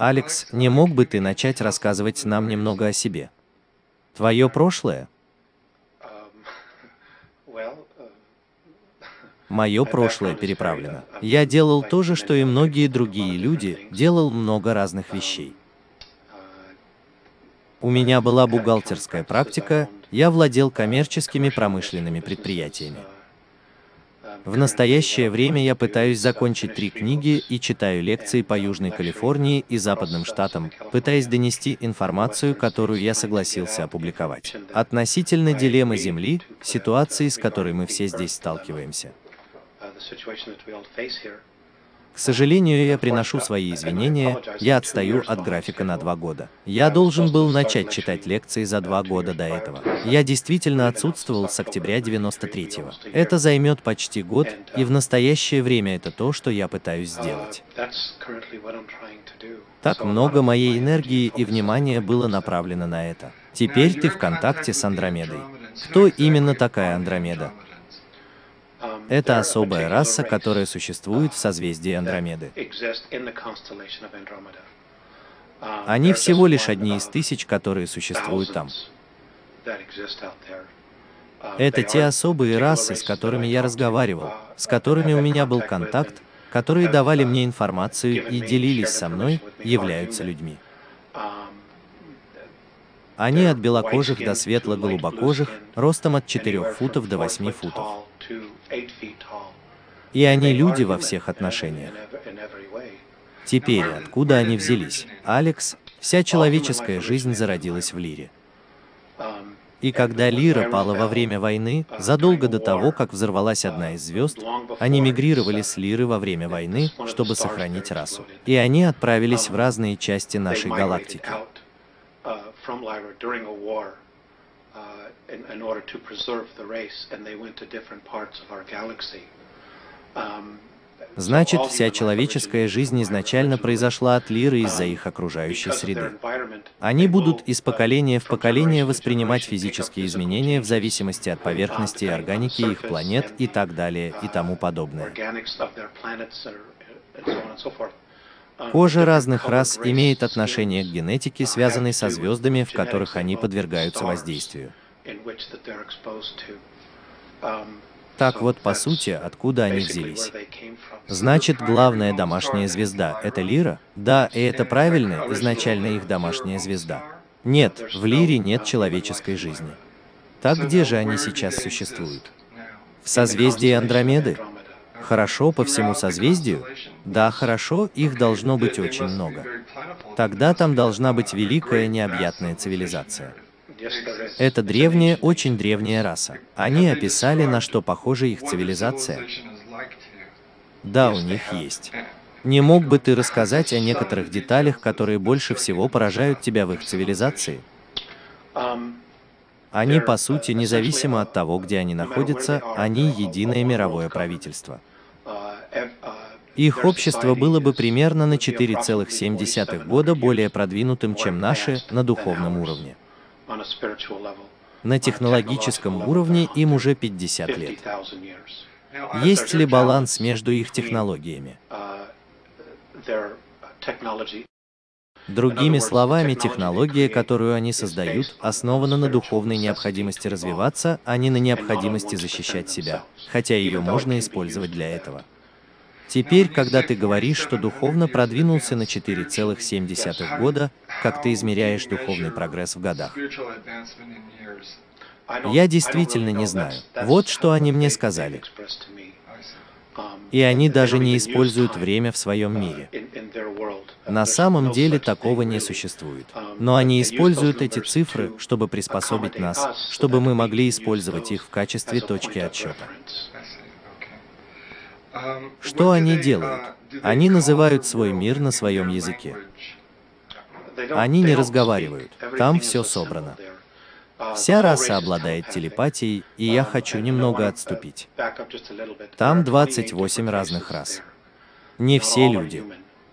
Алекс, не мог бы ты начать рассказывать нам немного о себе? Твое прошлое? Мое прошлое переправлено. Я делал то же, что и многие другие люди, делал много разных вещей. У меня была бухгалтерская практика, я владел коммерческими промышленными предприятиями. В настоящее время я пытаюсь закончить 3 книги и читаю лекции по Южной Калифорнии и западным штатам, пытаясь донести информацию, которую я согласился опубликовать, относительно дилеммы Земли, ситуации, с которой мы все здесь сталкиваемся. К сожалению, я приношу свои извинения, я отстаю от графика на 2 года. Я должен был начать читать лекции за 2 года до этого. Я действительно отсутствовал с октября 93-го. Это займет почти год, и в настоящее время это то, что я пытаюсь сделать. Так много моей энергии и внимания было направлено на это. Теперь ты в контакте с Андромедой. Кто именно такая Андромеда? Это особая раса, которая существует в созвездии Андромеды. Они всего лишь одни из тысяч, которые существуют там. Это те особые расы, с которыми я разговаривал, с которыми у меня был контакт, которые давали мне информацию и делились со мной, являются людьми. Они от белокожих до светло-голубокожих, ростом от 4 футов до 8 футов. И они люди во всех отношениях. Теперь, откуда они взялись? Алекс, вся человеческая жизнь зародилась в Лире. И когда Лира пала во время войны, задолго до того, как взорвалась одна из звезд, они мигрировали с Лиры во время войны, чтобы сохранить расу. И они отправились в разные части нашей галактики. Значит, вся человеческая жизнь изначально произошла от Лиры из-за их окружающей среды. Они будут из поколения в поколение воспринимать физические изменения в зависимости от поверхности и органики их планет и так далее и тому подобное. Кожа разных рас имеет отношение к генетике, связанной со звездами, в которых они подвергаются воздействию. Так вот, по сути, откуда они взялись? Значит, главная домашняя звезда — это Лира? Да, и это правильно, изначально их домашняя звезда. Нет, в Лире нет человеческой жизни. Так где же они сейчас существуют? В созвездии Андромеды? Хорошо, по всему созвездию? Да, хорошо, их должно быть очень много. Тогда там должна быть великая необъятная цивилизация. Это древняя, очень древняя раса. Они описали, на что похожа их цивилизация. Да, у них есть. Не мог бы ты рассказать о некоторых деталях, которые больше всего поражают тебя в их цивилизации? Они, по сути, независимо от того, где они находятся, они единое мировое правительство. Их общество было бы примерно на 4,7 года более продвинутым, чем наше, на духовном уровне. На технологическом уровне им уже 50 лет. Есть ли баланс между их технологиями? Другими словами, технология, которую они создают, основана на духовной необходимости развиваться, а не на необходимости защищать себя, хотя ее можно использовать для этого. Теперь, когда ты говоришь, что духовно продвинулся на 4,7 года, как ты измеряешь духовный прогресс в годах? Я действительно не знаю. Вот что они мне сказали. И они даже не используют время в своем мире. На самом деле такого не существует. Но они используют эти цифры, чтобы приспособить нас, чтобы мы могли использовать их в качестве точки отсчета. Что они делают? Они называют свой мир на своем языке. Они не разговаривают. Там все собрано. Вся раса обладает телепатией, и я хочу немного отступить. Там 28 разных рас. Не все люди.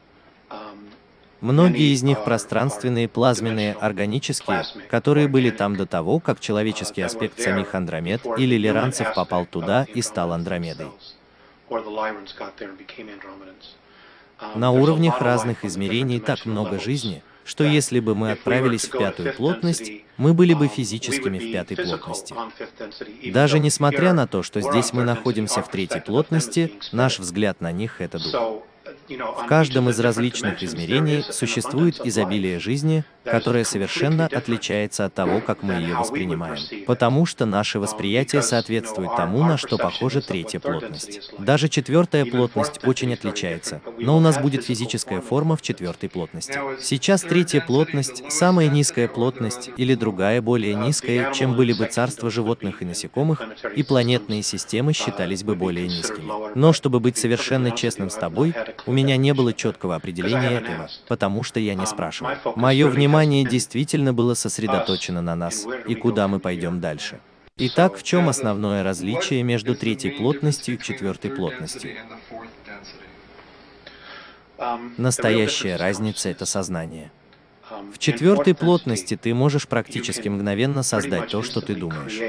Многие из них пространственные, плазменные, органические, которые были там до того, как человеческий аспект самих Андромед или лиранцев попал туда и стал Андромедой. На уровнях разных измерений так много жизни, что если бы мы отправились в пятую плотность, мы были бы физическими в пятой плотности. Даже несмотря на то, что здесь мы находимся в третьей плотности, наш взгляд на них — это дух. В каждом из различных измерений существует изобилие жизни, которое совершенно отличается от того, как мы ее воспринимаем, потому что наше восприятие соответствует тому, на что похожа третья плотность. Даже четвертая плотность очень отличается, но у нас будет физическая форма в четвертой плотности. Сейчас третья плотность, самая низкая плотность или другая более низкая, чем были бы царства животных и насекомых, и планетные системы считались бы более низкими. Но чтобы быть совершенно честным с тобой, у меня не было четкого определения этого, потому что я не спрашивал. Мое внимание действительно было сосредоточено на нас и куда мы пойдем дальше. Итак, в чем основное различие между третьей плотностью и четвертой плотностью? Настоящая разница — это сознание. В четвертой плотности ты можешь практически мгновенно создать то, что ты думаешь.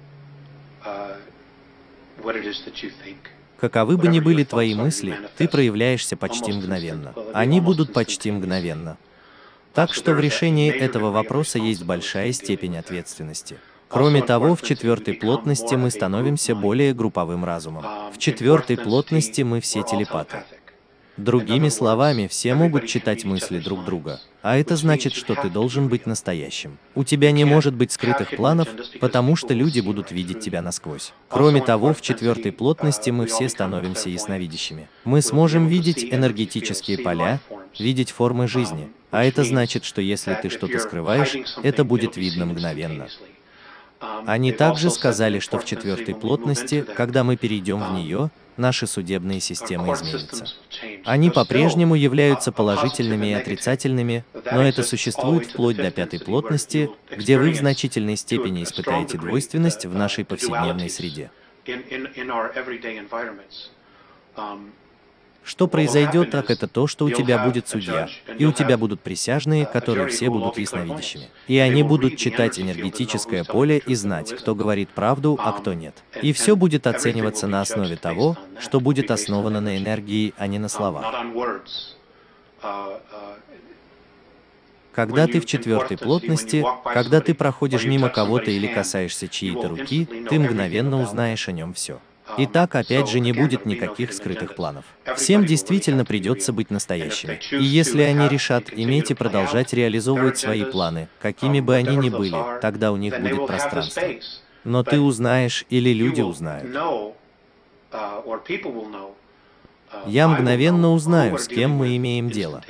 Каковы бы ни были твои мысли, ты проявляешься почти мгновенно. Они будут почти мгновенно. Так что в решении этого вопроса есть большая степень ответственности. Кроме того, в четвертой плотности мы становимся более групповым разумом. В четвертой плотности мы все телепаты. Другими словами, все могут читать мысли друг друга, а это значит, что ты должен быть настоящим. У тебя не может быть скрытых планов, потому что люди будут видеть тебя насквозь. Кроме того, в четвертой плотности мы все становимся ясновидящими. Мы сможем видеть энергетические поля, видеть формы жизни, а это значит, что если ты что-то скрываешь, это будет видно мгновенно. Они также сказали, что в четвертой плотности, когда мы перейдем в нее, наши судебные системы изменятся. Они по-прежнему являются положительными и отрицательными, но это существует вплоть до пятой плотности, где вы в значительной степени испытаете двойственность в нашей повседневной среде. Что произойдет, так это то, что у тебя будет судья, и у тебя будут присяжные, которые все будут ясновидящими. И они будут читать энергетическое поле и знать, кто говорит правду, а кто нет. И все будет оцениваться на основе того, что будет основано на энергии, а не на словах. Когда ты в четвертой плотности, когда ты проходишь мимо кого-то или касаешься чьей-то руки, ты мгновенно узнаешь о нем все. Итак, опять же, не будет никаких скрытых планов. Всем действительно придется быть настоящими. И если они решат иметь и продолжать реализовывать свои планы, какими бы они ни были, тогда у них будет пространство. Но ты узнаешь, или люди узнают. Я мгновенно узнаю, с кем мы имеем дело.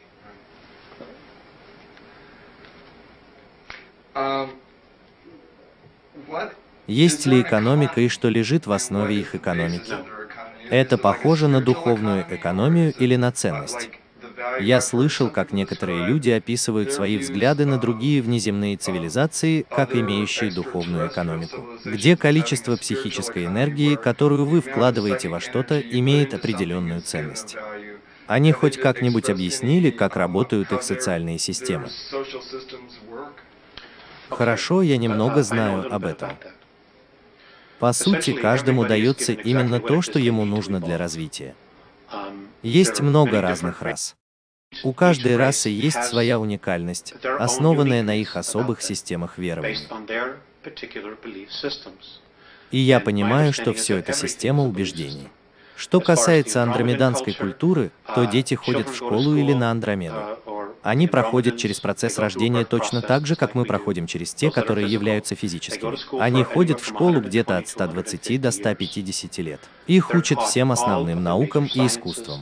Есть ли экономика и что лежит в основе их экономики? Это похоже на духовную экономию или на ценность? Я слышал, как некоторые люди описывают свои взгляды на другие внеземные цивилизации, как имеющие духовную экономику, где количество психической энергии, которую вы вкладываете во что-то, имеет определенную ценность. Они хоть как-нибудь объяснили, как работают их социальные системы? Хорошо, я немного знаю об этом. По сути, каждому дается именно то, что ему нужно для развития. Есть много разных рас. У каждой расы есть своя уникальность, основанная на их особых системах верований. И я понимаю, что все это система убеждений. Что касается андромеданской культуры, то дети ходят в школу или на Андромеду. Они проходят через процесс рождения точно так же, как мы проходим через те, которые являются физическими. Они ходят в школу где-то от 120 до 150 лет. Их учат всем основным наукам и искусствам.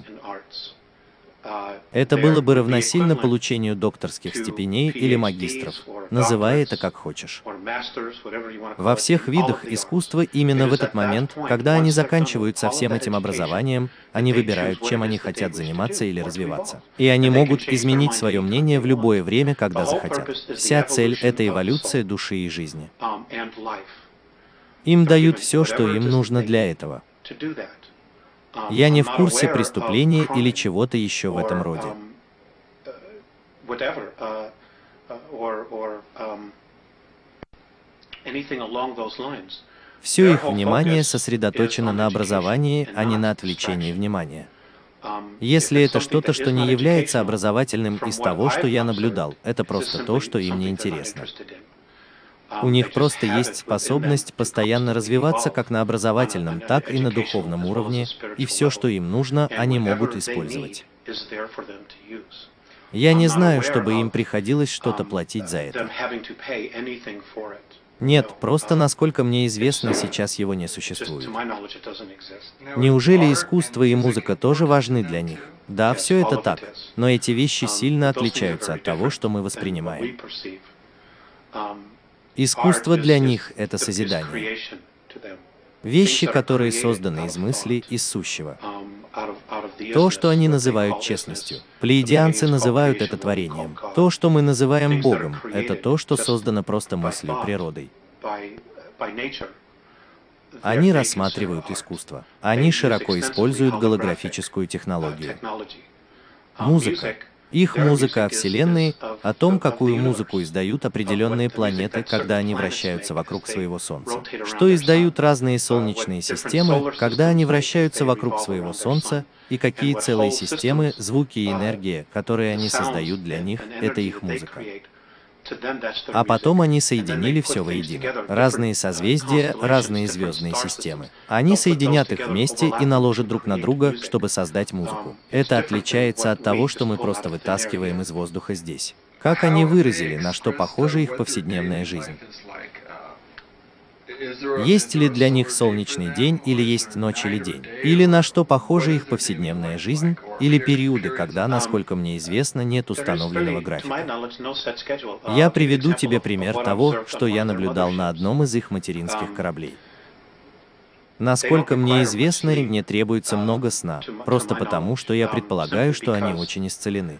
Это было бы равносильно получению докторских степеней или магистров, называй это как хочешь. Во всех видах искусства именно в этот момент, когда они заканчивают со всем этим образованием, они выбирают, чем они хотят заниматься или развиваться. И они могут изменить свое мнение в любое время, когда захотят. Вся цель — это эволюция души и жизни. Им дают все, что им нужно для этого. Я не в курсе преступления или чего-то еще в этом роде. Все их внимание сосредоточено на образовании, а не на отвлечении внимания. Если это что-то, что не является образовательным из того, что я наблюдал, это просто то, что им не интересно. У них просто есть способность постоянно развиваться как на образовательном, так и на духовном уровне, и все, что им нужно, они могут использовать. Я не знаю, чтобы им приходилось что-то платить за это. Нет, просто насколько мне известно, сейчас его не существует. Неужели искусство и музыка тоже важны для них? Да, все это так, но эти вещи сильно отличаются от того, что мы воспринимаем. Искусство для них — это созидание. Вещи, которые созданы из мысли, из сущего. То, что они называют честностью. Плеядианцы называют это творением. То, что мы называем Богом, это то, что создано просто мыслью, природой. Они рассматривают искусство. Они широко используют голографическую технологию. Музыка. Их музыка о Вселенной, о том, какую музыку издают определенные планеты, когда они вращаются вокруг своего Солнца. Что издают разные солнечные системы, когда они вращаются вокруг своего Солнца, и какие целые системы, звуки и энергия, которые они создают для них, это их музыка. А потом они соединили все воедино. Разные созвездия, разные звездные системы. Они соединят их вместе и наложат друг на друга, чтобы создать музыку. Это отличается от того, что мы просто вытаскиваем из воздуха здесь. Как они выразили, на что похожа их повседневная жизнь? Есть ли для них солнечный день, или есть ночь или день? Или на что похожа их повседневная жизнь, или периоды, когда, насколько мне известно, нет установленного графика? Я приведу тебе пример того, что я наблюдал на одном из их материнских кораблей. Насколько мне известно, им не требуется много сна, просто потому, что я предполагаю, что они очень исцелены.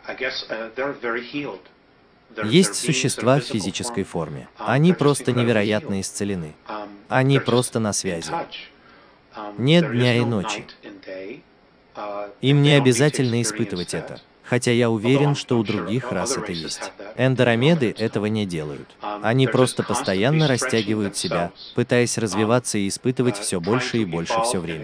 Есть существа в физической форме. Они просто невероятно исцелены. Они просто на связи. Нет дня и ночи. Им не обязательно испытывать это, хотя я уверен, что у других рас это есть. Эндоромеды этого не делают. Они просто постоянно растягивают себя, пытаясь развиваться и испытывать все больше и больше все время.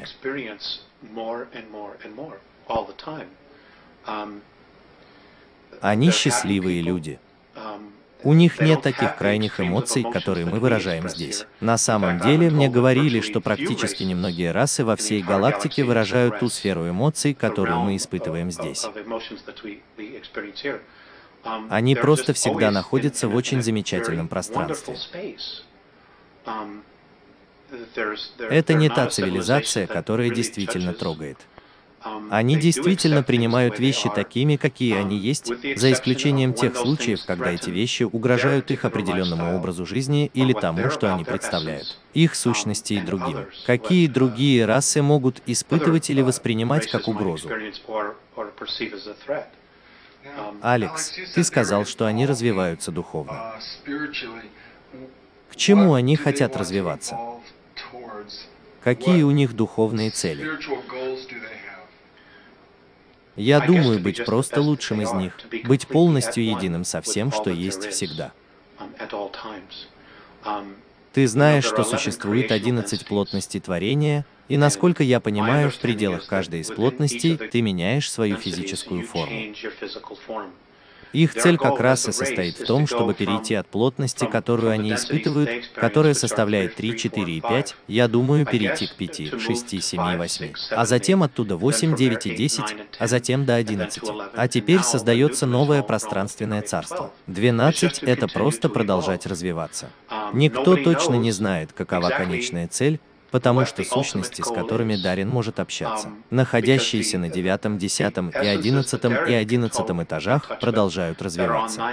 Они счастливые люди. У них нет таких крайних эмоций, которые мы выражаем здесь. На самом деле, мне говорили, что практически немногие расы во всей галактике выражают ту сферу эмоций, которую мы испытываем здесь. Они просто всегда находятся в очень замечательном пространстве. Это не та цивилизация, которая действительно трогает. Они действительно принимают вещи такими, какие они есть, за исключением тех случаев, когда эти вещи угрожают их определенному образу жизни или тому, что они представляют, их сущности и другим. Какие другие расы могут испытывать или воспринимать как угрозу? Алекс, ты сказал, что они развиваются духовно. К чему они хотят развиваться? Какие у них духовные цели? Я думаю, быть просто лучшим из них, быть полностью единым со всем, что есть всегда. Ты знаешь, что существует 11 плотностей творения, и, насколько я понимаю, в пределах каждой из плотностей ты меняешь свою физическую форму. Их цель как раз и состоит в том, чтобы перейти от плотности, которую они испытывают, которая составляет 3, 4 и 5, я думаю, перейти к 5, 6, 7 и 8, а затем оттуда 8, 9 и 10, а затем до 11. А теперь создается новое пространственное царство. 12 — это просто продолжать развиваться. Никто точно не знает, какова конечная цель, потому что сущности, с которыми Дарин может общаться, находящиеся на 9, 10 и 11 этажах, продолжают развиваться.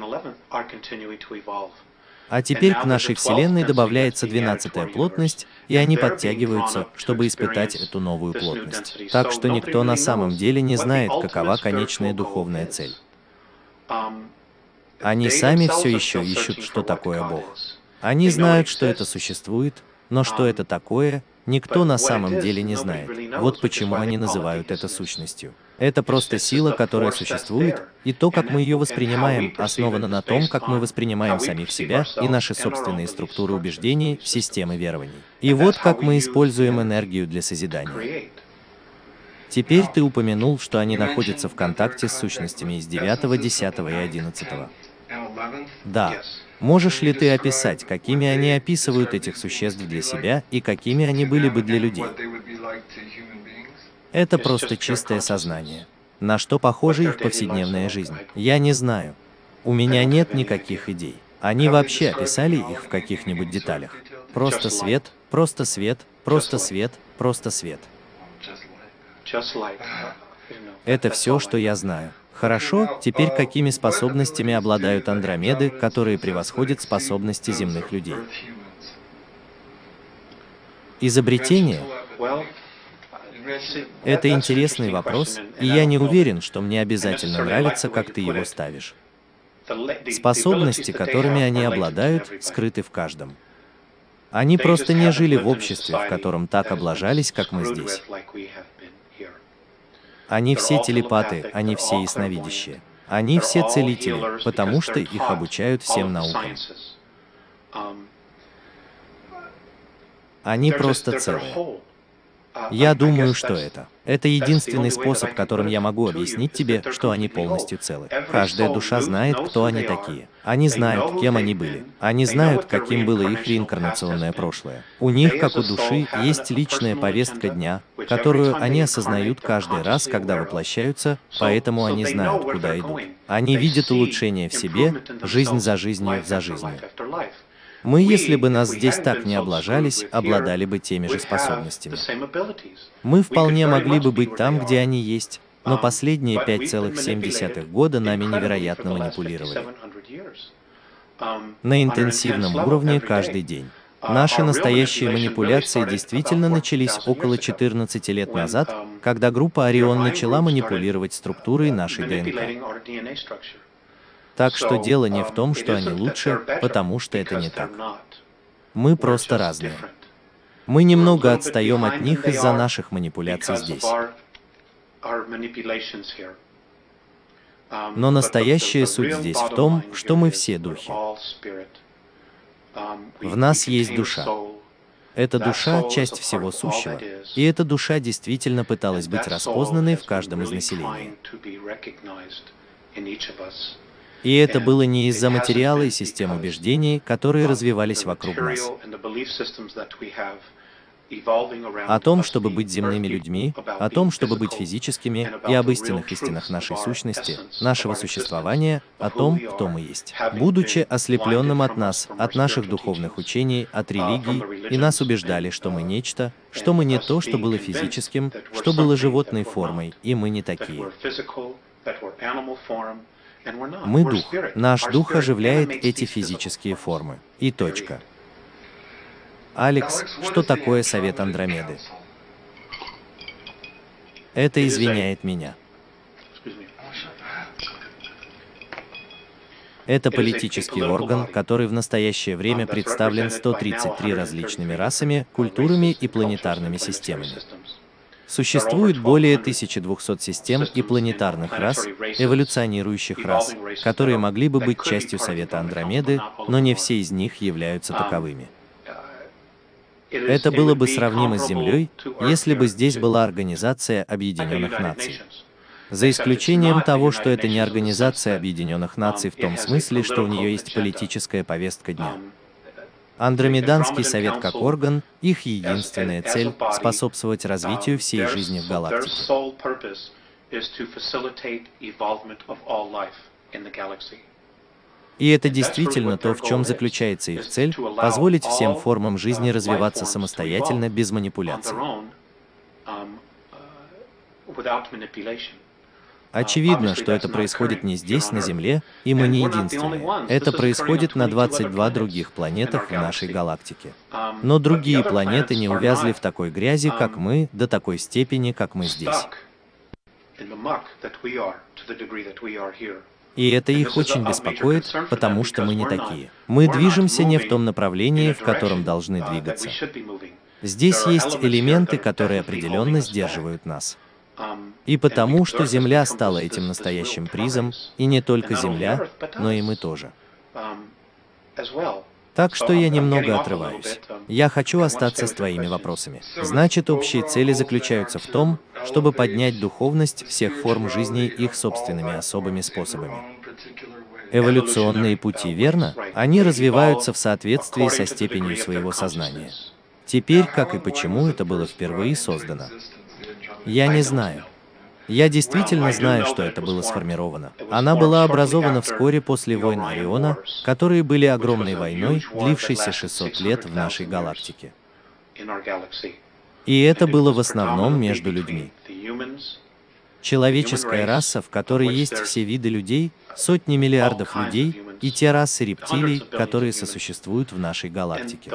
А теперь к нашей Вселенной добавляется 12-я плотность, и они подтягиваются, чтобы испытать эту новую плотность. Так что никто на самом деле не знает, какова конечная духовная цель. Они сами все еще ищут, что такое Бог. Они знают, что это существует, но что это такое, никто на самом деле не знает. Вот почему они называют это сущностью. Это просто сила, которая существует, и то, как мы ее воспринимаем, основано на том, как мы воспринимаем самих себя и наши собственные структуры убеждений, системы верований. И вот как мы используем энергию для созидания. Теперь ты упомянул, что они находятся в контакте с сущностями из 9, 10 и 11. Да. Можешь ли ты описать, какими они описывают этих существ для себя и какими они были бы для людей? Это просто чистое сознание. На что похожа их повседневная жизнь? Я не знаю. У меня нет никаких идей. Они вообще описали их в каких-нибудь деталях? Просто свет, просто свет, просто свет, просто свет. Это все, что я знаю. Хорошо, теперь какими способностями обладают Андромеды, которые превосходят способности земных людей? Изобретение? Это интересный вопрос, и я не уверен, что мне обязательно нравится, как ты его ставишь. Способности, которыми они обладают, скрыты в каждом. Они просто не жили в обществе, в котором так облажались, как мы здесь. Они все телепаты, они все ясновидящие. Они все целители, потому что их обучают всем наукам. Они просто целые. Я думаю, что это единственный способ, которым я могу объяснить тебе, что они полностью целы. Каждая душа знает, кто они такие. Они знают, кем они были. Они знают, каким было их реинкарнационное прошлое. У них, как у души, есть личная повестка дня, которую они осознают каждый раз, когда воплощаются, поэтому они знают, куда идут. Они видят улучшение в себе, жизнь за жизнью, за жизнью. Мы, если бы нас здесь так не облажались, обладали бы теми же способностями. Мы вполне могли бы быть там, где они есть, но последние 5,7 года нами невероятно манипулировали. На интенсивном уровне каждый день. Наши настоящие манипуляции действительно начались около 14 лет назад, когда группа Орион начала манипулировать структурой нашей ДНК. Так что дело не в том, что они лучше, потому что это не так. Мы просто разные. Мы немного отстаем от них из-за наших манипуляций здесь. Но настоящая суть здесь в том, что мы все духи. В нас есть душа. Эта душа – часть всего сущего, и эта душа действительно пыталась быть распознанной в каждом из населения. И это было не из-за материала и систем убеждений, которые развивались вокруг нас. О том, чтобы быть земными людьми, о том, чтобы быть физическими, и об истинах нашей сущности, нашего существования, о том, кто мы есть. Будучи ослепленным от нас, от наших духовных учений, от религий, и нас убеждали, что мы нечто, что мы не то, что было физическим, что было животной формой, и мы не такие. Мы дух. Наш дух оживляет эти физические формы. И точка. Алекс, что такое Совет Андромеды? Это извиняет меня. Это политический орган, который в настоящее время представлен 133 различными расами, культурами и планетарными системами. Существует более 1200 систем и планетарных рас, эволюционирующих рас, которые могли бы быть частью Совета Андромеды, но не все из них являются таковыми. Это было бы сравнимо с Землей, если бы здесь была Организация Объединенных Наций. За исключением того, что это не Организация Объединенных Наций в том смысле, что у нее есть политическая повестка дня. Андромеданский совет как орган, их единственная цель – способствовать развитию всей жизни в галактике. И это действительно то, в чем заключается их цель – позволить всем формам жизни развиваться самостоятельно, без манипуляций. Очевидно, что это происходит не здесь, на Земле, и мы не единственные. Это происходит на 22 других планетах в нашей галактике. Но другие планеты не увязли в такой грязи, как мы, до такой степени, как мы здесь. И это их очень беспокоит, потому что мы не такие. Мы движемся не в том направлении, в котором должны двигаться. Здесь есть элементы, которые определенно сдерживают нас. И потому, что Земля стала этим настоящим призом, и не только Земля, но и мы тоже. Так что я немного отрываюсь. Я хочу остаться с твоими вопросами. Значит, общие цели заключаются в том, чтобы поднять духовность всех форм жизни их собственными особыми способами. Эволюционные пути, верно? Они развиваются в соответствии со степенью своего сознания. Теперь, как и почему это было впервые создано, я не знаю. Я действительно знаю, что это было сформировано. Она была образована вскоре после войн Ориона, которые были огромной войной, длившейся 600 лет в нашей галактике. И это было в основном между людьми. Человеческая раса, в которой есть все виды людей, сотни миллиардов людей, и те расы рептилий, которые сосуществуют в нашей галактике.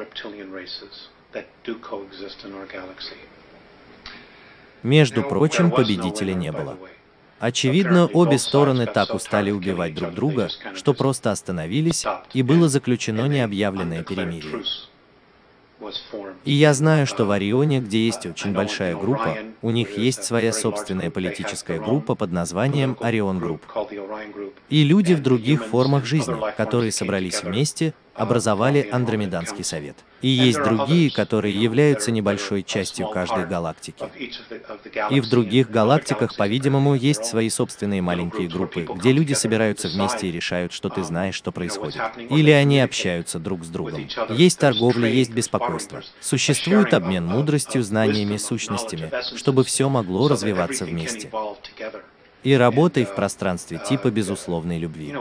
Между прочим, победителя не было. Очевидно, обе стороны так устали убивать друг друга, что просто остановились, и было заключено необъявленное перемирие. И я знаю, что в Орионе, где есть очень большая группа, у них есть своя собственная политическая группа под названием Орион Групп. И люди в других формах жизни, которые собрались вместе, образовали Андромеданский совет. И есть другие, которые являются небольшой частью каждой галактики. И в других галактиках, по-видимому, есть свои собственные маленькие группы, где люди собираются вместе и решают, что ты знаешь, что происходит. Или они общаются друг с другом. Есть торговля, есть беспокойство. Существует обмен мудростью, знаниями, сущностями, чтобы все могло развиваться вместе. И работай в пространстве типа безусловной любви.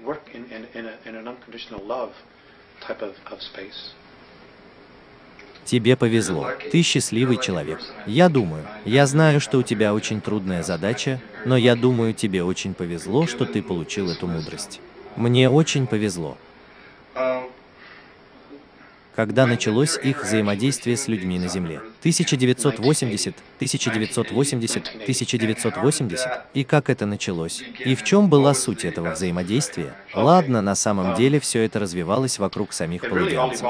Тебе повезло. Ты счастливый человек. Я знаю, что у тебя очень трудная задача, но я думаю, тебе очень повезло, что ты получил эту мудрость. Мне очень повезло. Когда началось их взаимодействие с людьми на Земле. 1980, 1980, 1980. И как это началось? И в чем была суть этого взаимодействия? Ладно, на самом деле все это развивалось вокруг самих палладианцев.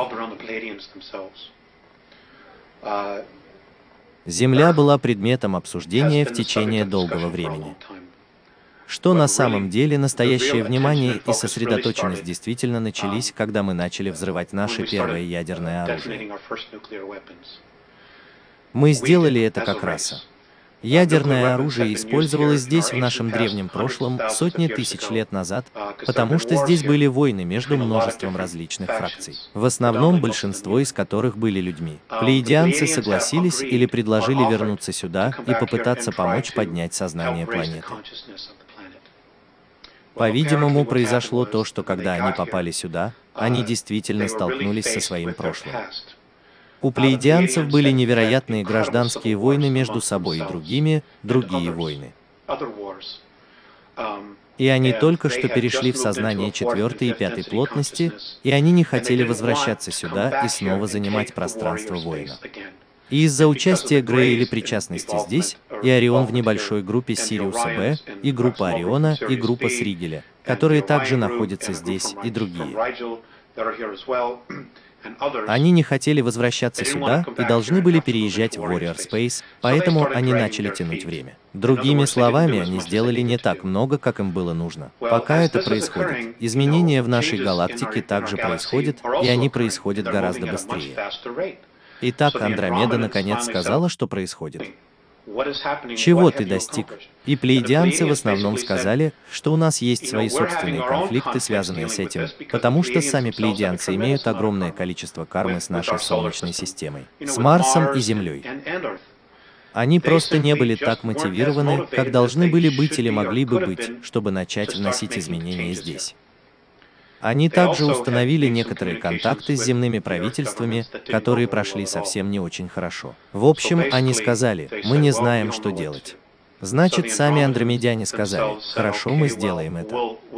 Земля была предметом обсуждения в течение долгого времени. Что на самом деле настоящее внимание и сосредоточенность действительно начались, когда мы начали взрывать наше первое ядерное оружие. Мы сделали это как раса. Ядерное оружие использовалось здесь в нашем древнем прошлом сотни тысяч лет назад, потому что здесь были войны между множеством различных фракций, в основном большинство из которых были людьми. Плеядианцы согласились или предложили вернуться сюда и попытаться помочь поднять сознание планеты. По-видимому, произошло то, что когда они попали сюда, они действительно столкнулись со своим прошлым. У плеядианцев были невероятные гражданские войны между собой и другие войны. И они только что перешли в сознание 4-й и 5-й плотности, и они не хотели возвращаться сюда и снова занимать пространство воина. И из-за участия Грея или причастности здесь, и Орион в небольшой группе Сириуса Б, и группа Ориона, и группа Сригеля, которые также находятся здесь, и другие. Они не хотели возвращаться сюда и должны были переезжать в Warrior Space, поэтому они начали тянуть время. Другими словами, они сделали не так много, как им было нужно. Пока это происходит, изменения в нашей галактике также происходят, и они происходят гораздо быстрее. Итак, Андромеда наконец сказала, что происходит. Чего ты достиг? И плеядианцы в основном сказали, что у нас есть свои собственные конфликты, связанные с этим, потому что сами плеядианцы имеют огромное количество кармы с нашей Солнечной системой, с Марсом и Землей. Они просто не были так мотивированы, как должны были быть или могли бы быть, чтобы начать вносить изменения здесь. Они также установили некоторые контакты с земными правительствами, которые прошли совсем не очень хорошо. В общем, они сказали, мы не знаем, что делать. Значит, сами андромедяне сказали, хорошо, мы сделаем это.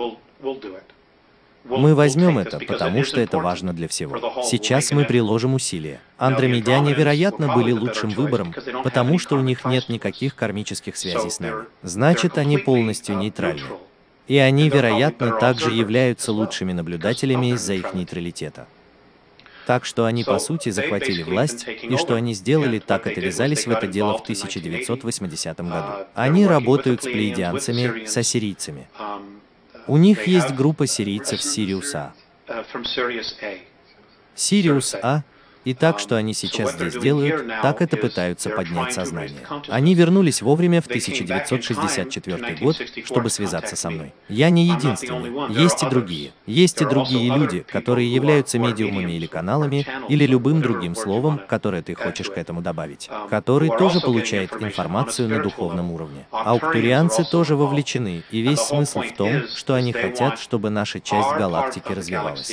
Мы возьмем это, потому что это важно для всего. Сейчас мы приложим усилия. Андромедяне, вероятно, были лучшим выбором, потому что у них нет никаких кармических связей с нами. Значит, они полностью нейтральны. И они, вероятно, также являются лучшими наблюдателями из-за их нейтралитета. Так что они, по сути, захватили власть, и что они сделали, так это ввязались в это дело в 1980 году. Они работают с плеядианцами, с ассирийцами. У них есть группа сирийцев с Сириуса А. Сириус А И так, что они сейчас здесь делают, так это пытаются поднять сознание. Они вернулись вовремя в 1964 год, чтобы связаться со мной. Я не единственный. Есть и другие. Есть и другие люди, которые являются медиумами или каналами, или любым другим словом, которое ты хочешь к этому добавить, который тоже получает информацию на духовном уровне. Ауктурианцы тоже вовлечены, и весь смысл в том, что они хотят, чтобы наша часть галактики развивалась.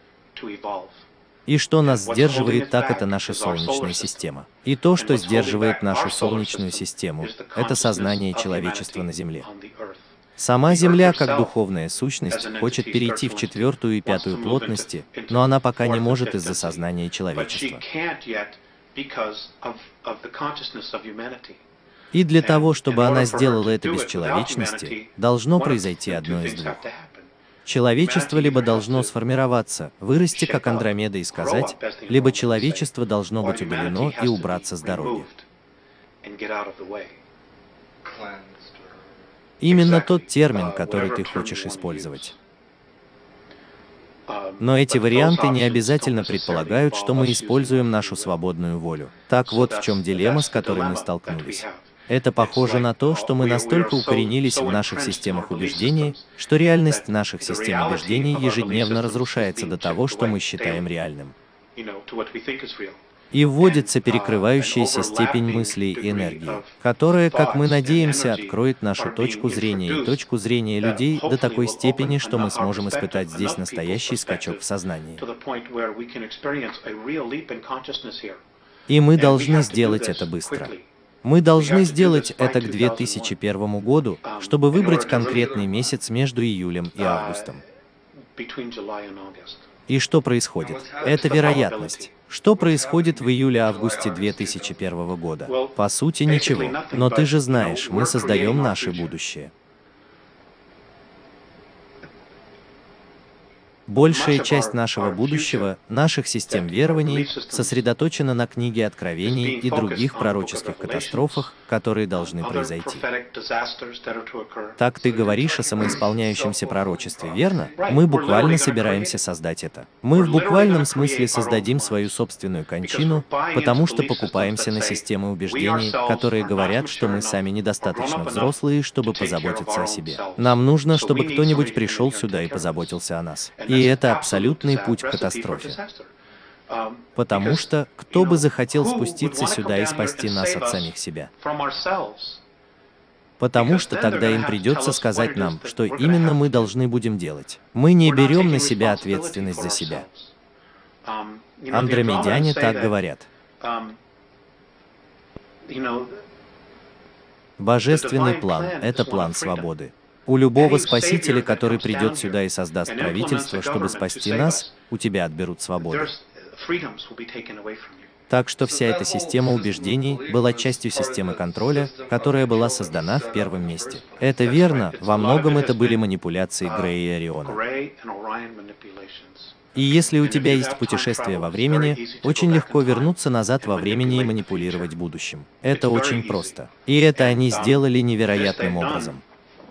И что нас сдерживает, так это наша Солнечная система. И то, что сдерживает нашу Солнечную систему, это сознание человечества на Земле. Сама Земля, как духовная сущность, хочет перейти в 4-ю и 5-ю плотности, но она пока не может из-за сознания человечества. И для того, чтобы она сделала это без человечности, должно произойти одно из двух. Человечество либо должно сформироваться, вырасти как Андромеда и сказать, либо человечество должно быть удалено и убраться с дороги. Именно тот термин, который ты хочешь использовать. Но эти варианты не обязательно предполагают, что мы используем нашу свободную волю. Так вот в чем дилемма, с которой мы столкнулись. Это похоже на то, что мы настолько укоренились в наших системах убеждений, что реальность наших систем убеждений ежедневно разрушается до того, что мы считаем реальным. И вводится перекрывающаяся степень мыслей и энергии, которая, как мы надеемся, откроет нашу точку зрения и точку зрения людей до такой степени, что мы сможем испытать здесь настоящий скачок в сознании. И мы должны сделать это быстро. Мы должны сделать это к 2001 году, чтобы выбрать конкретный месяц между июлем и августом. И что происходит? Это вероятность. Что происходит в июле-августе 2001 года? По сути, ничего. Но ты же знаешь, мы создаем наше будущее. Большая часть нашего будущего, наших систем верований, сосредоточена на книге Откровений и других пророческих катастрофах, которые должны произойти. Так ты говоришь о самоисполняющемся пророчестве, верно? Мы буквально собираемся создать это. Мы в буквальном смысле создадим свою собственную кончину, потому что покупаемся на системы убеждений, которые говорят, что мы сами недостаточно взрослые, чтобы позаботиться о себе. Нам нужно, чтобы кто-нибудь пришел сюда и позаботился о нас. И это абсолютный путь к катастрофе. Потому что кто бы захотел спуститься сюда и спасти нас от самих себя? Потому что тогда им придется сказать нам, что именно мы должны будем делать. Мы не берем на себя ответственность за себя. Андромедяне так говорят. Божественный план – это план свободы. У любого спасителя, который придет сюда и создаст правительство, чтобы спасти нас, у тебя отберут свободу. Так что вся эта система убеждений была частью системы контроля, которая была создана в первом месте. Это верно, во многом это были манипуляции Грея и Ориона. И если у тебя есть путешествие во времени, очень легко вернуться назад во времени и манипулировать будущим. Это очень просто. И это они сделали невероятным образом.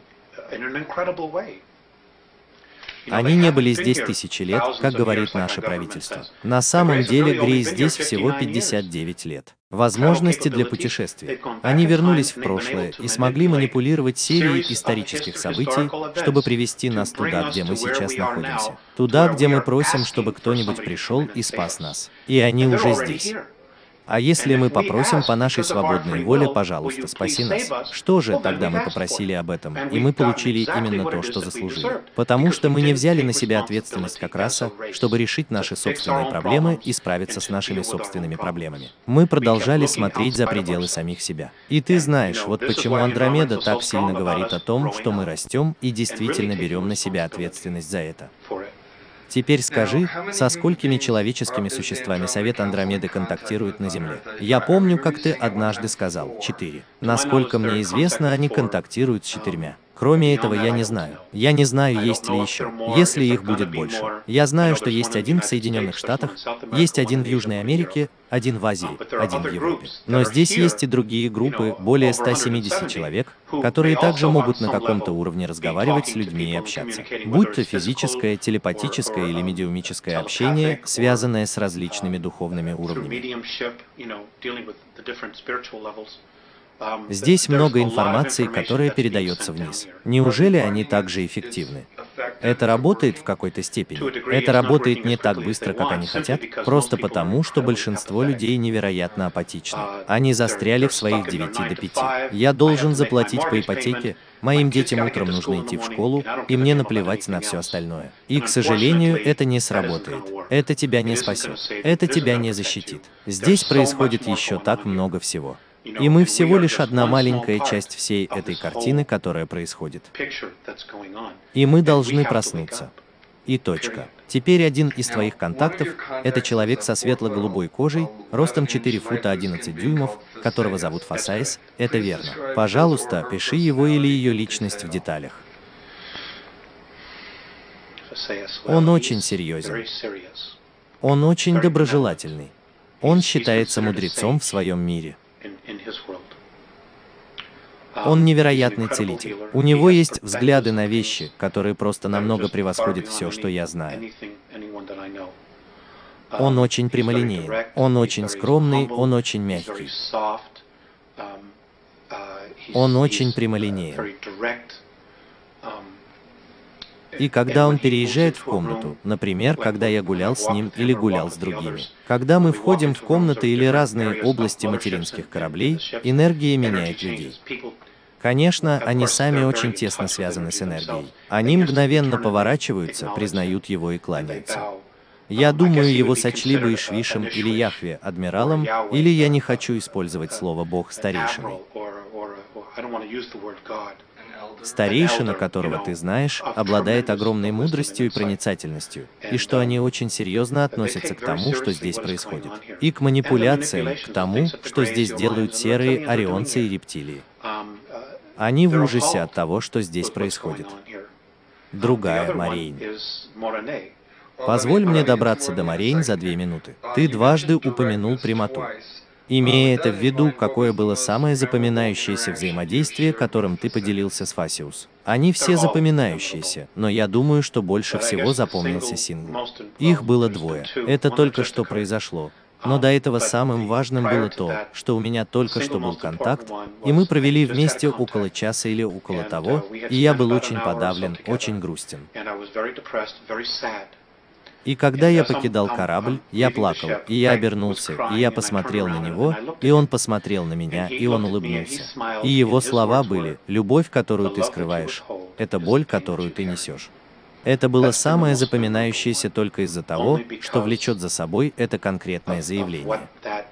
Они не были здесь тысячи лет, как говорит наше правительство. На самом деле Грей здесь всего 59 лет. Возможности для путешествий. Они вернулись в прошлое и смогли манипулировать серией исторических событий, чтобы привести нас туда, где мы сейчас находимся. Туда, где мы просим, чтобы кто-нибудь пришел и спас нас. И они уже здесь. А если мы попросим по нашей свободной воле, пожалуйста, спаси нас, что же, тогда мы попросили об этом, и мы получили именно то, что заслужили. Потому что мы не взяли на себя ответственность как раса, чтобы решить наши собственные проблемы и справиться с нашими собственными проблемами. Мы продолжали смотреть за пределы самих себя. И ты знаешь, вот почему Андромеда так сильно говорит о том, что мы растем и действительно берем на себя ответственность за это. Теперь скажи, со сколькими человеческими существами Совет Андромеды контактирует на Земле? Я помню, как ты однажды сказал, 4. Насколько мне известно, они контактируют с 4. Кроме этого, я не знаю. Я не знаю, есть ли еще. Если их будет больше. Я знаю, что есть один в Соединенных Штатах, есть один в Южной Америке, один в Азии, один в Европе. Но здесь есть и другие группы, более 170 человек, которые также могут на каком-то уровне разговаривать с людьми и общаться. Будь то физическое, телепатическое или медиумическое общение, связанное с различными духовными уровнями. Здесь много информации, которая передается вниз. Неужели они также эффективны? Это работает в какой-то степени. Это работает не так быстро, как они хотят, просто потому, что большинство людей невероятно апатичны. Они застряли в своих 9 до 5. Я должен заплатить по ипотеке, моим детям утром нужно идти в школу, и мне наплевать на все остальное. И, к сожалению, это не сработает. Это тебя не спасет. Это тебя не защитит. Здесь происходит еще так много всего. И мы всего лишь одна маленькая часть всей этой картины, которая происходит. И мы должны проснуться. И точка. Теперь один из твоих контактов – это человек со светло-голубой кожей, ростом 4 фута 11 дюймов, которого зовут Фасаис, это верно. Пожалуйста, пиши его или ее личность в деталях. Он очень серьезен. Он очень доброжелательный. Он считается мудрецом в своем мире. Он невероятный целитель. У него есть взгляды на вещи, которые просто намного превосходят все, что я знаю. Он очень прямолинеен, он очень скромный, он очень мягкий. Он очень прямолинеен. И когда он переезжает в комнату, например, когда я гулял с ним или гулял с другими, когда мы входим в комнаты или разные области материнских кораблей, энергия меняет людей. Конечно, они сами очень тесно связаны с энергией. Они мгновенно поворачиваются, признают его и кланяются. Я думаю, его сочли бы Ишвишем или Яхве, адмиралом, или я не хочу использовать слово «бог» старейшиной. Старейшина, которого ты знаешь, обладает огромной мудростью и проницательностью, и что они очень серьезно относятся к тому, что здесь происходит, и к манипуляциям, к тому, что здесь делают серые, орионцы и рептилии. Они в ужасе от того, что здесь происходит. Другая, Морейн. Позволь мне добраться до Морейн за 2 минуты. Ты дважды упомянул прямоту. Имея это в виду, какое было самое запоминающееся взаимодействие, которым ты поделился с Фасиус? Они все запоминающиеся, но я думаю, что больше всего запомнился сингл. Их было 2. Это только что произошло. Но до этого самым важным было то, что у меня только что был контакт, и мы провели вместе около часа или около того, и я был очень подавлен, очень грустен. И когда я покидал корабль, я плакал, и я обернулся, и я посмотрел на него, и он посмотрел на меня, и он улыбнулся. И его слова были: «Любовь, которую ты скрываешь, это боль, которую ты несешь». Это было самое запоминающееся только из-за того, что влечет за собой это конкретное заявление.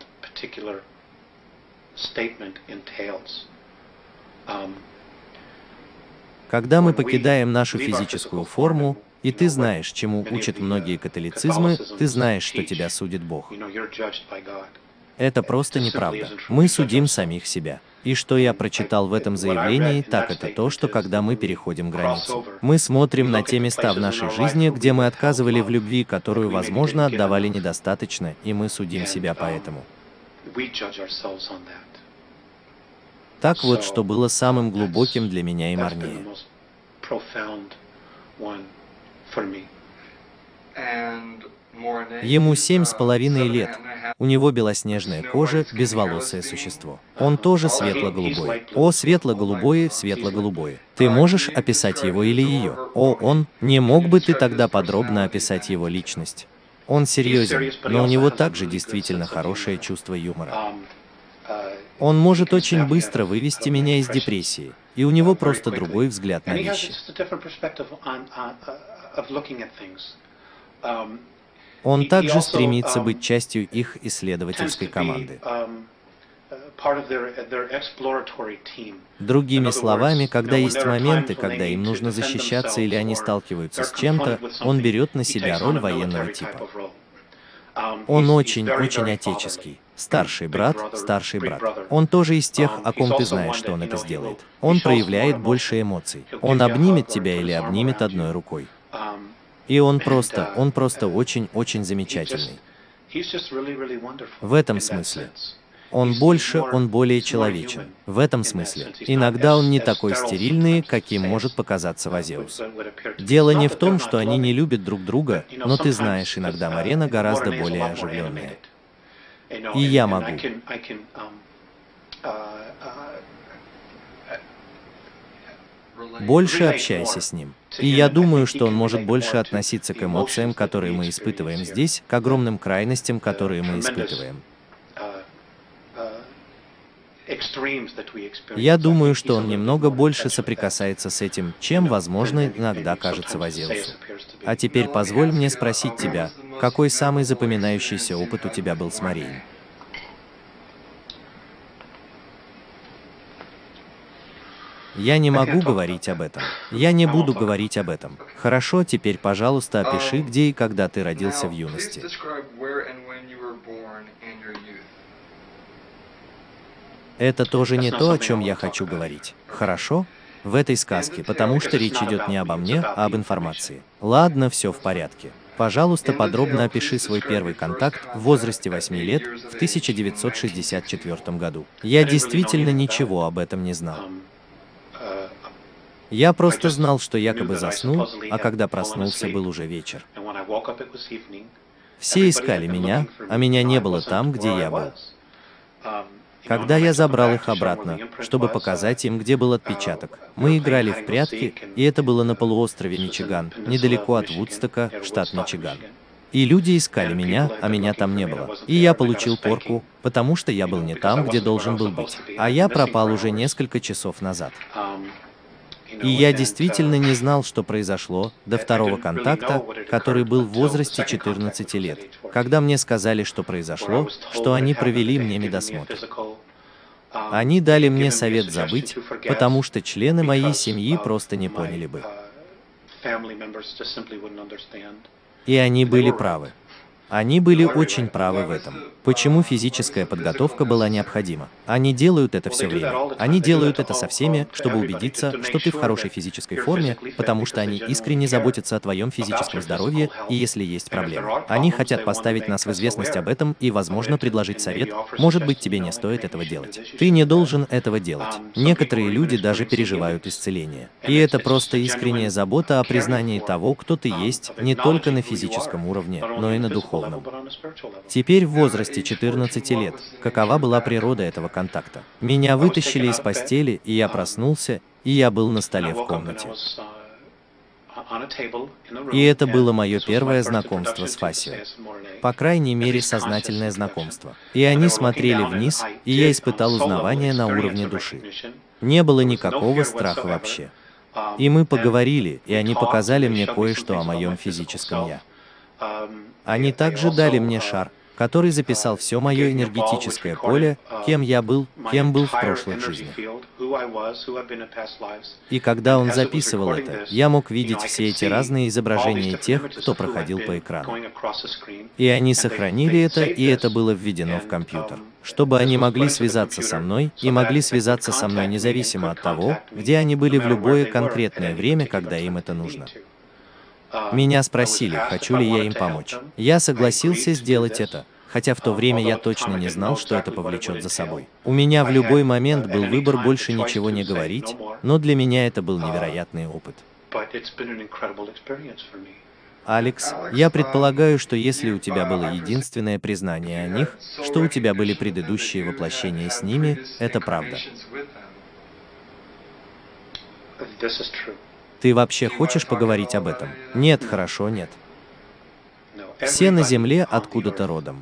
Когда мы покидаем нашу физическую форму, и ты знаешь, чему учат многие католицизмы, ты знаешь, что тебя судит Бог. Это просто неправда. Мы судим самих себя. И что я прочитал в этом заявлении, так это то, что когда мы переходим границу, мы смотрим на те места в нашей жизни, где мы отказывали в любви, которую, возможно, отдавали недостаточно, и мы судим себя поэтому. Так вот, что было самым глубоким для меня и Марнея. Ему 7,5 лет. У него белоснежная кожа, безволосое существо. Он тоже светло-голубой. О, светло-голубое, светло-голубое. Ты можешь описать его или ее? О, он. Не мог бы ты тогда подробно описать его личность? Он серьезен, но у него также действительно хорошее чувство юмора. Он может очень быстро вывести меня из депрессии, и у него просто другой взгляд на вещи. Он также стремится быть частью их исследовательской команды. Другими словами, когда есть моменты, когда им нужно защищаться или они сталкиваются с чем-то, он берет на себя роль военного типа. Он очень отеческий. Старший брат. Он тоже из тех, о ком ты знаешь, что он это сделает. Он проявляет больше эмоций. Он обнимет тебя или обнимет одной рукой. И он просто очень замечательный. В этом смысле. Он более человечен. В этом смысле. Иногда он не такой стерильный, каким может показаться Вазеус. Дело не в том, что они не любят друг друга, но ты знаешь, иногда Марена гораздо более оживленная. И я могу. Больше общайся с ним. И я думаю, что он может больше относиться к эмоциям, которые мы испытываем здесь, к огромным крайностям, которые мы испытываем. Я думаю, что он немного больше соприкасается с этим, чем, возможно, иногда кажется Вазеусу. А теперь позволь мне спросить тебя, какой самый запоминающийся опыт у тебя был с Марией? Я не могу говорить об этом. Я не буду говорить об этом. Хорошо, теперь, пожалуйста, опиши, где и когда ты родился в юности. Это тоже не то, о чем я хочу говорить. Хорошо? В этой сказке, потому что речь идет не обо мне, а об информации. Ладно, все в порядке. Пожалуйста, подробно опиши свой первый контакт в возрасте 8 лет в 1964 году. Я действительно ничего об этом не знал. Я просто знал, что якобы заснул, а когда проснулся, был уже вечер. Все искали меня, а меня не было там, где я был. Когда я забрал их обратно, чтобы показать им, где был отпечаток, мы играли в прятки, и это было на полуострове Мичиган, недалеко от Вудстока, штат Мичиган. И люди искали меня, а меня там не было. И я получил порку, потому что я был не там, где должен был быть. А я пропал уже несколько часов назад. И я действительно не знал, что произошло, до второго контакта, который был в возрасте 14 лет, когда мне сказали, что произошло, что они провели мне медосмотр. Они дали мне совет забыть, потому что члены моей семьи просто не поняли бы. И они были правы. Они были очень правы в этом. Почему физическая подготовка была необходима? Они делают это все время. Они делают это со всеми, чтобы убедиться, что ты в хорошей физической форме, потому что они искренне заботятся о твоем физическом здоровье, и если есть проблемы. Они хотят поставить нас в известность об этом и, возможно, предложить совет. Может быть, тебе не стоит этого делать. Ты не должен этого делать. Некоторые люди даже переживают исцеление. И это просто искренняя забота о признании того, кто ты есть, не только на физическом уровне, но и на духовном. Теперь в возрасте 14 лет, какова была природа этого контакта? Меня вытащили из постели, и я проснулся, и я был на столе в комнате. И это было мое первое знакомство с Фасио. По крайней мере, сознательное знакомство. И они смотрели вниз, и я испытал узнавание на уровне души. Не было никакого страха вообще. И мы поговорили, и они показали мне кое-что о моем физическом «я». Они также дали мне шар, который записал все мое энергетическое поле, кем я был в прошлых жизнях. И когда он записывал это, я мог видеть все эти разные изображения тех, кто проходил по экрану. И они сохранили это, и это было введено в компьютер, чтобы они могли связаться со мной, и могли связаться со мной независимо от того, где они были в любое конкретное время, когда им это нужно. Меня спросили, хочу ли я им помочь. Я согласился сделать это, хотя в то время я точно не знал, что это повлечет за собой. У меня в любой момент был выбор больше ничего не говорить, но для меня это был невероятный опыт. Алекс, я предполагаю, что если у тебя было единственное признание о них, что у тебя были предыдущие воплощения с ними, это правда. Ты вообще хочешь поговорить об этом? Нет, хорошо, нет. Все на Земле откуда-то родом.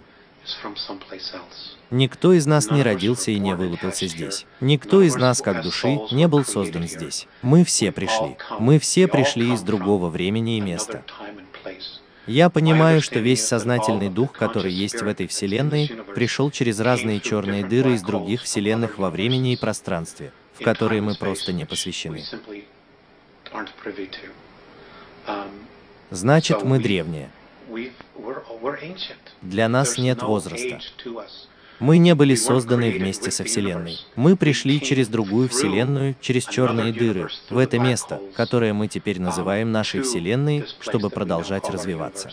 Никто из нас не родился и не вылупился здесь. Никто из нас, как души, не был создан здесь. Мы все пришли. Мы все пришли из другого времени и места. Я понимаю, что весь сознательный дух, который есть в этой Вселенной, пришел через разные черные дыры из других Вселенных во времени и пространстве, в которые мы просто не посвящены. Значит, мы древние. Для нас нет возраста. Мы не были созданы вместе со Вселенной. Мы пришли через другую Вселенную, через черные дыры, в это место, которое мы теперь называем нашей Вселенной, чтобы продолжать развиваться.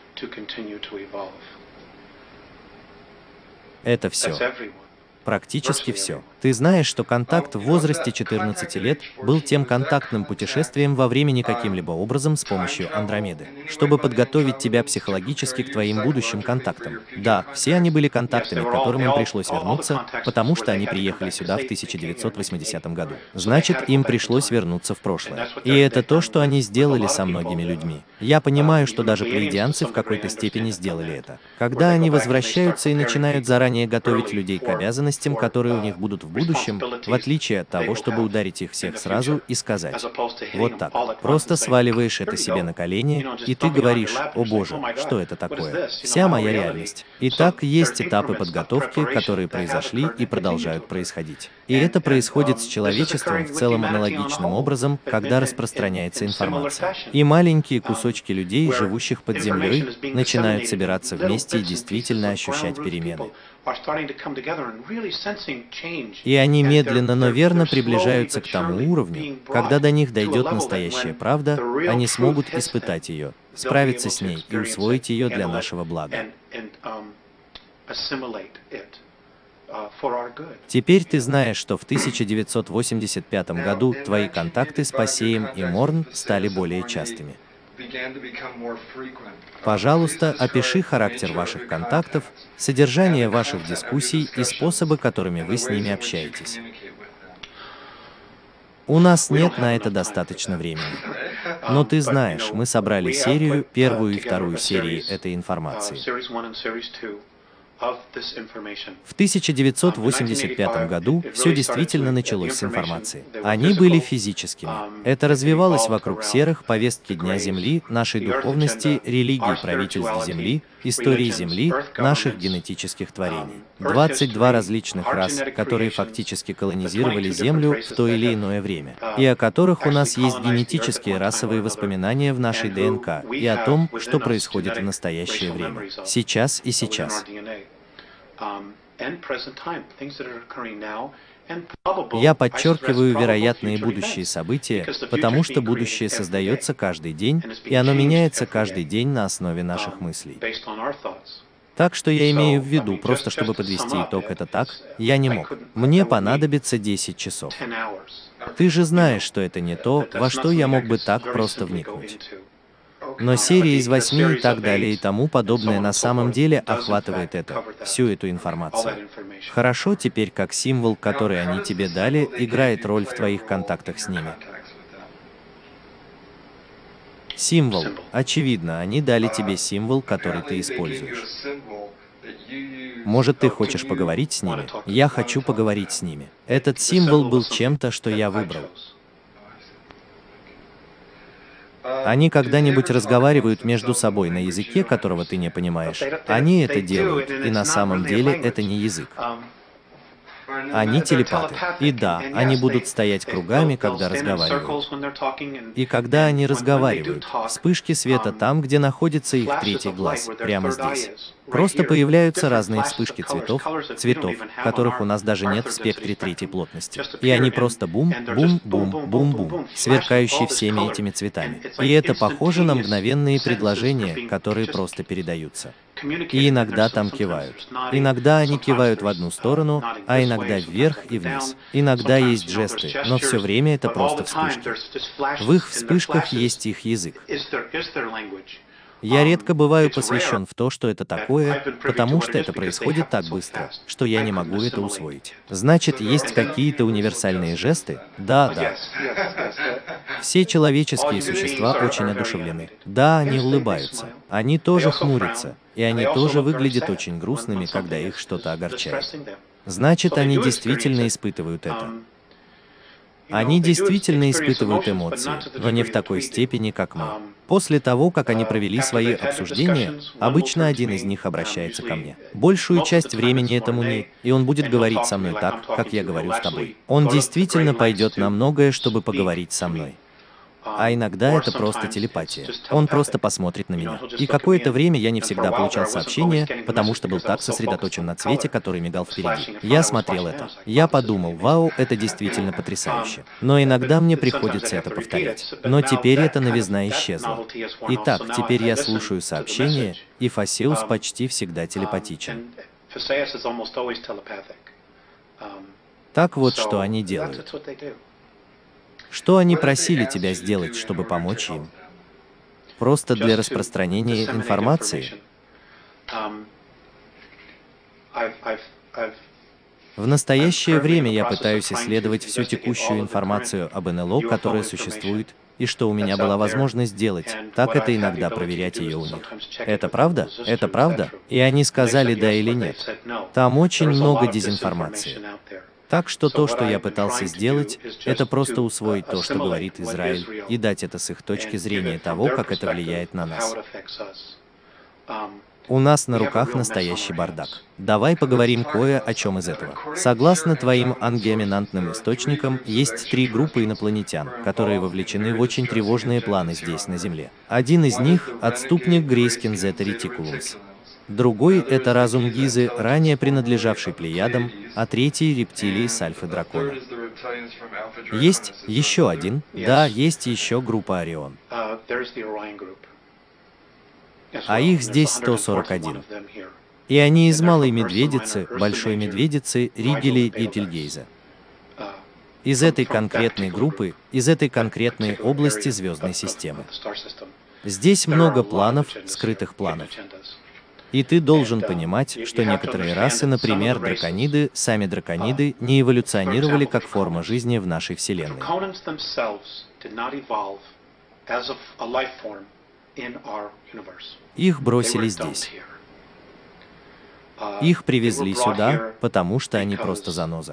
Это все. Практически все. Ты знаешь, что контакт в возрасте 14 лет был тем контактным путешествием во времени каким-либо образом с помощью Андромеды, чтобы подготовить тебя психологически к твоим будущим контактам. Да, все они были контактами, к которым им пришлось вернуться, потому что они приехали сюда в 1980 году. Значит, им пришлось вернуться в прошлое. И это то, что они сделали со многими людьми. Я понимаю, что даже плеядианцы в какой-то степени сделали это. Когда они возвращаются и начинают заранее готовить людей к обязанностям, которые у них будут в будущем, в отличие от того, чтобы ударить их всех сразу и сказать: вот так. Просто сваливаешь это себе на колени, и ты говоришь: о боже, что это такое? Вся моя реальность. Итак, есть этапы подготовки, которые произошли и продолжают происходить. И это происходит с человечеством в целом аналогичным образом, когда распространяется информация. И маленькие кусочки людей, живущих под землей, начинают собираться вместе и действительно ощущать перемены. И они медленно, но верно приближаются к тому уровню, когда до них дойдет настоящая правда, они смогут испытать ее, справиться с ней и усвоить ее для нашего блага. Теперь ты знаешь, что в 1985 году твои контакты с Пассеем и Морн стали более частыми. Пожалуйста, опиши характер ваших контактов, содержание ваших дискуссий и способы, которыми вы с ними общаетесь. У нас нет на это достаточно времени. Но ты знаешь, мы собрали серию, первую и вторую серии этой информации. В 1985 году все действительно началось с информации. Они были физическими. Это развивалось вокруг серых, повестки Дня Земли, нашей духовности, религии правительств Земли, истории Земли, наших генетических творений. 22 различных рас, которые фактически колонизировали Землю в то или иное время, и о которых у нас есть генетические расовые воспоминания в нашей ДНК, и о том, что происходит в настоящее время, сейчас и сейчас. Я подчеркиваю вероятные будущие события, потому что будущее создается каждый день, и оно меняется каждый день на основе наших мыслей. Так что я имею в виду, просто чтобы подвести итог, это так, я не мог. Мне понадобится 10 часов. Ты же знаешь, что это не то, во что я мог бы так просто вникнуть. Но серия из 8 и так далее и тому подобное на самом деле охватывает это, всю эту информацию. Хорошо, теперь как символ, который они тебе дали, играет роль в твоих контактах с ними. Символ. Очевидно, они дали тебе символ, который ты используешь. Может, ты хочешь поговорить с ними? Я хочу поговорить с ними. Этот символ был чем-то, что я выбрал. Они когда-нибудь разговаривают между собой на языке, которого ты не понимаешь. Они это делают, и на самом деле это не язык. Они телепаты. И да, они будут стоять кругами, когда разговаривают. И когда они разговаривают, вспышки света там, где находится их третий глаз, прямо здесь. Просто появляются разные вспышки цветов, которых у нас даже нет в спектре третьей плотности. И они просто бум, бум, бум, бум, бум, сверкающие всеми этими цветами. И это похоже на мгновенные предложения, которые просто передаются. И иногда там кивают. Иногда они кивают в одну сторону, а иногда вверх и вниз. Иногда есть жесты, но все время это просто вспышки. В их вспышках есть их язык. Я редко бываю посвящен в то, что это такое, потому что это происходит так быстро, что я не могу это усвоить. Значит, есть какие-то универсальные жесты? Да, да. Все человеческие существа очень одушевлены. Да, они улыбаются. Они тоже хмурятся. И они тоже выглядят очень грустными, когда их что-то огорчает. Значит, они действительно испытывают это. Они действительно испытывают эмоции, но не в такой степени, как мы. После того, как они провели свои обсуждения, обычно один из них обращается ко мне. Большую часть времени этому не, и он будет говорить со мной так, как я говорю с тобой. Он действительно пойдет на многое, чтобы поговорить со мной. А иногда это просто телепатия. Он просто посмотрит на меня. И какое-то время я не всегда получал сообщения, потому что был так сосредоточен на цвете, который мигал впереди. Я смотрел это. Я подумал, вау, это действительно потрясающе. Но иногда мне приходится это повторять. Но теперь эта новизна исчезла. Итак, теперь я слушаю сообщения, и Фасеус почти всегда телепатичен. Так вот, что они делают. Что они просили тебя сделать, чтобы помочь им? Просто для распространения информации? В настоящее время я пытаюсь исследовать всю текущую информацию об НЛО, которая существует, и что у меня была возможность сделать, так это иногда проверять ее у них. Это правда? Это правда? И они сказали да или нет. Там очень много дезинформации. Так что то, что я пытался сделать, это просто усвоить то, что говорит Израиль, и дать это с их точки зрения того, как это влияет на нас. У нас на руках настоящий бардак. Давай поговорим кое о чем из этого. Согласно твоим ангиоминантным источникам, есть 3 группы инопланетян, которые вовлечены в очень тревожные планы здесь, на Земле. Один из них – отступник Грейскин Зета Ретикулумс. Другой – это разум Гизы, ранее принадлежавший Плеядам, а третий – рептилии с Альфы-дракона. Есть еще один? Да, есть еще группа Орион. А их здесь 141. И они из Малой Медведицы, Большой Медведицы, Ригели и Тельгейза. Из этой конкретной группы, из этой конкретной области звездной системы. Здесь много планов, скрытых планов. И ты должен понимать, что некоторые расы, например, дракониды, сами дракониды, не эволюционировали как форма жизни в нашей Вселенной. Их бросили здесь. Их привезли сюда, потому что они просто заноза.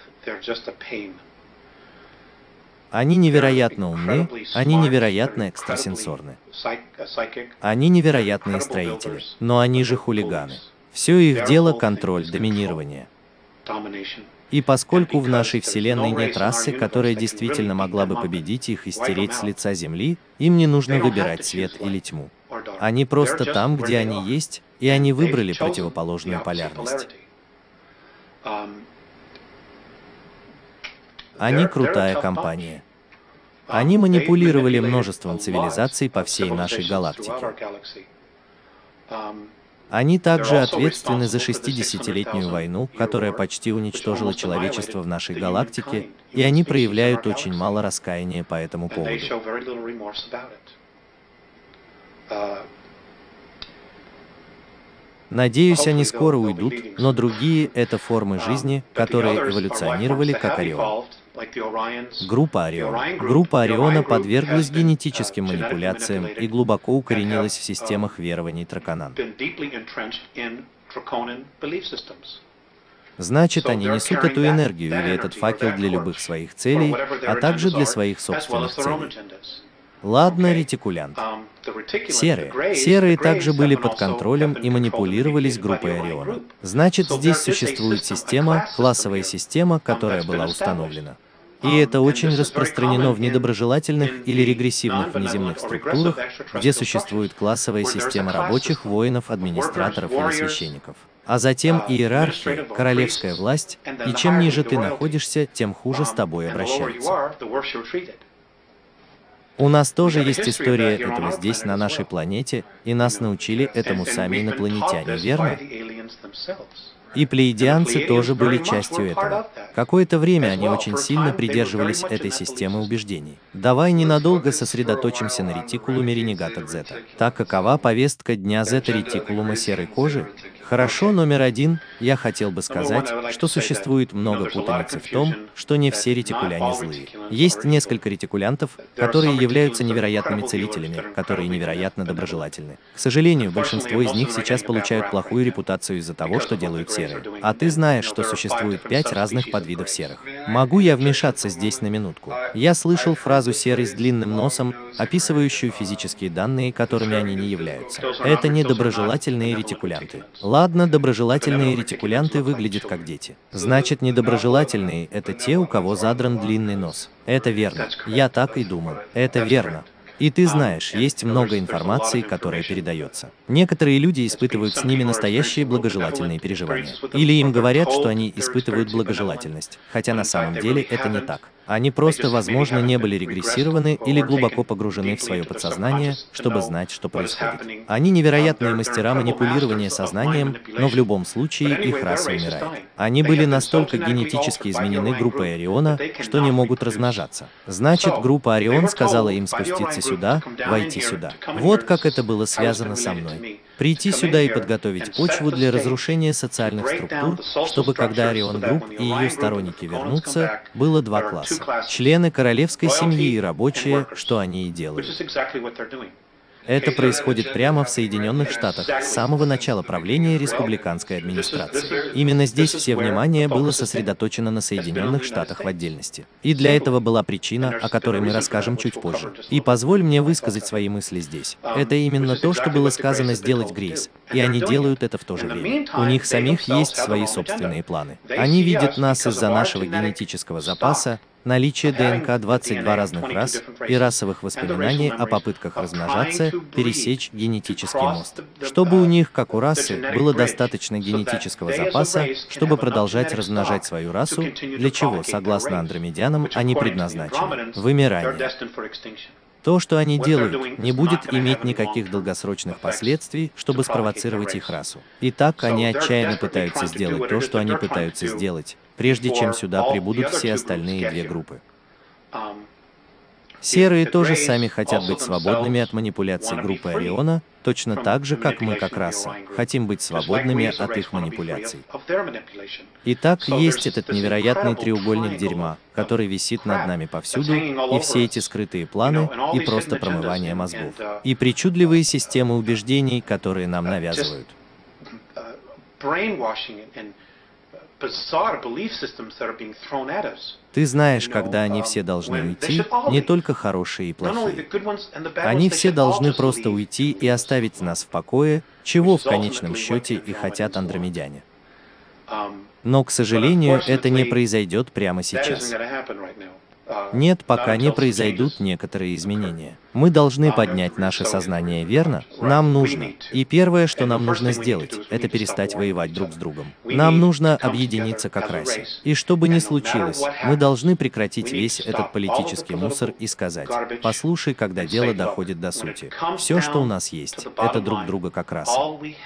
Они невероятно умны, они невероятно экстрасенсорны. Они невероятные строители, но они же хулиганы. Все их дело — контроль, доминирование. И поскольку в нашей Вселенной нет расы, которая действительно могла бы победить их и стереть с лица Земли, им не нужно выбирать свет или тьму. Они просто там, где они есть, и они выбрали противоположную полярность. Они крутая компания. Они манипулировали множеством цивилизаций по всей нашей галактике. Они также ответственны за 60-летнюю войну, которая почти уничтожила человечество в нашей галактике, и они проявляют очень мало раскаяния по этому поводу. Надеюсь, они скоро уйдут, но другие — это формы жизни, которые эволюционировали как Орион. Группа Орион. Группа Ориона подверглась генетическим манипуляциям и глубоко укоренилась в системах верований Траконан. Значит, они несут эту энергию или этот факел для любых своих целей, а также для своих собственных целей. Ладно, ретикулянт. Серые. Серые также были под контролем и манипулировались группой Ориона. Значит, здесь существует система, классовая система, которая была установлена. И это очень распространено в недоброжелательных или регрессивных внеземных структурах, где существует классовая система рабочих, воинов, администраторов или священников. А затем иерархия, королевская власть, и чем ниже ты находишься, тем хуже с тобой обращаются. У нас тоже есть история этого здесь, на нашей планете, и нас научили этому сами инопланетяне, верно? И плеядианцы тоже были частью этого. Какое-то время они очень сильно придерживались этой системы убеждений. Давай ненадолго сосредоточимся на ретикулуме ренегата Зета. Так, какова повестка дня Зета ретикулума серой кожи? Хорошо, номер 1, я хотел бы сказать, что существует много путаницы в том, что не все ретикуляне злые. Есть несколько ретикулянтов, которые являются невероятными целителями, которые невероятно доброжелательны. К сожалению, большинство из них сейчас получают плохую репутацию из-за того, что делают серые. А ты знаешь, что существует 5 разных подвидов серых. Могу я вмешаться здесь на минутку? Я слышал фразу «серый с длинным носом», описывающую физические данные, которыми они не являются. Это не доброжелательные ретикулянты. Ладно, доброжелательные ретикулянты выглядят как дети. Значит, недоброжелательные – это те, у кого задран длинный нос. Это верно. Я так и думал. Это верно. И ты знаешь, есть много информации, которая передается. Некоторые люди испытывают с ними настоящие благожелательные переживания. Или им говорят, что они испытывают благожелательность, хотя на самом деле это не так. Они просто, возможно, не были регрессированы или глубоко погружены в свое подсознание, чтобы знать, что происходит. Они невероятные мастера манипулирования сознанием, но в любом случае их раса умирает. Они были настолько генетически изменены группой Ориона, что не могут размножаться. Значит, группа Орион сказала им спуститься сюда, войти сюда. Вот как это было связано со мной. Прийти сюда и подготовить почву для разрушения социальных структур, чтобы когда Орион Групп и ее сторонники вернутся, было два класса. Члены королевской семьи и рабочие, что они и делают. Это происходит прямо в Соединенных Штатах с самого начала правления республиканской администрации. Именно здесь все внимание было сосредоточено на Соединенных Штатах в отдельности. И для этого была причина, о которой мы расскажем чуть позже. И позволь мне высказать свои мысли здесь. Это именно то, что было сказано сделать Грейс, и они делают это в то же время. У них самих есть свои собственные планы. Они видят нас из-за нашего генетического запаса, наличие ДНК 22 разных рас и расовых воспоминаний о попытках размножаться, пересечь генетический мост. Чтобы у них, как у расы, было достаточно генетического запаса, чтобы продолжать размножать свою расу, для чего, согласно андромедянам, они предназначены. Вымирание. То, что они делают, не будет иметь никаких долгосрочных последствий, чтобы спровоцировать их расу. Итак, они отчаянно пытаются сделать то, что они пытаются сделать, прежде чем сюда прибудут все остальные две группы. Серые тоже сами хотят быть свободными от манипуляций группы Ориона, точно так же, как мы, как раса, хотим быть свободными от их манипуляций. Итак, есть этот невероятный треугольник дерьма, который висит над нами повсюду, и все эти скрытые планы, и просто промывание мозгов, и причудливые системы убеждений, которые нам навязывают. Ты знаешь, когда они все должны уйти, не только хорошие и плохие. Они все должны просто уйти и оставить нас в покое, чего в конечном счете и хотят андромедяне. Но, к сожалению, это не произойдет прямо сейчас. Нет, пока не произойдут некоторые изменения. Мы должны поднять наше сознание, верно? Нам нужно. И первое, что нам нужно сделать, это перестать воевать друг с другом. Нам нужно объединиться как расе. И что бы ни случилось, мы должны прекратить весь этот политический мусор и сказать: послушай, когда дело доходит до сути. Все, что у нас есть, это друг друга как раса.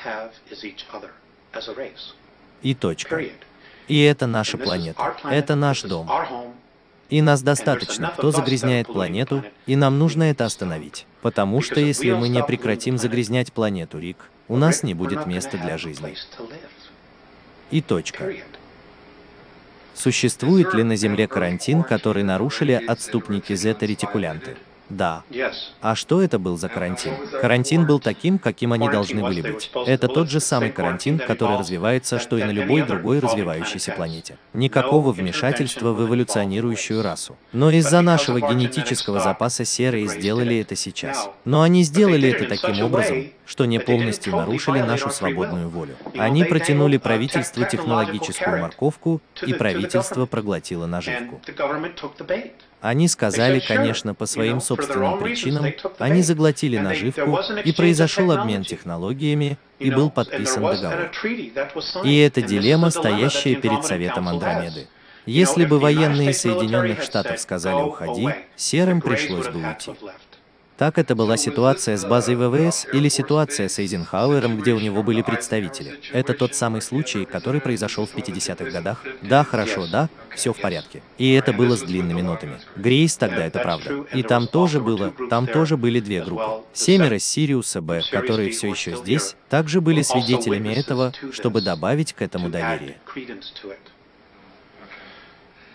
И точка. И это наша планета. Это наш дом. И нас достаточно, кто загрязняет планету, и нам нужно это остановить. Потому что если мы не прекратим загрязнять планету, Рик, у нас не будет места для жизни. И точка. Существует ли на Земле карантин, который нарушили отступники зета-ретикулянты? Да. А что это был за карантин? Карантин был таким, каким они должны были быть. Это тот же самый карантин, который развивается, что и на любой другой развивающейся планете. Никакого вмешательства в эволюционирующую расу. Но из-за нашего генетического запаса серые сделали это сейчас. Но они сделали это таким образом, что не полностью нарушили нашу свободную волю. Они протянули правительству технологическую морковку, и правительство проглотило наживку. Они сказали, конечно, по своим собственным причинам, они заглотили наживку, и произошел обмен технологиями, и был подписан договор. И это дилемма, стоящая перед Советом Андромеды. Если бы военные Соединенных Штатов сказали «уходи», серым пришлось бы уйти. Так это была ситуация с базой ВВС или ситуация с Эйзенхауэром, где у него были представители. Это тот самый случай, который произошел в 50-х годах. Да, хорошо, да, все в порядке. И это было с длинными нотами. Грейс, тогда это правда. И там тоже были две группы. 7 с Сириуса Б, которые все еще здесь, также были свидетелями этого, чтобы добавить к этому доверие.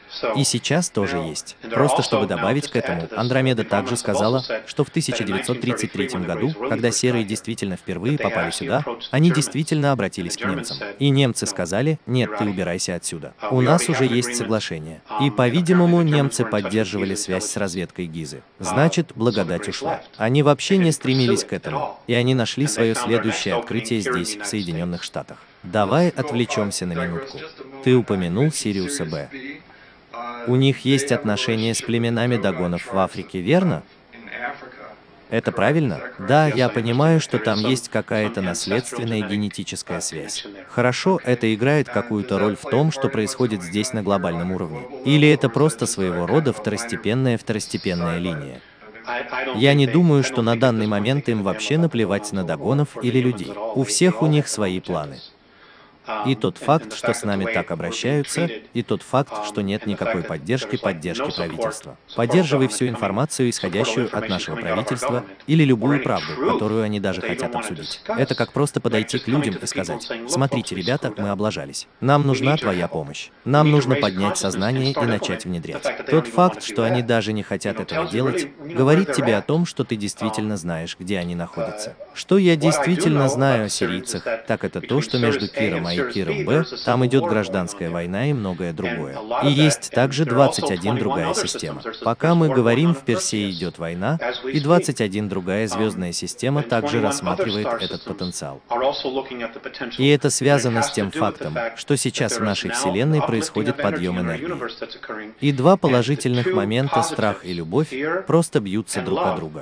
И сейчас тоже есть. Просто чтобы добавить к этому, Андромеда также сказала, что в 1933 году, когда серые действительно впервые попали сюда, они действительно обратились к немцам. И немцы сказали: «Нет, ты убирайся отсюда. У нас уже есть соглашение». И, по-видимому, немцы поддерживали связь с разведкой Гизы. Значит, благодать ушла. Они вообще не стремились к этому. И они нашли свое следующее открытие здесь, в Соединенных Штатах. Давай отвлечемся на минутку. Ты упомянул Сириуса Б. У них есть отношения с племенами догонов в Африке, верно? Это правильно? Да, я понимаю, что там есть какая-то наследственная генетическая связь. Хорошо, это играет какую-то роль в том, что происходит здесь на глобальном уровне. Или это просто своего рода второстепенная линия. Я не думаю, что на данный момент им вообще наплевать на догонов или людей. У всех у них свои планы. И тот факт, что с нами так обращаются, и тот факт, что нет никакой поддержки правительства. Поддерживай всю информацию, исходящую от нашего правительства, или любую правду, которую они даже хотят обсудить. Это как просто подойти к людям и сказать: «Смотрите, ребята, мы облажались. Нам нужна твоя помощь. Нам нужно поднять сознание и начать внедрять». Тот факт, что они даже не хотят этого делать, говорит тебе о том, что ты действительно знаешь, где они находятся. Что я действительно знаю о сирийцах, так это то, что между Киром А и Киром Б там идет гражданская война и многое другое. И есть также 21 другая система. Пока мы говорим, в Персее идет война, и 21 другая звездная система также рассматривает этот потенциал. И это связано с тем фактом, что сейчас в нашей Вселенной происходит подъем энергии. И два положительных момента, страх и любовь, просто бьются друг о друга.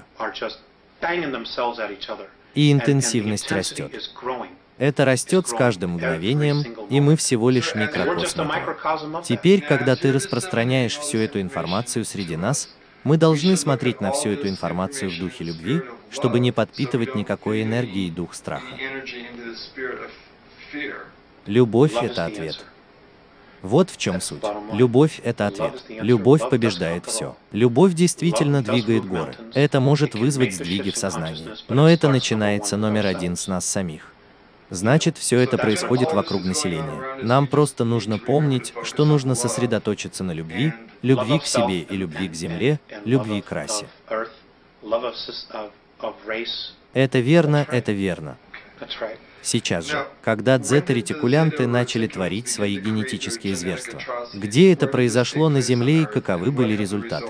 И интенсивность растет. Это растет с каждым мгновением, и мы всего лишь микрокосм этого. Теперь, когда ты распространяешь всю эту информацию среди нас, мы должны смотреть на всю эту информацию в духе любви, чтобы не подпитывать никакой энергией дух страха. Любовь — это ответ. Вот в чем суть. Любовь — это ответ. Любовь побеждает все. Любовь действительно двигает горы. Это может вызвать сдвиги в сознании. Но это начинается номер один с нас самих. Значит, все это происходит вокруг населения. Нам просто нужно помнить, что нужно сосредоточиться на любви, любви к себе и любви к земле, любви к расе. Это верно, это верно. Сейчас же, когда дзета-ретикулянты начали творить свои генетические зверства, где это произошло на Земле и каковы были результаты?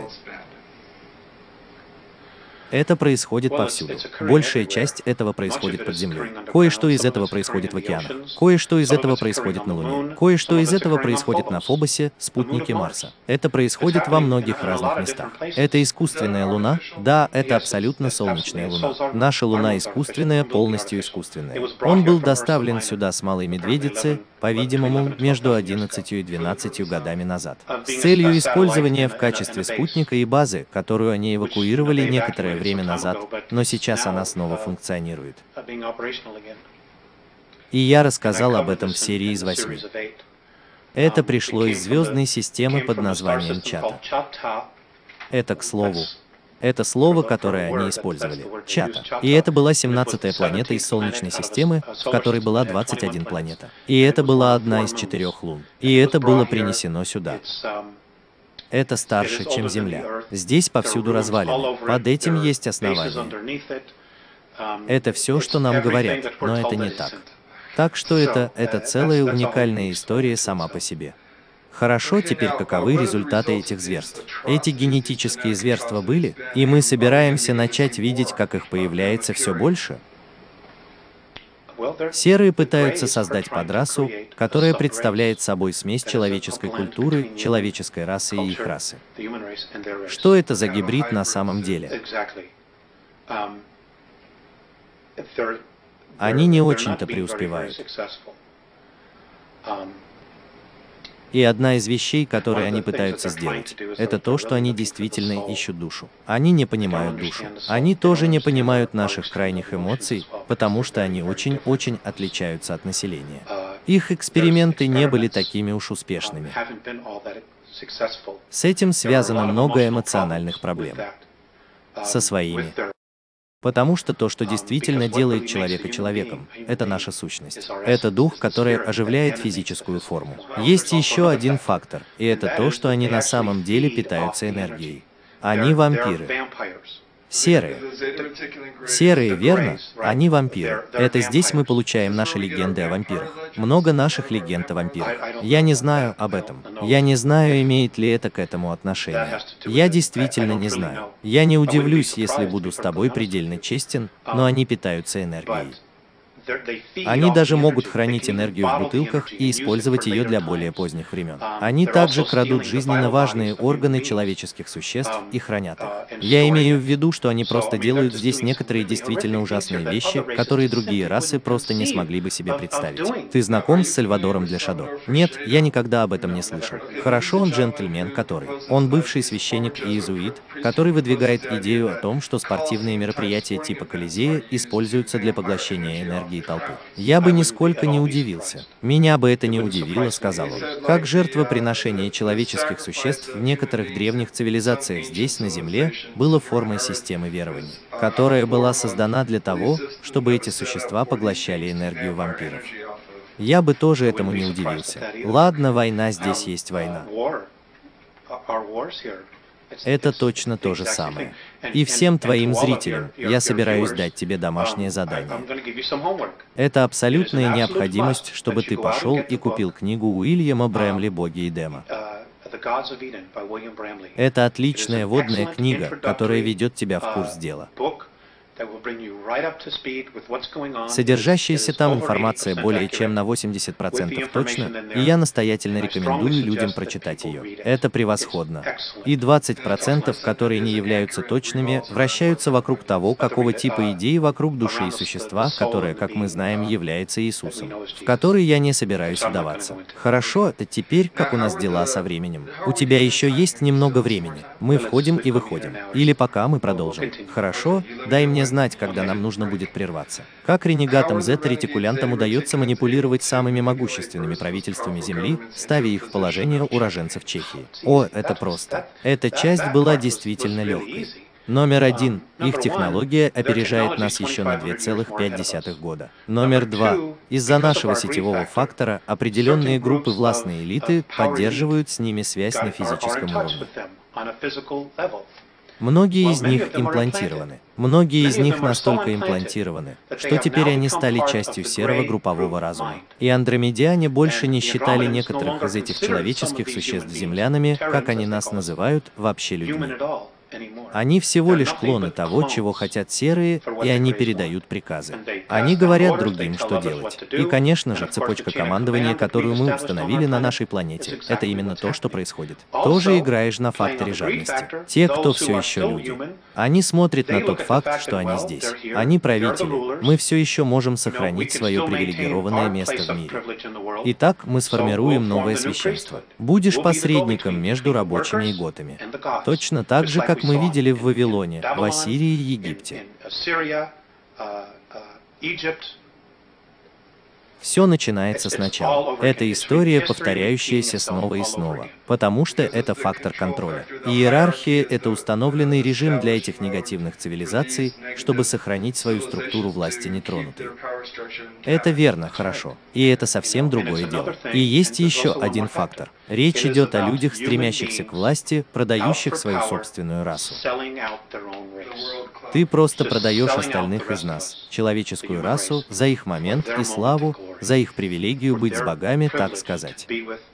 Это происходит повсюду. Большая часть этого происходит под землей. Кое-что из этого происходит в океанах. Кое-что из этого происходит на Луне. Кое-что из этого происходит на Фобосе, спутнике Марса. Это происходит во многих разных местах. Это искусственная Луна? Да, это абсолютно солнечная Луна. Наша Луна искусственная, полностью искусственная. Он был доставлен сюда с Малой Медведицы, по-видимому, между 11 и 12 годами назад, с целью использования в качестве спутника и базы, которую они эвакуировали некоторое время назад, но сейчас она снова функционирует. И я рассказал об этом в серии из 8. Это пришло из звездной системы под названием Чата. Это, к слову, это слово, которое они использовали, Чата. И это была 17-я планета из Солнечной системы, в которой была 21 планета. И это была одна из 4 лун. И это было принесено сюда. Это старше, чем Земля. Здесь повсюду развалины. Под этим есть основания. Это все, что нам говорят, но это не так. Так что это целая уникальная история сама по себе. Хорошо, теперь каковы результаты этих зверств? Эти генетические зверства были, и мы собираемся начать видеть, как их появляется все больше. Серые пытаются создать подрасу, которая представляет собой смесь человеческой культуры, человеческой расы и их расы. Что это за гибрид на самом деле? Они не очень-то преуспевают. И одна из вещей, которые они пытаются сделать, это то, что они действительно ищут душу. Они не понимают душу. Они тоже не понимают наших крайних эмоций, потому что они очень-очень отличаются от населения. Их эксперименты не были такими уж успешными. С этим связано много эмоциональных проблем. Со своими Потому что то, что действительно делает человека человеком, это наша сущность. Это дух, который оживляет физическую форму. Есть еще один фактор, и это то, что они на самом деле питаются энергией. Они вампиры. Серые. Серые, верно? Они вампиры. Это здесь мы получаем наши легенды о вампирах. Много наших легенд о вампирах. Я не знаю об этом. Я не знаю, имеет ли это к этому отношение. Я действительно не знаю. Я не удивлюсь, если буду с тобой предельно честен, но они питаются энергией. Они даже могут хранить энергию в бутылках и использовать ее для более поздних времен. Они также крадут жизненно важные органы человеческих существ и хранят их. Я имею в виду, что они просто делают здесь некоторые действительно ужасные вещи, которые другие расы просто не смогли бы себе представить. Ты знаком с Сальвадором де Шадо? Нет, я никогда об этом не слышал. Хорошо, он джентльмен, который. Он бывший священник и иезуит, который выдвигает идею о том, что спортивные мероприятия типа Колизея используются для поглощения энергии толпы. Я бы нисколько не удивился. Меня бы это не удивило, сказал он. Как жертвоприношение человеческих существ в некоторых древних цивилизациях здесь, на Земле, было формой системы верований, которая была создана для того, чтобы эти существа поглощали энергию вампиров. Я бы тоже этому не удивился. Ладно, война, здесь есть война. Это точно то же самое. И всем твоим зрителям я собираюсь дать тебе домашнее задание. Это абсолютная необходимость, чтобы ты пошел и купил книгу Уильяма Брэмли «Боги Эдема». Это отличная вводная книга, которая ведет тебя в курс дела. Содержащаяся там информация более чем на 80% точно, и я настоятельно рекомендую людям прочитать ее. Это превосходно. И 20%, которые не являются точными, вращаются вокруг того, какого типа идеи вокруг души и существа, которое, как мы знаем, является Иисусом, в который я не собираюсь вдаваться. Хорошо, это теперь, как у нас дела со временем. У тебя еще есть немного времени. Мы входим и выходим. Или пока мы продолжим. Хорошо, дай мне знать, когда нам нужно будет прерваться. Как ренегатам Z-ретикулянтам удается манипулировать самыми могущественными правительствами Земли, ставя их в положение уроженцев Чехии? О, это просто. Эта часть была действительно легкой. Номер один. Их технология опережает нас еще на 2,5 года. Номер два. Из-за нашего сетевого фактора определенные группы властной элиты поддерживают с ними связь на физическом уровне. Многие из них имплантированы. Многие из них настолько имплантированы, что теперь они стали частью серого группового разума. И андромедиане больше не считали некоторых из этих человеческих существ землянами, как они нас называют, вообще людьми. Они всего лишь клоны того, чего хотят серые, и они передают приказы. Они говорят другим, что делать. И, конечно же, цепочка командования, которую мы установили на нашей планете, это именно то, что происходит. Тоже играешь на факторе жадности. Те, кто все еще люди. Они смотрят на тот факт, что они здесь. Они правители. Мы все еще можем сохранить свое привилегированное место в мире. Итак, мы сформируем новое священство. Будешь посредником между рабочими и готами. Точно так же, как мы видели в Вавилоне, в Ассирии и Египте. Все начинается сначала. Это история, повторяющаяся снова и снова, потому что это фактор контроля. Иерархия – это установленный режим для этих негативных цивилизаций, чтобы сохранить свою структуру власти нетронутой. Это верно, хорошо. И это совсем другое дело. И есть еще один фактор. Речь идет о людях, стремящихся к власти, продающих свою собственную расу. Ты просто продаешь остальных из нас, человеческую расу, за их момент и славу, за их привилегию быть с богами, так сказать.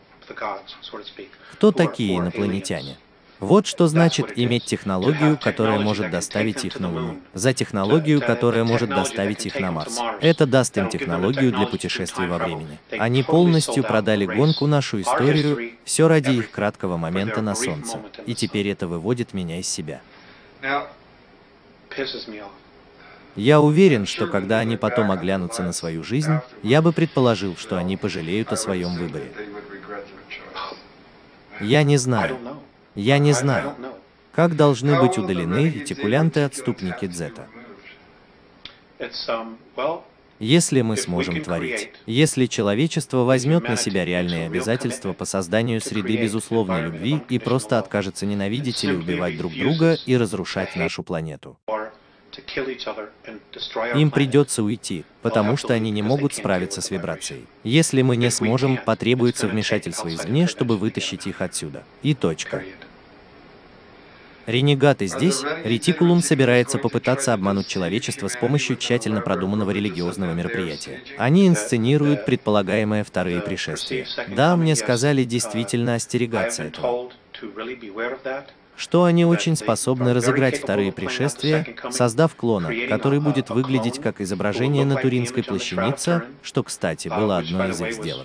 Кто такие инопланетяне? Вот что значит иметь технологию, которая может доставить их на Луну, за технологию, которая может доставить их на Марс. Это даст им технологию для путешествий во времени. Они полностью продали гонку, нашу историю, все ради их краткого момента на Солнце. И теперь это выводит меня из себя. Я уверен, что когда они потом оглянутся на свою жизнь, я бы предположил, что они пожалеют о своем выборе. Я не знаю. Я не знаю, как должны быть удалены ретикулянты-отступники Дзета. Если мы сможем творить, если человечество возьмет на себя реальные обязательства по созданию среды безусловной любви и просто откажется ненавидеть или убивать друг друга и разрушать нашу планету. Им придется уйти, потому что они не могут справиться с вибрацией. Если мы не сможем, потребуется вмешательство извне, чтобы вытащить их отсюда. И точка. Ренегаты здесь, ретикулум собирается попытаться обмануть человечество с помощью тщательно продуманного религиозного мероприятия. Они инсценируют предполагаемые вторые пришествия. Да, мне сказали действительно остерегаться этого. Что они очень способны разыграть вторые пришествия, создав клона, который будет выглядеть как изображение на Туринской плащанице, что, кстати, было одной из их сделок.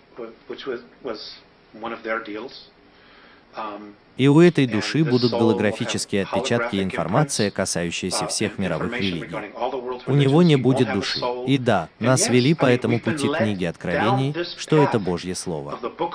И у этой души будут голографические отпечатки и информация, касающаяся всех мировых религий. У него не будет души. И да, нас вели по этому пути книги Откровений, что это Божье Слово.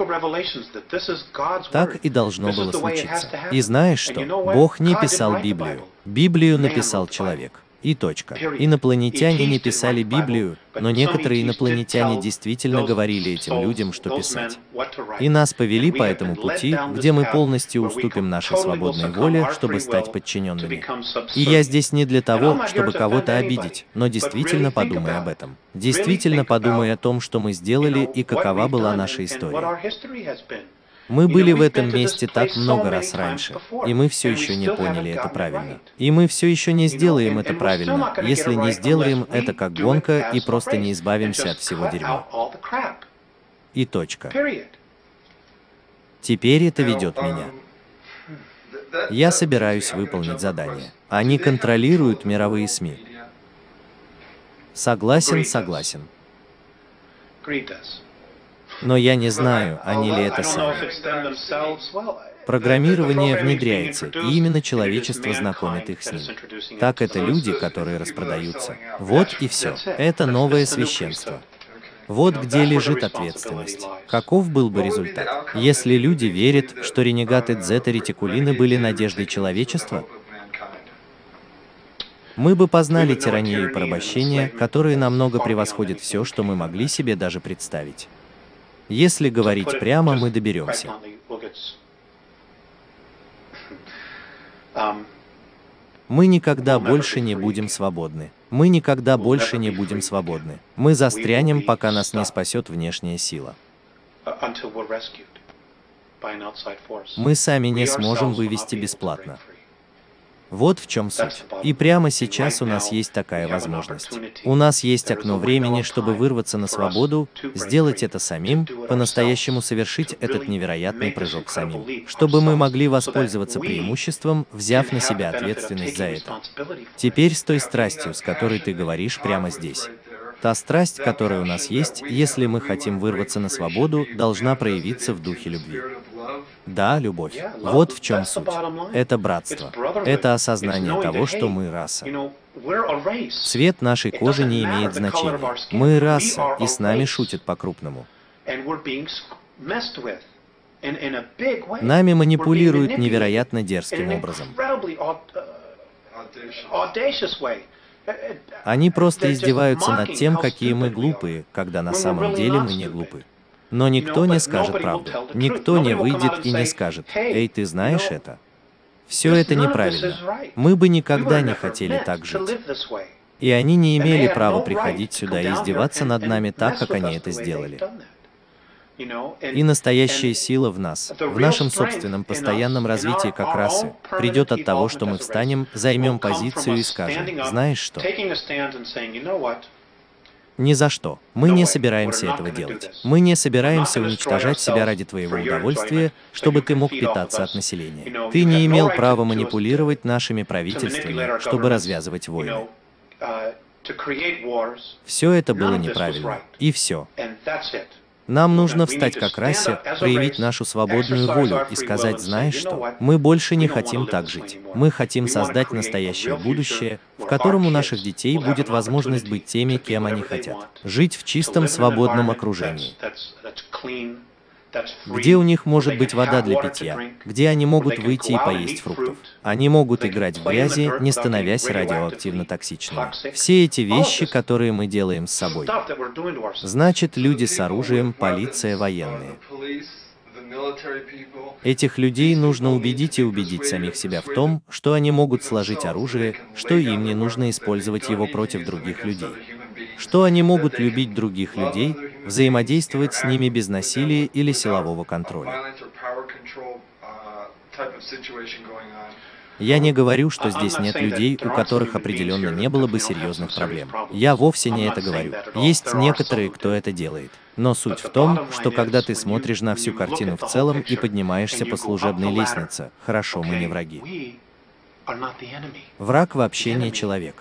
Так и должно было случиться. И знаешь что? Бог не писал Библию. Библию написал человек. И точка. Инопланетяне не писали Библию, но некоторые инопланетяне действительно говорили этим людям, что писать. И нас повели по этому пути, где мы полностью уступим нашей свободной воле, чтобы стать подчиненными. И я здесь не для того, чтобы кого-то обидеть, но действительно подумай об этом. Действительно подумай о том, что мы сделали и какова была наша история. Мы были в этом месте так много раз раньше, и мы все еще не поняли это правильно. И мы все еще не сделаем это правильно, если не сделаем это как гонка и просто не избавимся от всего дерьма. И точка. Теперь это ведет меня. Я собираюсь выполнить задание. Они контролируют мировые СМИ. Согласен, согласен. Но я не знаю, они ли это сами. Программирование внедряется, и именно человечество знакомит их с ним. Так это люди, которые распродаются. Вот и все. Это новое священство. Вот где лежит ответственность. Каков был бы результат, если люди верят, что ренегаты дзета-ретикулины были надеждой человечества? Мы бы познали тиранию и порабощение, которые намного превосходят все, что мы могли себе даже представить. Если говорить прямо, мы доберемся. Мы никогда больше не будем свободны. Мы никогда больше не будем свободны. Мы застрянем, пока нас не спасет внешняя сила. Мы сами не сможем вывести бесплатно. Вот в чем суть. И прямо сейчас у нас есть такая возможность. У нас есть окно времени, чтобы вырваться на свободу, сделать это самим, по-настоящему совершить этот невероятный прыжок самим, чтобы мы могли воспользоваться преимуществом, взяв на себя ответственность за это. Теперь с той страстью, с которой ты говоришь прямо здесь. Та страсть, которая у нас есть, если мы хотим вырваться на свободу, должна проявиться в духе любви. Да, любовь. Вот в чем суть. Это братство. Это осознание того, что мы раса. Цвет нашей кожи не имеет значения. Мы раса, и с нами шутят по-крупному. Нами манипулируют невероятно дерзким образом. Они просто издеваются над тем, какие мы глупые, когда на самом деле мы не глупы. Но никто не скажет правду. Никто не выйдет и не скажет: «Эй, ты знаешь это?» Все это неправильно. Мы бы никогда не хотели так жить. И они не имели права приходить сюда и издеваться над нами так, как они это сделали. И настоящая сила в нас, в нашем собственном постоянном развитии как расы, придет от того, что мы встанем, займем позицию и скажем: «Знаешь что? Ни за что. Мы не собираемся этого делать. Мы не собираемся уничтожать себя ради твоего удовольствия, чтобы ты мог питаться от населения. Ты не имел права манипулировать нашими правительствами, чтобы развязывать войны. Все это было неправильно. И все. Нам нужно встать как расе, проявить нашу свободную волю и сказать: знаешь что? Мы больше не хотим так жить. Мы хотим создать настоящее будущее, в котором у наших детей будет возможность быть теми, кем они хотят. Жить в чистом, свободном окружении, где у них может быть вода для питья, где они могут выйти и поесть фруктов. Они могут играть в грязи, не становясь радиоактивно токсичными. Все эти вещи, которые мы делаем с собой. Значит, люди с оружием, полиция, военные. Этих людей нужно убедить и убедить самих себя в том, что они могут сложить оружие, что им не нужно использовать его против других людей, что они могут любить других людей, взаимодействовать с ними без насилия или силового контроля. Я не говорю, что здесь нет людей, у которых определенно не было бы серьезных проблем. Я вовсе не это говорю. Есть некоторые, кто это делает. Но суть в том, что когда ты смотришь на всю картину в целом и поднимаешься по служебной лестнице, хорошо, мы не враги. Враг вообще не человек.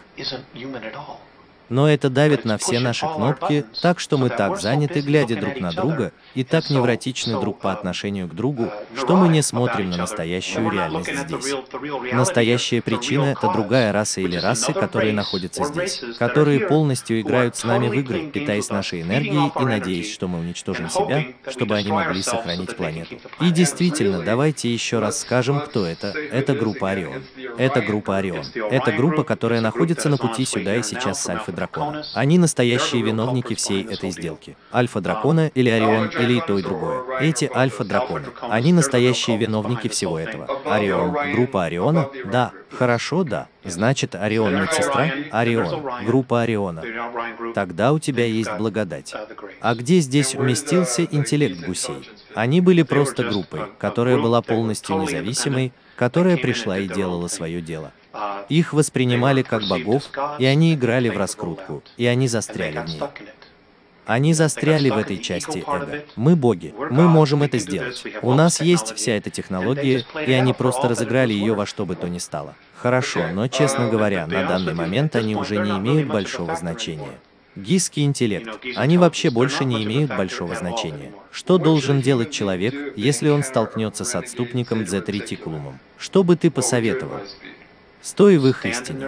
Но это давит на все наши кнопки, так что мы так заняты, глядя друг на друга, и так невротичны друг по отношению к другу, что мы не смотрим на настоящую реальность здесь. Настоящая причина — это другая раса или расы, которые находятся здесь, которые полностью играют с нами в игры, питаясь нашей энергией и надеясь, что мы уничтожим себя, чтобы они могли сохранить планету. И действительно, давайте еще раз скажем, кто это. Это группа Орион. Это группа Орион. Это группа, которая находится на пути сюда и сейчас с Альфа-Дракона. Они настоящие виновники всей этой сделки. Альфа-Дракона или Орион, или и то, и другое. Эти Альфа-Драконы. Они настоящие виновники всего этого. Орион. Группа Ориона? Да. Хорошо, да. Значит, Орион медсестра? Орион. Группа Ориона. Тогда у тебя есть благодать. А где здесь уместился интеллект гусей? Они были просто группой, которая была полностью независимой, которая пришла и делала свое дело. Их воспринимали как богов, и они играли в раскрутку, и они застряли в ней. Они застряли в этой части эго. Мы боги, мы можем это сделать. У нас есть вся эта технология, и они просто разыграли ее во что бы то ни стало. Хорошо, но, честно говоря, на данный момент они уже не имеют большого значения. Гисский интеллект. Они вообще больше не имеют большого значения. Что должен делать человек, если он столкнется с отступником Дзет Ретикулумом? Что бы ты посоветовал? Стой в их истине.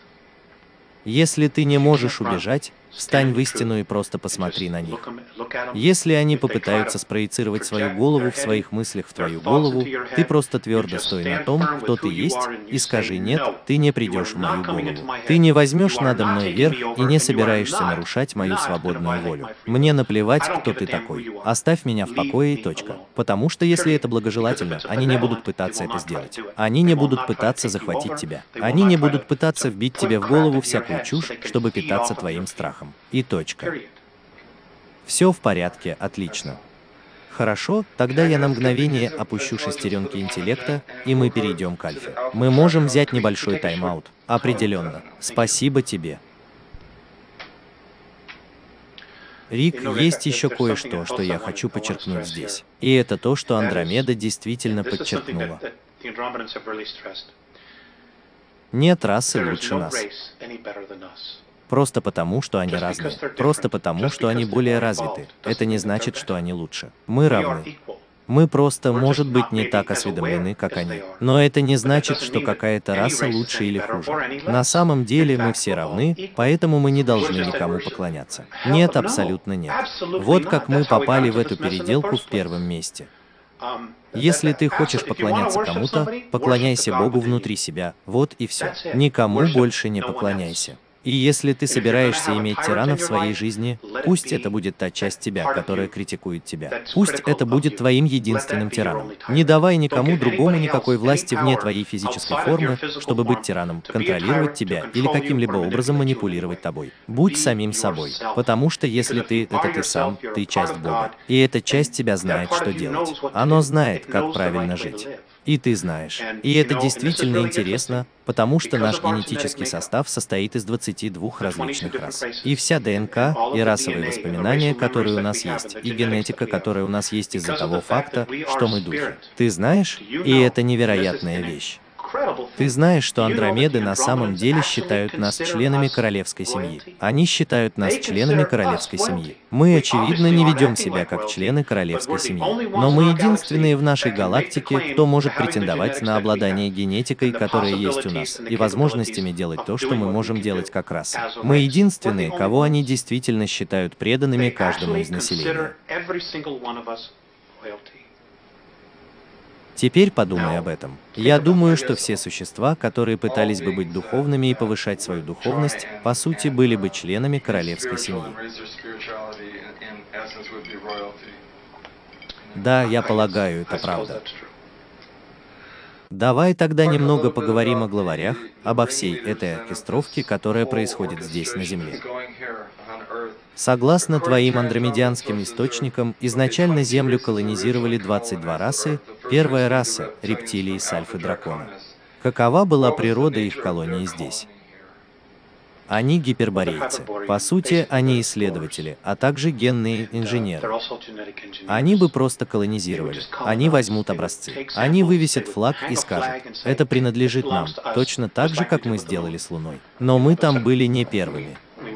Если ты не можешь убежать, встань в истину и просто посмотри на них. Если они попытаются спроецировать свою голову в своих мыслях в твою голову, ты просто твердо стой на том, кто ты есть, и скажи: нет, ты не придешь в мою голову. Ты не возьмешь надо мной верх и не собираешься нарушать мою свободную волю. Мне наплевать, кто ты такой. Оставь меня в покое и точка. Потому что если это благожелательно, они не будут пытаться это сделать. Они не будут пытаться захватить тебя. Они не будут пытаться вбить тебе в голову всякую чушь, чтобы питаться твоим страхом. И точка. Все в порядке, отлично. Хорошо, тогда я на мгновение опущу шестеренки интеллекта, и мы перейдем к Альфе. Мы можем взять небольшой тайм-аут. Определенно. Спасибо тебе. Рик, есть еще кое-что, что я хочу подчеркнуть здесь. И это то, что Андромеда действительно подчеркнула. Нет расы лучше нас. Просто потому, что они разные. Просто потому, что они более развиты. Это не значит, что они лучше. Мы равны. Мы просто, может быть, не так осведомлены, как они. Но это не значит, что какая-то раса лучше или хуже. На самом деле мы все равны, поэтому мы не должны никому поклоняться. Нет, абсолютно нет. Вот как мы попали в эту переделку в первом месте. Если ты хочешь поклоняться кому-то, поклоняйся Богу внутри себя. Вот и все. Никому больше не поклоняйся. И если ты собираешься иметь тирана в своей жизни, пусть это будет та часть тебя, которая критикует тебя. Пусть это будет твоим единственным тираном. Не давай никому другому никакой власти вне твоей физической формы, чтобы быть тираном, контролировать тебя или каким-либо образом манипулировать тобой. Будь самим собой, потому что если ты — это ты сам, ты часть Бога. И эта часть тебя знает, что делать. Оно знает, как правильно жить. И ты знаешь. И это действительно интересно, потому что наш генетический состав состоит из 22 различных рас. И вся ДНК, и расовые воспоминания, которые у нас есть, и генетика, которая у нас есть из-за того факта, что мы духи. Ты знаешь? И это невероятная вещь. Ты знаешь, что Андромеды на самом деле считают нас членами королевской семьи. Они считают нас членами королевской семьи. Мы, очевидно, не ведем себя как члены королевской семьи. Но мы единственные в нашей галактике, кто может претендовать на обладание генетикой, которая есть у нас, и возможностями делать то, что мы можем делать как раса. Мы единственные, кого они действительно считают преданными каждому из населения. Теперь подумай об этом. Я думаю, что все существа, которые пытались бы быть духовными и повышать свою духовность, по сути, были бы членами королевской семьи. Да, я полагаю, это правда. Давай тогда немного поговорим о главарях, обо всей этой оркестровке, которая происходит здесь, на Земле. Согласно твоим андромедианским источникам, изначально Землю колонизировали 22 расы. Первая раса — рептилии с альфы-дракона. Какова была природа их колонии здесь? Они гиперборейцы. По сути, они исследователи, а также генные инженеры. Они бы просто колонизировали. Они возьмут образцы. Они вывесят флаг и скажут: это принадлежит нам, точно так же, как мы сделали с Луной. Но мы там были не первыми.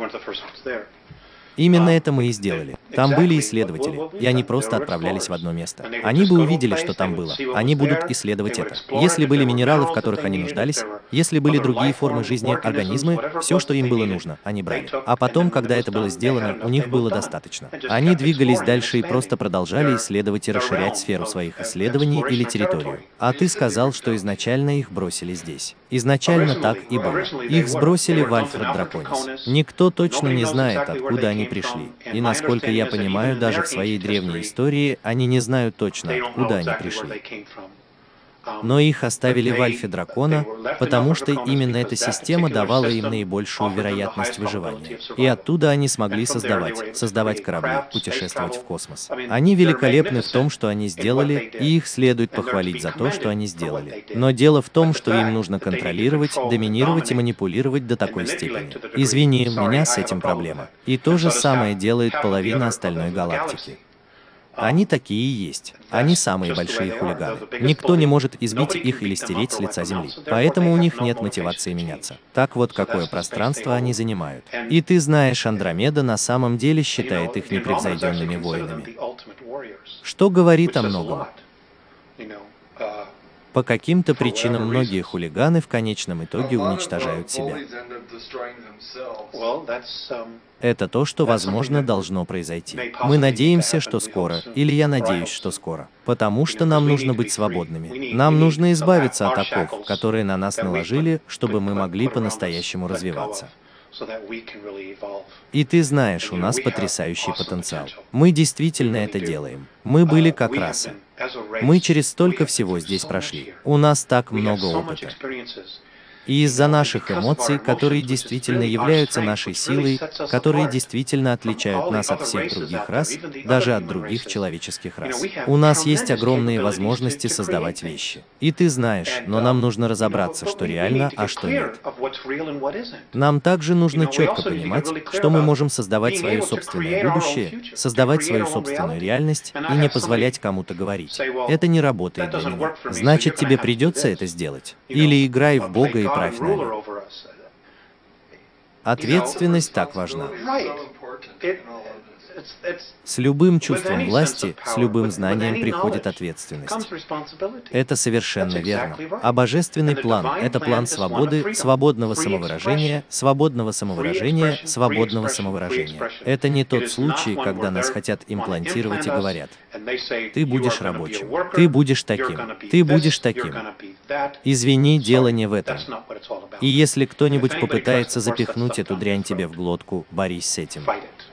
Именно это мы и сделали. Там были исследователи, и они просто отправлялись в одно место. Они бы увидели, что там было. Они будут исследовать это. Если были минералы, в которых они нуждались, если были другие формы жизни, организмы, все, что им было нужно, они брали. А потом, когда это было сделано, у них было достаточно. Они двигались дальше и просто продолжали исследовать и расширять сферу своих исследований или территорию. А ты сказал, что изначально их бросили здесь. Изначально так и было. Их сбросили в Альфред-Драконис. Никто точно не знает, откуда они пришли. И насколько я понимаю, даже в своей древней истории они не знают точно, откуда они пришли. Но их оставили в Альфе Дракона, потому что именно эта система давала им наибольшую вероятность выживания. И оттуда они смогли создавать корабли, путешествовать в космос. Они великолепны в том, что они сделали, и их следует похвалить за то, что они сделали. Но дело в том, что им нужно контролировать, доминировать и манипулировать до такой степени. Извини, у меня с этим проблема. И то же самое делает половина остальной галактики. Они такие и есть. Они самые большие хулиганы. Никто не может избить их или стереть с лица Земли. Поэтому у них нет мотивации меняться. Так вот, какое пространство они занимают. И ты знаешь, Андромеда на самом деле считает их непревзойденными воинами. Что говорит о многом. По каким-то причинам многие хулиганы в конечном итоге уничтожают себя. Это то, что, возможно, должно произойти. Мы надеемся, что скоро, или я надеюсь, что скоро. Потому что нам нужно быть свободными. Нам нужно избавиться от оков, которые на нас наложили, чтобы мы могли по-настоящему развиваться. И ты знаешь, у нас потрясающий потенциал. Мы действительно это делаем. Мы были как раса. Мы через столько всего здесь прошли. У нас так много опыта. И из-за наших эмоций, которые действительно являются нашей силой, которые действительно отличают нас от всех других рас, даже от других человеческих рас. У нас есть огромные возможности создавать вещи. И ты знаешь, но нам нужно разобраться, что реально, а что нет. Нам также нужно четко понимать, что мы можем создавать свое собственное будущее, создавать свою собственную реальность и не позволять кому-то говорить: это не работает для меня. Значит, тебе придется это сделать. Или играй в Бога и правь нами. Ответственность так важна. С любым чувством власти, с любым знанием приходит ответственность. Это совершенно верно. А божественный план — это план свободы, свободного самовыражения, свободного самовыражения, свободного самовыражения. Это не тот случай, когда нас хотят имплантировать и говорят: ты будешь рабочим, ты будешь таким, ты будешь таким. Извини, дело не в этом. И если кто-нибудь попытается запихнуть эту дрянь тебе в глотку, борись с этим.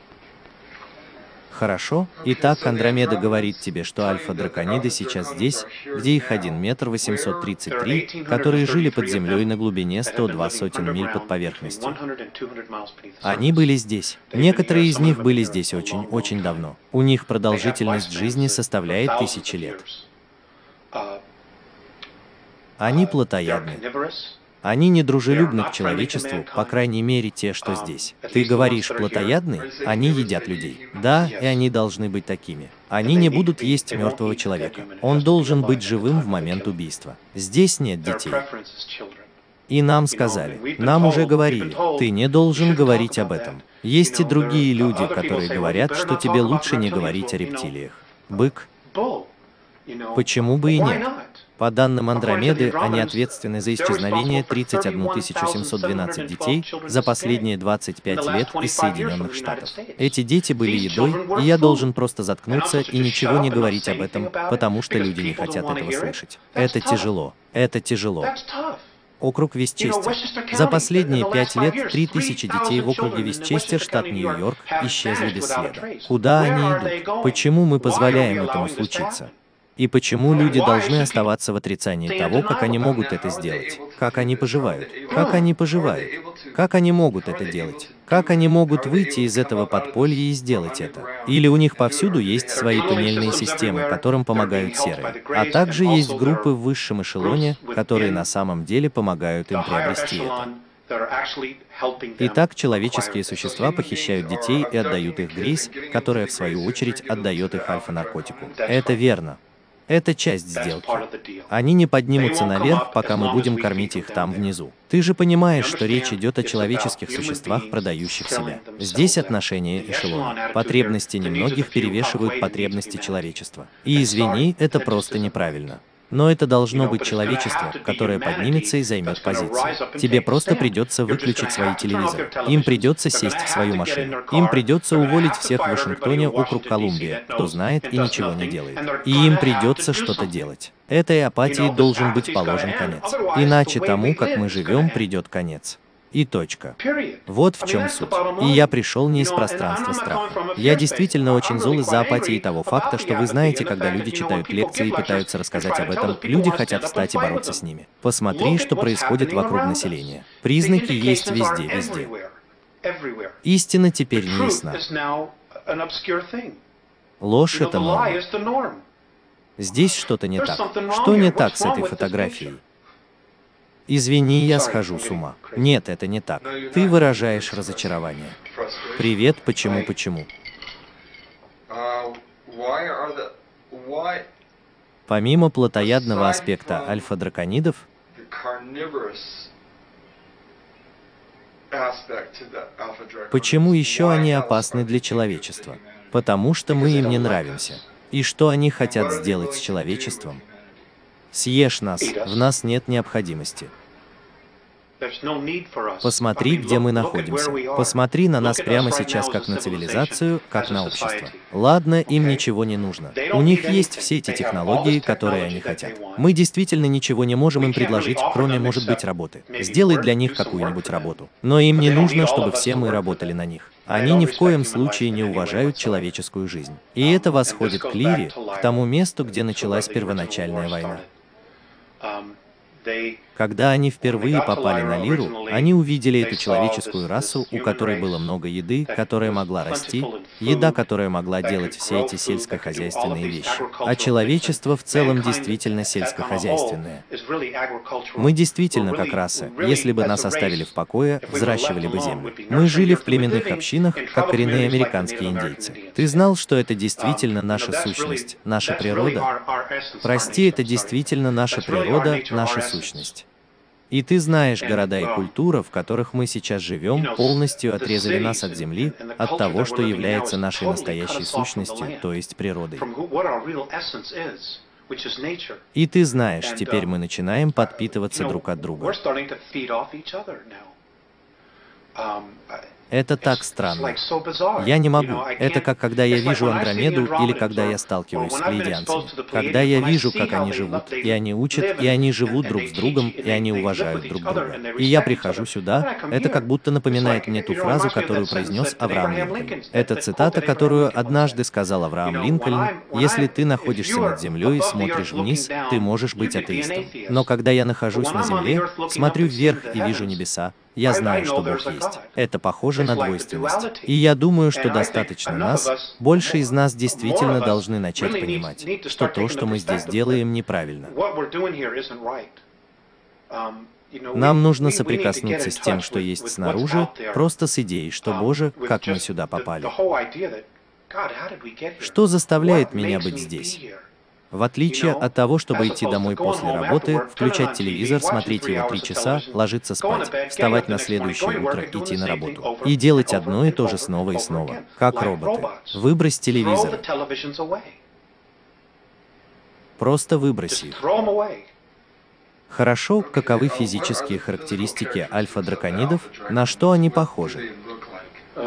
Хорошо? Итак, Андромеда говорит тебе, что альфа-дракониды сейчас здесь, где их 1 метр 833, которые жили под землей на глубине 102 сотен миль под поверхностью. Они были здесь. Некоторые из них были здесь очень-очень давно. У них продолжительность жизни составляет 1000 лет. Они плотоядны. Они недружелюбны к человечеству, по крайней мере те, что здесь. Ты говоришь, плотоядные? Они едят людей. Да, и они должны быть такими. Они не будут есть мертвого человека. Он должен быть живым в момент убийства. Здесь нет детей. И нам сказали, нам уже говорили, ты не должен говорить об этом. Есть и другие люди, которые говорят, что тебе лучше не говорить о рептилиях. Бык? Почему бы и нет? По данным Андромеды, они ответственны за исчезновение 31 712 детей за последние 25 лет из Соединенных Штатов. Эти дети были едой, и я должен просто заткнуться и ничего не говорить об этом, потому что люди не хотят этого слышать. Это тяжело. Это тяжело. Округ Вестчестер. За последние 5 лет 3000 детей в округе Вестчестер, штат Нью-Йорк, исчезли без следа. Куда они идут? Почему мы позволяем этому случиться? И почему люди должны оставаться в отрицании того, как они могут это сделать? Как они поживают? Как они поживают? Как они могут это делать? Как они могут выйти из этого подполья и сделать это? Или у них повсюду есть свои туннельные системы, которым помогают серые, а также есть группы в высшем эшелоне, которые на самом деле помогают им приобрести это. Итак, человеческие существа похищают детей и отдают их Грейс, которая в свою очередь отдает их альфа-наркотику. Это верно. Это часть сделки. Они не поднимутся наверх, пока мы будем кормить их там внизу. Ты же понимаешь, что речь идет о человеческих существах, продающих себя. Здесь отношение эшелона. Потребности немногих перевешивают потребности человечества. И извини, это просто неправильно. Но это должно быть человечество, которое поднимется и займет позицию. Тебе просто придется выключить свои телевизоры. Им придется сесть в свою машину. Им придется уволить всех в Вашингтоне, округ Колумбия, кто знает и ничего не делает. И им придется что-то делать. Этой апатии должен быть положен конец. Иначе тому, как мы живем, придет конец. И точка. Вот в чем суть. И я пришел не из пространства страха. Я действительно очень зол из-за апатии того факта, что вы знаете, когда люди читают лекции и пытаются рассказать об этом, люди хотят встать и бороться с ними. Посмотри, что происходит вокруг населения. Признаки есть везде, везде. Истина теперь не ясна. Ложь — это норма. Здесь что-то не так. Что не так с этой фотографией? Извини, я схожу с ума. Нет, это не так. Ты выражаешь разочарование. Привет, почему? Помимо плотоядного аспекта альфа-драконидов, почему еще они опасны для человечества? Потому что мы им не нравимся. И что они хотят сделать с человечеством? Съешь нас, в нас нет необходимости. Посмотри, где мы находимся. Посмотри на нас прямо сейчас как на цивилизацию, как на общество. Ладно, им ничего не нужно. У них есть все эти технологии, которые они хотят. Мы действительно ничего не можем им предложить, кроме, может быть, работы. Сделай для них какую-нибудь работу. Но им не нужно, чтобы все мы работали на них. Они ни в коем случае не уважают человеческую жизнь. И это восходит к Лире, к тому месту, где началась первоначальная война. Когда они впервые попали на Лиру, они увидели эту человеческую расу, у которой было много еды, которая могла расти, еда, которая могла делать все эти сельскохозяйственные вещи. А человечество в целом действительно сельскохозяйственное. Мы действительно, как раса, если бы нас оставили в покое, взращивали бы землю. Мы жили в племенных общинах, как коренные американские индейцы. Ты знал, что это действительно наша сущность, наша природа? Прости, это действительно наша природа, наша сущность. И ты знаешь, города и культура, в которых мы сейчас живем, полностью отрезали нас от земли, от того, что является нашей настоящей сущностью, то есть природой. И ты знаешь, теперь мы начинаем подпитываться друг от друга. Это так странно. Я не могу. Это как когда я вижу Андромеду или когда я сталкиваюсь с плеядианцами. Когда я вижу, как они живут, и они учат, и они живут друг с другом, и они уважают друг друга. И я прихожу сюда, это как будто напоминает мне ту фразу, которую произнес Авраам Линкольн. Это цитата, которую однажды сказал Авраам Линкольн: «Если ты находишься над землей и смотришь вниз, ты можешь быть атеистом. Но когда я нахожусь на земле, смотрю вверх и вижу небеса, я знаю, что Бог есть». Это похоже на двойственность. И я думаю, что достаточно нас, больше из нас действительно должны начать понимать, что то, что мы здесь делаем, неправильно. Нам нужно соприкоснуться с тем, что есть снаружи, просто с идеей, что, Боже, как мы сюда попали. Что заставляет меня быть здесь? В отличие от того, чтобы идти домой после работы, включать телевизор, смотреть его 3 часа, ложиться спать, вставать на следующее утро, идти на работу. И делать одно и то же снова и снова, как роботы. Выбрось телевизор. Просто выброси их. Хорошо, каковы физические характеристики альфа-драконидов, на что они похожи?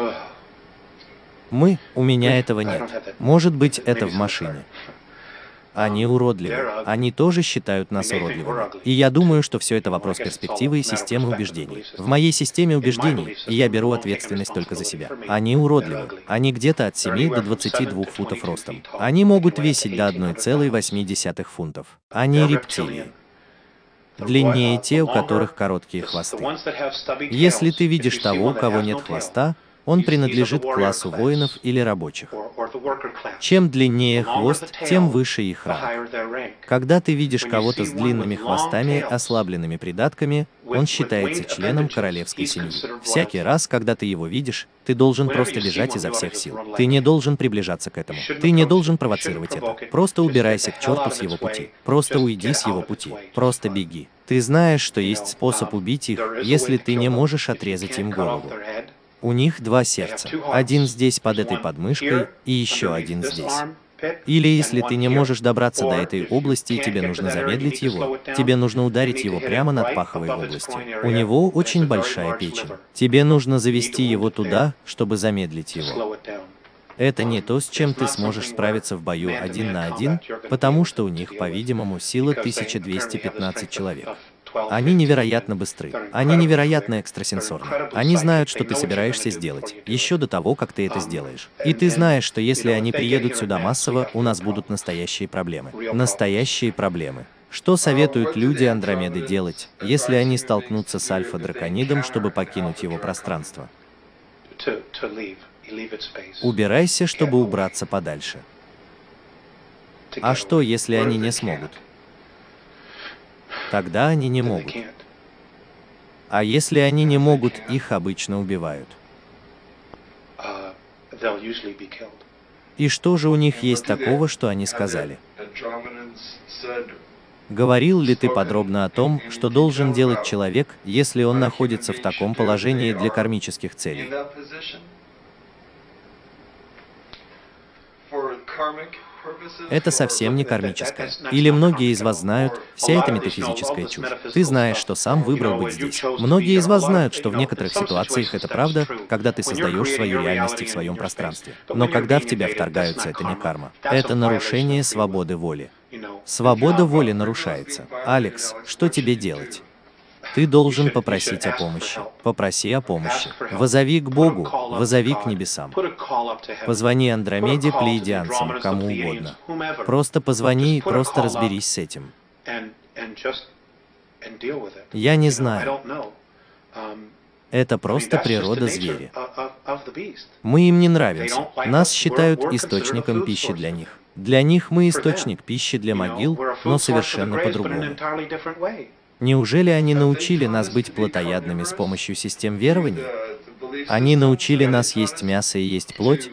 У меня этого нет. Может быть, это в машине. Они уродливы. Они тоже считают нас уродливыми. И я думаю, что все это вопрос перспективы и системы убеждений. В моей системе убеждений, и я беру ответственность только за себя. Они уродливы. Они где-то от 7 до 22 футов ростом. Они могут весить до 1,8 фунтов. Они рептилии. Длиннее те, у которых короткие хвосты. Если ты видишь того, у кого нет хвоста, он принадлежит к классу воинов или рабочих. Чем длиннее хвост, тем выше их ранг. Когда ты видишь кого-то с длинными хвостами, ослабленными придатками, он считается членом королевской семьи. Всякий раз, когда ты его видишь, ты должен просто бежать изо всех сил. Ты не должен приближаться к этому. Ты не должен провоцировать это. Просто убирайся к черту с его пути. Просто уйди с его пути. Просто беги. Ты знаешь, что есть способ убить их, если ты не можешь отрезать им голову. У них два сердца. Один здесь под этой подмышкой и еще один здесь. Или если ты не можешь добраться до этой области и тебе нужно замедлить его, тебе нужно ударить его прямо над паховой областью. У него очень большая печень. Тебе нужно завести его туда, чтобы замедлить его. Это не то, с чем ты сможешь справиться в бою 1 на 1, потому что у них, по-видимому, сила 1215 человек. Они невероятно быстры. Они невероятно экстрасенсорны. Они знают, что ты собираешься сделать, еще до того, как ты это сделаешь. И ты знаешь, что если они приедут сюда массово, у нас будут настоящие проблемы. Настоящие проблемы. Что советуют люди Андромеды делать, если они столкнутся с Альфа-драконидом, чтобы покинуть его пространство? Убирайся, чтобы убраться подальше. А что, если они не смогут? Тогда они не могут. А если они не могут, их обычно убивают. И что же у них есть такого, что они сказали? Говорил ли ты подробно о том, что должен делать человек, если он находится в таком положении для кармических целей? Это совсем не кармическое. Или многие из вас знают, вся эта метафизическая чушь. Ты знаешь, что сам выбрал быть здесь. Многие из вас знают, что в некоторых ситуациях это правда, когда ты создаешь свою реальность в своем пространстве. Но когда в тебя вторгаются, это не карма. Это нарушение свободы воли. Свобода воли нарушается. Алекс, что тебе делать? Ты должен попросить о помощи. Попроси о помощи. Возови к Богу, возови к небесам. Позвони Андромеде, плеядианцам, кому угодно. Просто позвони и просто разберись с этим. Я не знаю. Это просто природа зверя. Мы им не нравимся. Нас считают источником пищи для них. Для них мы источник пищи для могил, но совершенно по-другому. Неужели они научили нас быть плотоядными с помощью систем верований? Они научили нас есть мясо и есть плоть?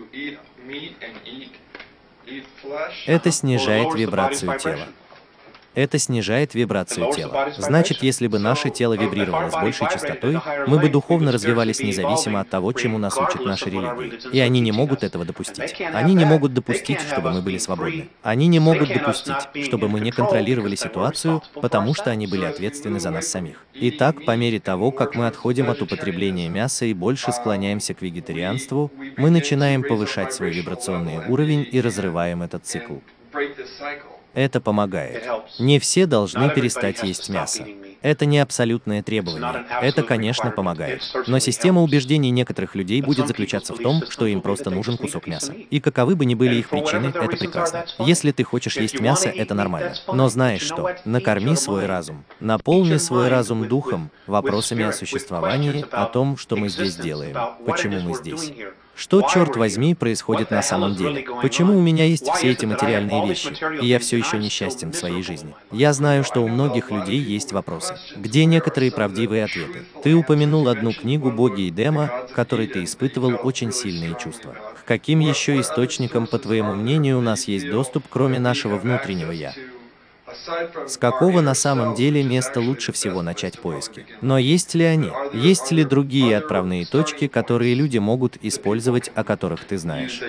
Это снижает вибрацию тела. Это снижает вибрацию тела. Значит, если бы наше тело вибрировало с большей частотой, мы бы духовно развивались независимо от того, чему нас учат наши религии. И они не могут этого допустить. Они не могут допустить, чтобы мы были свободны. Они не могут допустить, чтобы мы не контролировали ситуацию, потому что они были ответственны за нас самих. Итак, по мере того, как мы отходим от употребления мяса и больше склоняемся к вегетарианству, мы начинаем повышать свой вибрационный уровень и разрываем этот цикл. Это помогает. Не все должны перестать есть мясо. Это не абсолютное требование. Это, конечно, помогает. Но система убеждений некоторых людей будет заключаться в том, что им просто нужен кусок мяса. И каковы бы ни были их причины, это прекрасно. Если ты хочешь есть мясо, это нормально. Но знаешь что? Накорми свой разум. Наполни свой разум духом, вопросами о существовании, о том, что мы здесь делаем, почему мы здесь. Что, черт возьми, происходит на самом деле? Почему у меня есть все эти материальные вещи, и я все еще несчастен в своей жизни? Я знаю, что у многих людей есть вопросы. Где некоторые правдивые ответы? Ты упомянул одну книгу «Боги и Дема», в которой ты испытывал очень сильные чувства. К каким еще источникам, по твоему мнению, у нас есть доступ, кроме нашего внутреннего «я»? С какого на самом деле места лучше всего начать поиски? Но есть ли они? Есть ли другие отправные точки, которые люди могут использовать, о которых ты знаешь?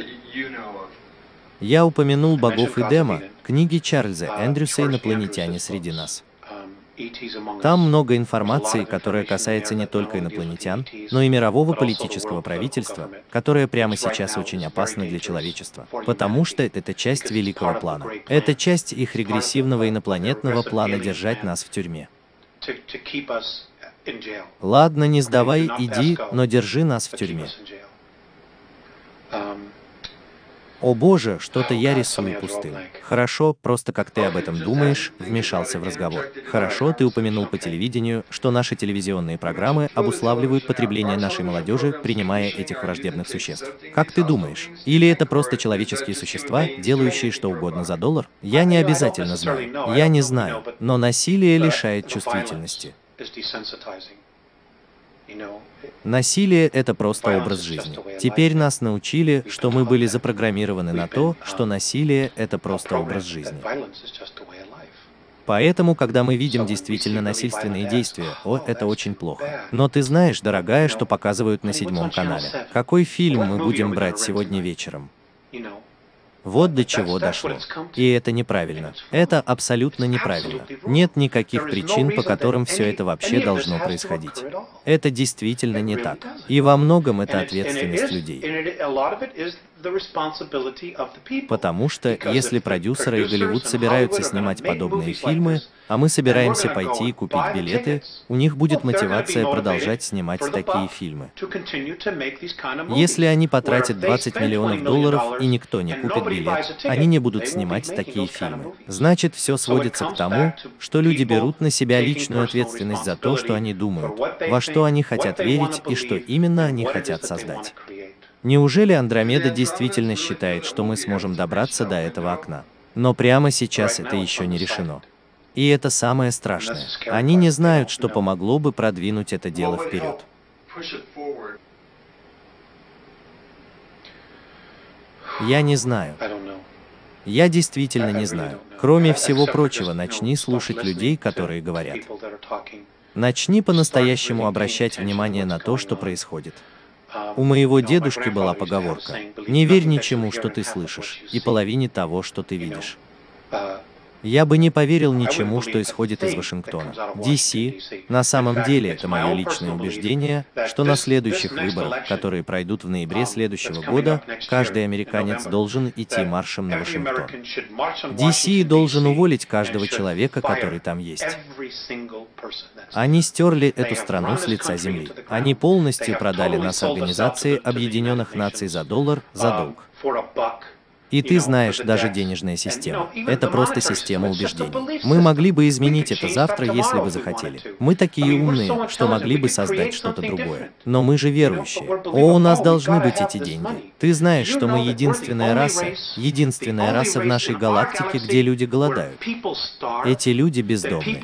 Я упомянул «Богов и Дема», книги Чарльза Эндрюса «Инопланетяне среди нас». Там много информации, которая касается не только инопланетян, но и мирового политического правительства, которое прямо сейчас очень опасно для человечества, потому что это часть великого плана. Это часть их регрессивного инопланетного плана держать нас в тюрьме. Ладно, не сдавай, иди, но держи нас в тюрьме. О боже, что-то я рисую пустым. Хорошо, просто как ты об этом думаешь, вмешался в разговор. Хорошо, ты упомянул по телевидению, что наши телевизионные программы обуславливают потребление нашей молодежи, принимая этих враждебных существ. Как ты думаешь? Или это просто человеческие существа, делающие что угодно за доллар? Я не обязательно знаю. Я не знаю, но насилие лишает чувствительности. Насилие – это просто образ жизни. Теперь нас научили, что мы были запрограммированы на то, что насилие – это просто образ жизни. Поэтому, когда мы видим действительно насильственные действия, это очень плохо. Но ты знаешь, дорогая, что показывают на 7-м канале. Какой фильм мы будем брать сегодня вечером? Вот до чего дошло. И это неправильно. Это абсолютно неправильно. Нет никаких причин, по которым все это вообще должно происходить. Это действительно не так. И во многом это ответственность людей. Потому что, если продюсеры и Голливуд собираются снимать подобные фильмы, а мы собираемся пойти и купить билеты, у них будет мотивация продолжать снимать такие фильмы. Если они потратят $20 миллионов и никто не купит билет, они не будут снимать такие фильмы. Значит, все сводится к тому, что люди берут на себя личную ответственность за то, что они думают, во что они хотят верить и что именно они хотят создать. Неужели Андромеда действительно считает, что мы сможем добраться до этого окна? Но прямо сейчас это еще не решено. И это самое страшное. Они не знают, что помогло бы продвинуть это дело вперед. Я не знаю. Я действительно не знаю. Кроме всего прочего, начни слушать людей, которые говорят. Начни по-настоящему обращать внимание на то, что происходит. У моего дедушки была поговорка: «Не верь ничему, что ты слышишь, и половине того, что ты видишь». Я бы не поверил ничему, что исходит из Вашингтона, Д.С. На самом деле, это мое личное убеждение, что на следующих выборах, которые пройдут в ноябре следующего года, каждый американец должен идти маршем на Вашингтон. Д.С. должен уволить каждого человека, который там есть. Они стерли эту страну с лица земли. Они полностью продали нас Организации Объединенных Наций за доллар, за долг. И ты знаешь, даже денежная система – это просто система убеждений. Мы могли бы изменить это завтра, если бы захотели. Мы такие умные, что могли бы создать что-то другое. Но мы же верующие. У нас должны быть эти деньги. Ты знаешь, что мы единственная раса в нашей галактике, где люди голодают. Эти люди бездомны.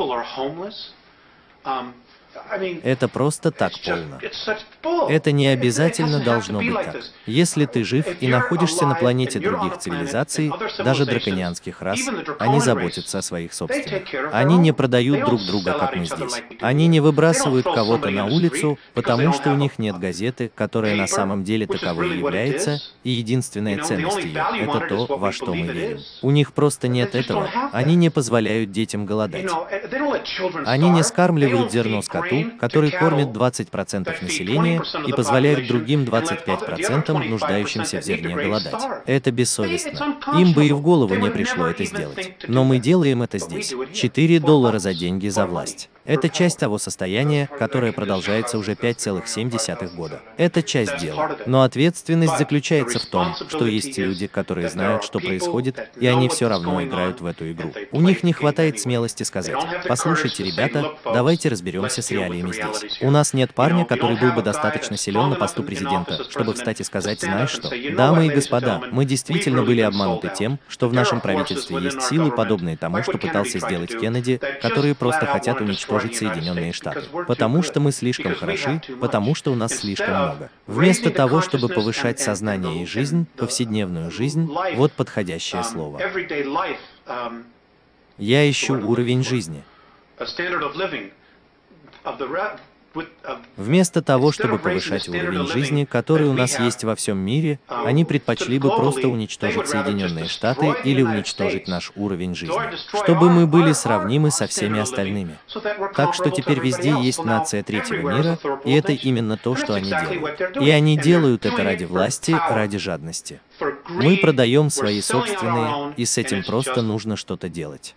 Это просто так полно. Это не обязательно должно быть так. Если ты жив и находишься на планете других цивилизаций, даже драконианских рас, они заботятся о своих собственных. Они не продают друг друга, как мы здесь. Они не выбрасывают кого-то на улицу, потому что у них нет газеты, которая на самом деле таковой и является, и единственная ценность ее – это то, во что мы верим. У них просто нет этого. Они не позволяют детям голодать. Они не скармливают зерно скоту, который кормит 20% населения и позволяет другим 25% нуждающимся в зерне голодать. Это бессовестно. Им бы и в голову не пришло это сделать. Но мы делаем это здесь. $4 за деньги за власть. Это часть того состояния, которое продолжается уже 5,7 года. Это часть дела. Но ответственность заключается в том, что есть люди, которые знают, что происходит, и они все равно играют в эту игру. У них не хватает смелости сказать: «Послушайте, ребята, давайте разберемся с реалиями здесь. У нас нет парня, который был бы достаточно силен на посту президента, чтобы встать и сказать: знаешь что, дамы и господа, мы действительно были обмануты тем, что в нашем правительстве есть силы, подобные тому, что пытался сделать Кеннеди, которые просто хотят уничтожить Соединенные Штаты. Потому что мы слишком хороши, потому что у нас слишком много. Вместо того, чтобы повышать сознание и жизнь, повседневную жизнь, вот подходящее слово. Я ищу уровень жизни. Вместо того, чтобы повышать уровень жизни, который у нас есть во всем мире, они предпочли бы просто уничтожить Соединенные Штаты или уничтожить наш уровень жизни, чтобы мы были сравнимы со всеми остальными. Так что теперь везде есть нация третьего мира, и это именно то, что они делают. И они делают это ради власти, ради жадности. Мы продаем свои собственные, и с этим просто нужно что-то делать.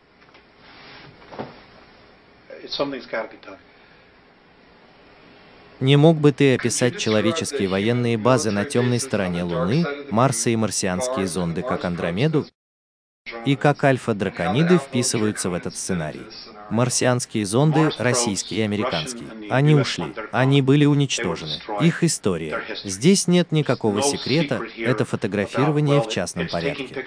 Не мог бы ты описать человеческие военные базы на темной стороне Луны, Марса и марсианские зонды, как Андромеду, и как альфа-дракониды вписываются в этот сценарий? Марсианские зонды, российский и американский, они ушли, они были уничтожены. Их история. Здесь нет никакого секрета, это фотографирование в частном порядке.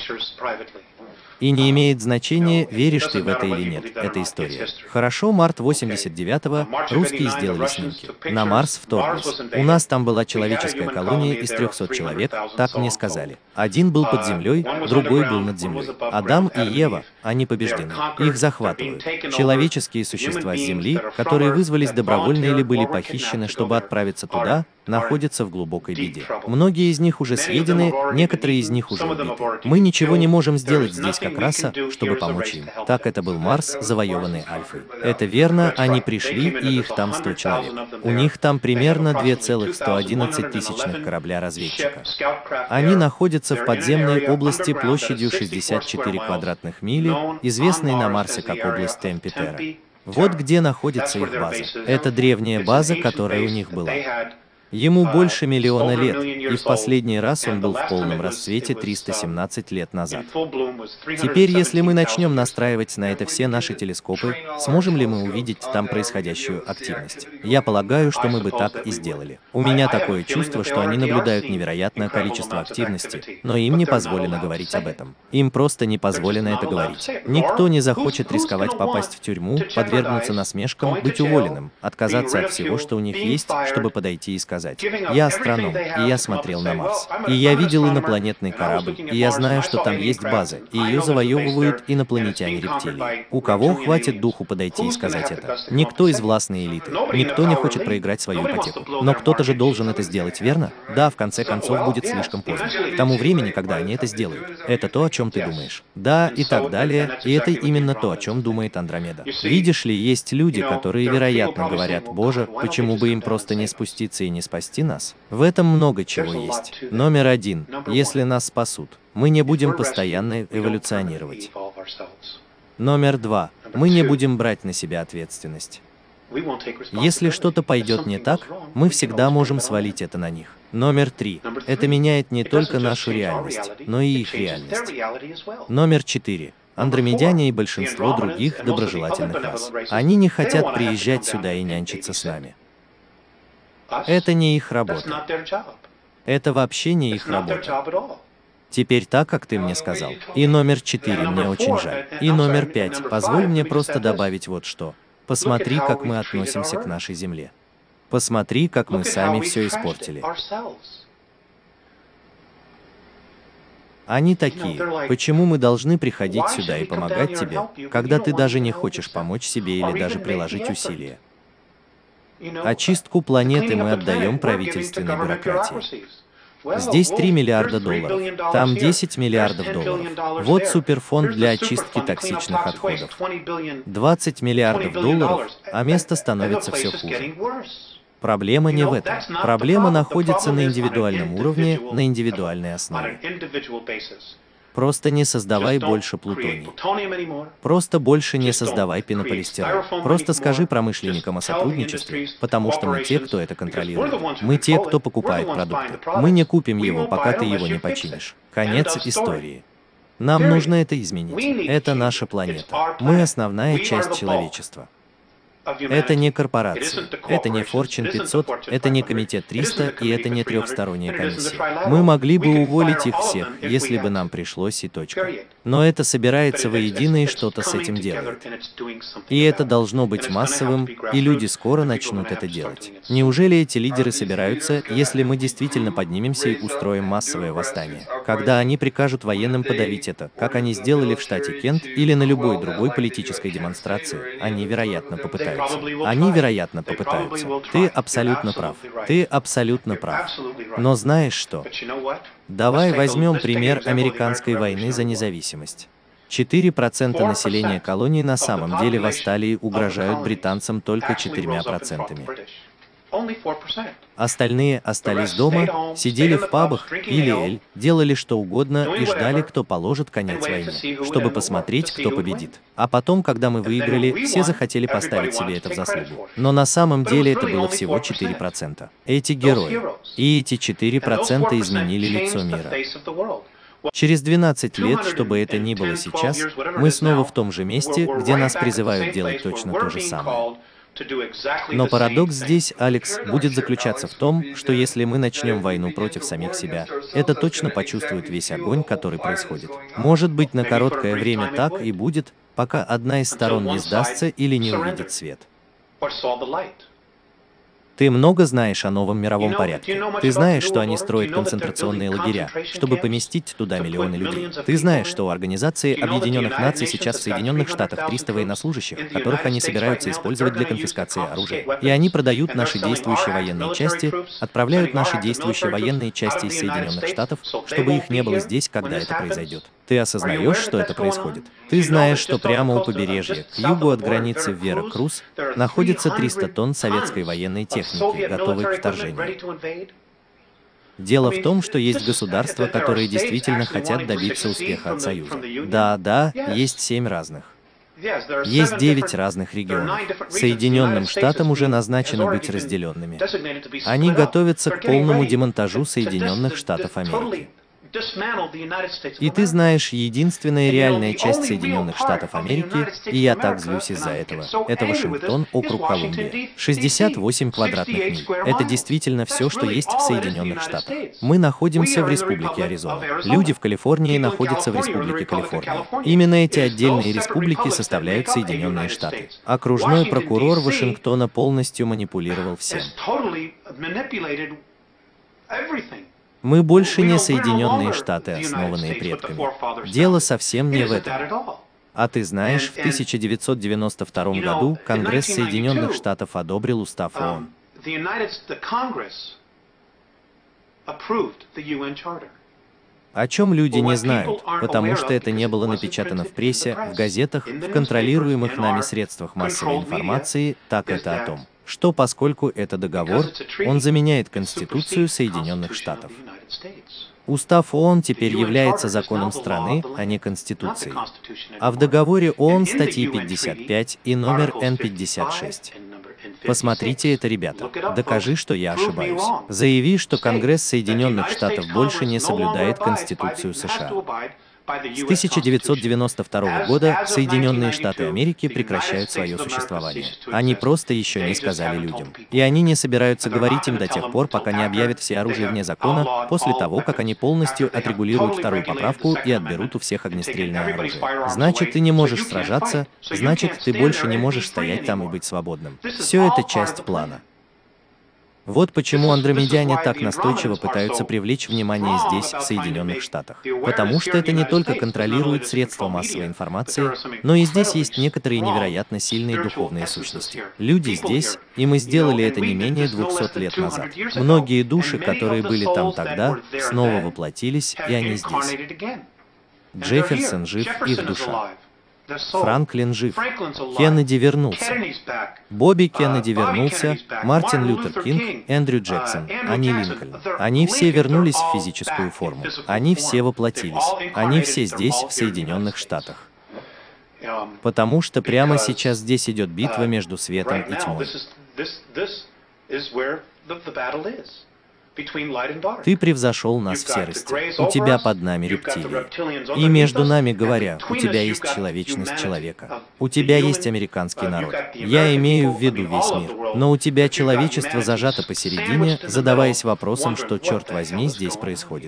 И не имеет значения, веришь ты в это или нет, это история. Хорошо, март 89-го, русские сделали снимки. На Марс вторглись. У нас там была человеческая колония из 300 человек, так мне сказали. Один был под землей, другой был над землей. Адам и Ева, они побеждены. Их захватывают. Человеческие существа с Земли, которые вызвались добровольно или были похищены, чтобы отправиться туда, находятся в глубокой беде. Многие из них уже съедены, некоторые из них уже убиты. Мы ничего не можем сделать здесь как раса, чтобы помочь им. Так это был Марс, завоеванный Альфой. Это верно, они пришли, и их там 100 человек. У них там примерно 2,111 тысячных корабля-разведчика. Они находятся в подземной области площадью 64 квадратных мили, известной на Марсе как область Темпетера. Вот где находится их база. Это древняя база, которая у них была. Ему больше миллиона лет, и в последний раз он был в полном расцвете 317 лет назад. Теперь, если мы начнем настраивать на это все наши телескопы, сможем ли мы увидеть там происходящую активность? Я полагаю, что мы бы так и сделали. У меня такое чувство, что они наблюдают невероятное количество активности, но им не позволено говорить об этом. Им просто не позволено это говорить. Никто не захочет рисковать попасть в тюрьму, подвергнуться насмешкам, быть уволенным, отказаться от всего, что у них есть, чтобы подойти и сказать: «Я астроном, и я смотрел на Марс. И я видел инопланетный корабль, и я знаю, что там есть база, и ее завоевывают инопланетяне-рептилии». У кого хватит духу подойти и сказать это? Никто из властной элиты. Никто не хочет проиграть свою ипотеку. Но кто-то же должен это сделать, верно? Да, в конце концов будет слишком поздно. К тому времени, когда они это сделают. Это то, о чем ты думаешь. Да, и так далее, и это именно то, о чем думает Андромеда. Видишь ли, есть люди, которые, вероятно, говорят: «Боже, почему бы им просто не спуститься и не спасти нас?» В этом много чего есть. Номер один. Если нас спасут, мы не будем постоянно эволюционировать. Номер два. Мы не будем брать на себя ответственность. Если что-то пойдет не так, мы всегда можем свалить это на них. Номер три. Это меняет не только нашу реальность, но и их реальность. Номер четыре. Андромедяне и большинство других доброжелательных рас. Они не хотят приезжать сюда и нянчиться с нами. Это не их работа. Это вообще не их работа. Теперь так, как ты мне сказал. И номер 4, мне очень жаль. И номер 5, позволь мне просто добавить вот что. Посмотри, как мы относимся к нашей Земле. Посмотри, как мы сами все испортили. Они такие: почему мы должны приходить сюда и помогать тебе, когда ты даже не хочешь помочь себе или даже приложить усилия? Очистку планеты мы отдаем правительственной бюрократии. Здесь 3 миллиарда долларов, там 10 миллиардов долларов. Вот суперфонд для очистки токсичных отходов. 20 миллиардов долларов, а место становится все хуже. Проблема не в этом. Проблема находится на индивидуальном уровне, на индивидуальной основе. Просто не создавай больше плутоний. Просто больше не создавай пенополистирол. Просто скажи промышленникам о сотрудничестве, потому что мы те, кто это контролирует. Мы те, кто покупает продукты. Мы не купим его, пока ты его не починишь. Конец истории. Нам нужно это изменить. Это наша планета. Мы основная часть человечества. Это не корпорации, это не Fortune 500, это не Комитет 300 и это не трехсторонняя комиссия. Мы могли бы уволить их всех, если бы нам пришлось, и точка. Но это собирается воедино и что-то с этим делает. И это должно быть массовым, и люди скоро начнут это делать. Неужели эти лидеры собираются, если мы действительно поднимемся и устроим массовое восстание? Когда они прикажут военным подавить это, как они сделали в штате Кент или на любой другой политической демонстрации, они, вероятно, попытаются. попытаются. Они, вероятно, попытаются. Ты абсолютно прав. Ты абсолютно прав. Но знаешь что? Давай возьмем пример американской войны за независимость. 4% населения колонии на самом деле восстали и угрожают британцам только 4%. Остальные остались дома, сидели в пабах, пили эль, делали что угодно и ждали, кто положит конец войне, чтобы посмотреть, кто победит. А потом, когда мы выиграли, все захотели поставить себе это в заслугу. Но на самом деле это было всего 4%. Эти герои. И эти 4% изменили лицо мира. Через 12 лет, что бы это ни было сейчас, мы снова в том же месте, где нас призывают делать точно то же самое. Но парадокс здесь, Алекс, будет заключаться в том, что если мы начнем войну против самих себя, это точно почувствует весь огонь, который происходит. Может быть, на короткое время так и будет, пока одна из сторон не сдастся или не увидит свет. Ты много знаешь о новом мировом порядке. Ты знаешь, что они строят концентрационные лагеря, чтобы поместить туда миллионы людей. Ты знаешь, что у Организации Объединенных Наций сейчас в Соединенных Штатах 300 военнослужащих, которых они собираются использовать для конфискации оружия. И они продают наши действующие военные части, отправляют наши действующие военные части из Соединенных Штатов, чтобы их не было здесь, когда это произойдет. Ты осознаешь, что это происходит? Ты знаешь, что прямо у побережья, к югу от границы в Веракрус, находится 300 тонн советской военной техники, готовой к вторжению. Дело в том, что есть государства, которые действительно хотят добиться успеха от Союза. Да, есть 7 разных. Есть 9 разных регионов. Соединенным Штатам уже назначено быть разделенными. Они готовятся к полному демонтажу Соединенных Штатов Америки. И ты знаешь, единственная реальная часть Соединенных Штатов Америки, и я так злюсь из-за этого, это Вашингтон, округ Колумбия. 68 квадратных миль. Это действительно все, что есть в Соединенных Штатах. Мы находимся в Республике Аризона. Люди в Калифорнии находятся в Республике Калифорния. Именно эти отдельные республики составляют Соединенные Штаты. Окружной прокурор Вашингтона полностью манипулировал всем. Мы больше не Соединенные Штаты, основанные предками. Дело совсем не в этом. А ты знаешь, в 1992 году Конгресс Соединенных Штатов одобрил Устав ООН. О чем люди не знают, потому что это не было напечатано в прессе, в газетах, в контролируемых нами средствах массовой информации, так это о том, что поскольку это договор, он заменяет Конституцию Соединенных Штатов. Устав ООН теперь является законом страны, а не Конституцией. А в договоре ООН статьи 55 и номер Н56. Посмотрите это, ребята. Докажи, что я ошибаюсь. Заяви, что Конгресс Соединенных Штатов больше не соблюдает Конституцию США. С 1992 года Соединенные Штаты Америки прекращают свое существование. Они просто еще не сказали людям. И они не собираются говорить им до тех пор, пока не объявят все оружие вне закона, после того, как они полностью отрегулируют вторую поправку и отберут у всех огнестрельное оружие. Значит, ты не можешь сражаться, значит, ты больше не можешь стоять там и быть свободным. Все это часть плана. Вот почему андромедяне так настойчиво пытаются привлечь внимание здесь, в Соединенных Штатах. Потому что это не только контролирует средства массовой информации, но и здесь есть некоторые невероятно сильные духовные сущности. Люди здесь, и мы сделали это не менее 200 лет назад. Многие души, которые были там тогда, снова воплотились, и они здесь. Джефферсон жив, их душа. Франклин жив. Кеннеди вернулся. Бобби Кеннеди вернулся, Мартин Лютер Кинг, Эндрю Джексон, Ани Линкольн. Они все вернулись в физическую форму. Они все воплотились. Они все здесь, в Соединенных Штатах. Потому что прямо сейчас здесь идет битва между светом и тьмой. Ты превзошел нас в серости. У тебя под нами рептилии. И между нами говоря, у тебя есть человечность человека. У тебя есть американский народ. Я имею в виду весь мир. Но у тебя человечество зажато посередине, задаваясь вопросом, что, черт возьми, здесь происходит.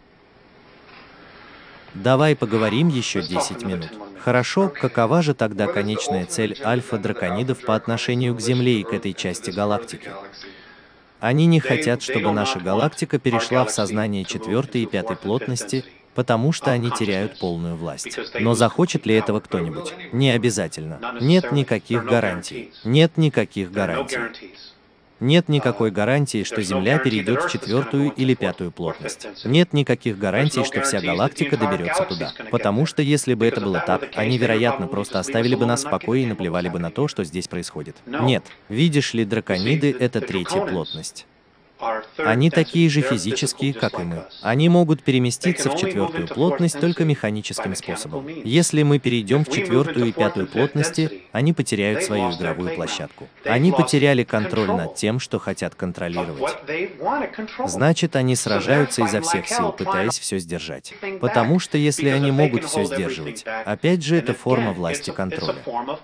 Давай поговорим еще 10 минут. Хорошо, какова же тогда конечная цель альфа-драконидов по отношению к Земле и к этой части галактики? Они не хотят, чтобы наша галактика перешла в сознание 4-й и 5-й плотности, потому что они теряют полную власть. Но захочет ли этого кто-нибудь? Не обязательно. Нет никаких гарантий. Нет никаких гарантий. Нет никакой гарантии, что Земля перейдет в 4-ю или 5-ю плотность. Нет никаких гарантий, что вся галактика доберется туда. Потому что если бы это было так, они, вероятно, просто оставили бы нас в покое и наплевали бы на то, что здесь происходит. Нет. Видишь ли, дракониды — это 3-я плотность. Они такие же физические, как и мы. Они могут переместиться в 4-ю плотность только механическим способом. Если мы перейдем в 4-ю и 5-ю плотности, они потеряют свою игровую площадку. Они потеряли контроль над тем, что хотят контролировать. Значит, они сражаются изо всех сил, пытаясь все сдержать. Потому что если они могут все сдерживать, опять же, это форма власти контроля.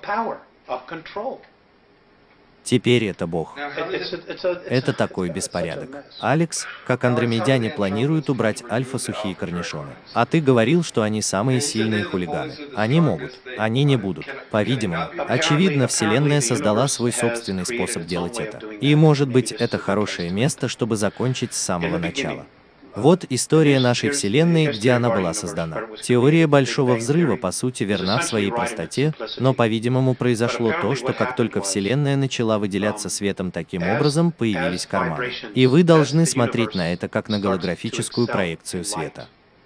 Теперь это Бог. Это такой беспорядок. Алекс, как андромедяне планируют убрать альфа-сухие корнишоны. А ты говорил, что они самые сильные хулиганы. Они могут. Они не будут. По-видимому, очевидно, Вселенная создала свой собственный способ делать это. И, может быть, это хорошее место, чтобы закончить с самого начала. Вот история нашей Вселенной, где она была создана. Теория Большого Взрыва, по сути, верна в своей простоте, но, по-видимому, произошло то, что как только Вселенная начала выделяться светом, таким образом появились карманы. И вы должны смотреть на это как на голографическую проекцию света.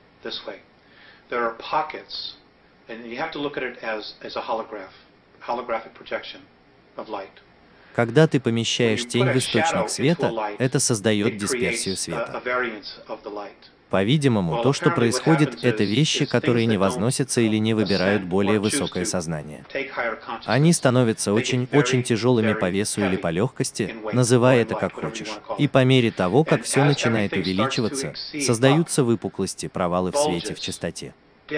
Когда ты помещаешь тень в источник света, это создает дисперсию света. По-видимому, то, что происходит, это вещи, которые не возносятся или не выбирают более высокое сознание. Они становятся очень тяжелыми по весу или по легкости, называй это как хочешь. И по мере того, как все начинает увеличиваться, создаются выпуклости, провалы в свете, в частоте.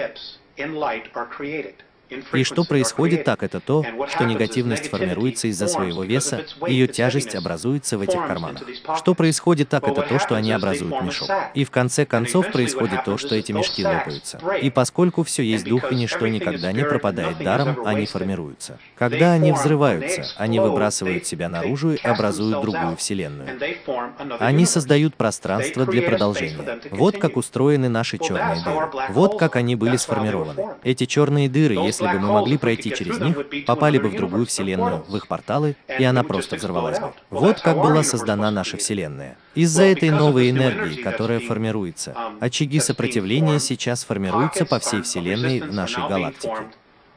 И что происходит так, это то, что негативность формируется из-за своего веса, ее тяжесть образуется в этих карманах. Что происходит так, это то, что они образуют мешок. И в конце концов происходит то, что эти мешки лопаются. И поскольку все есть дух и ничто никогда не пропадает даром, они формируются. Когда они взрываются, они выбрасывают себя наружу и образуют другую вселенную. Они создают пространство для продолжения. Вот как устроены наши черные дыры. Вот как они были сформированы. Эти черные дыры, если бы мы могли пройти через них, попали бы в другую вселенную, в их порталы, и она просто взорвалась бы. Вот как была создана наша Вселенная. Из-за этой новой энергии, которая формируется, очаги сопротивления сейчас формируются по всей Вселенной в нашей галактике.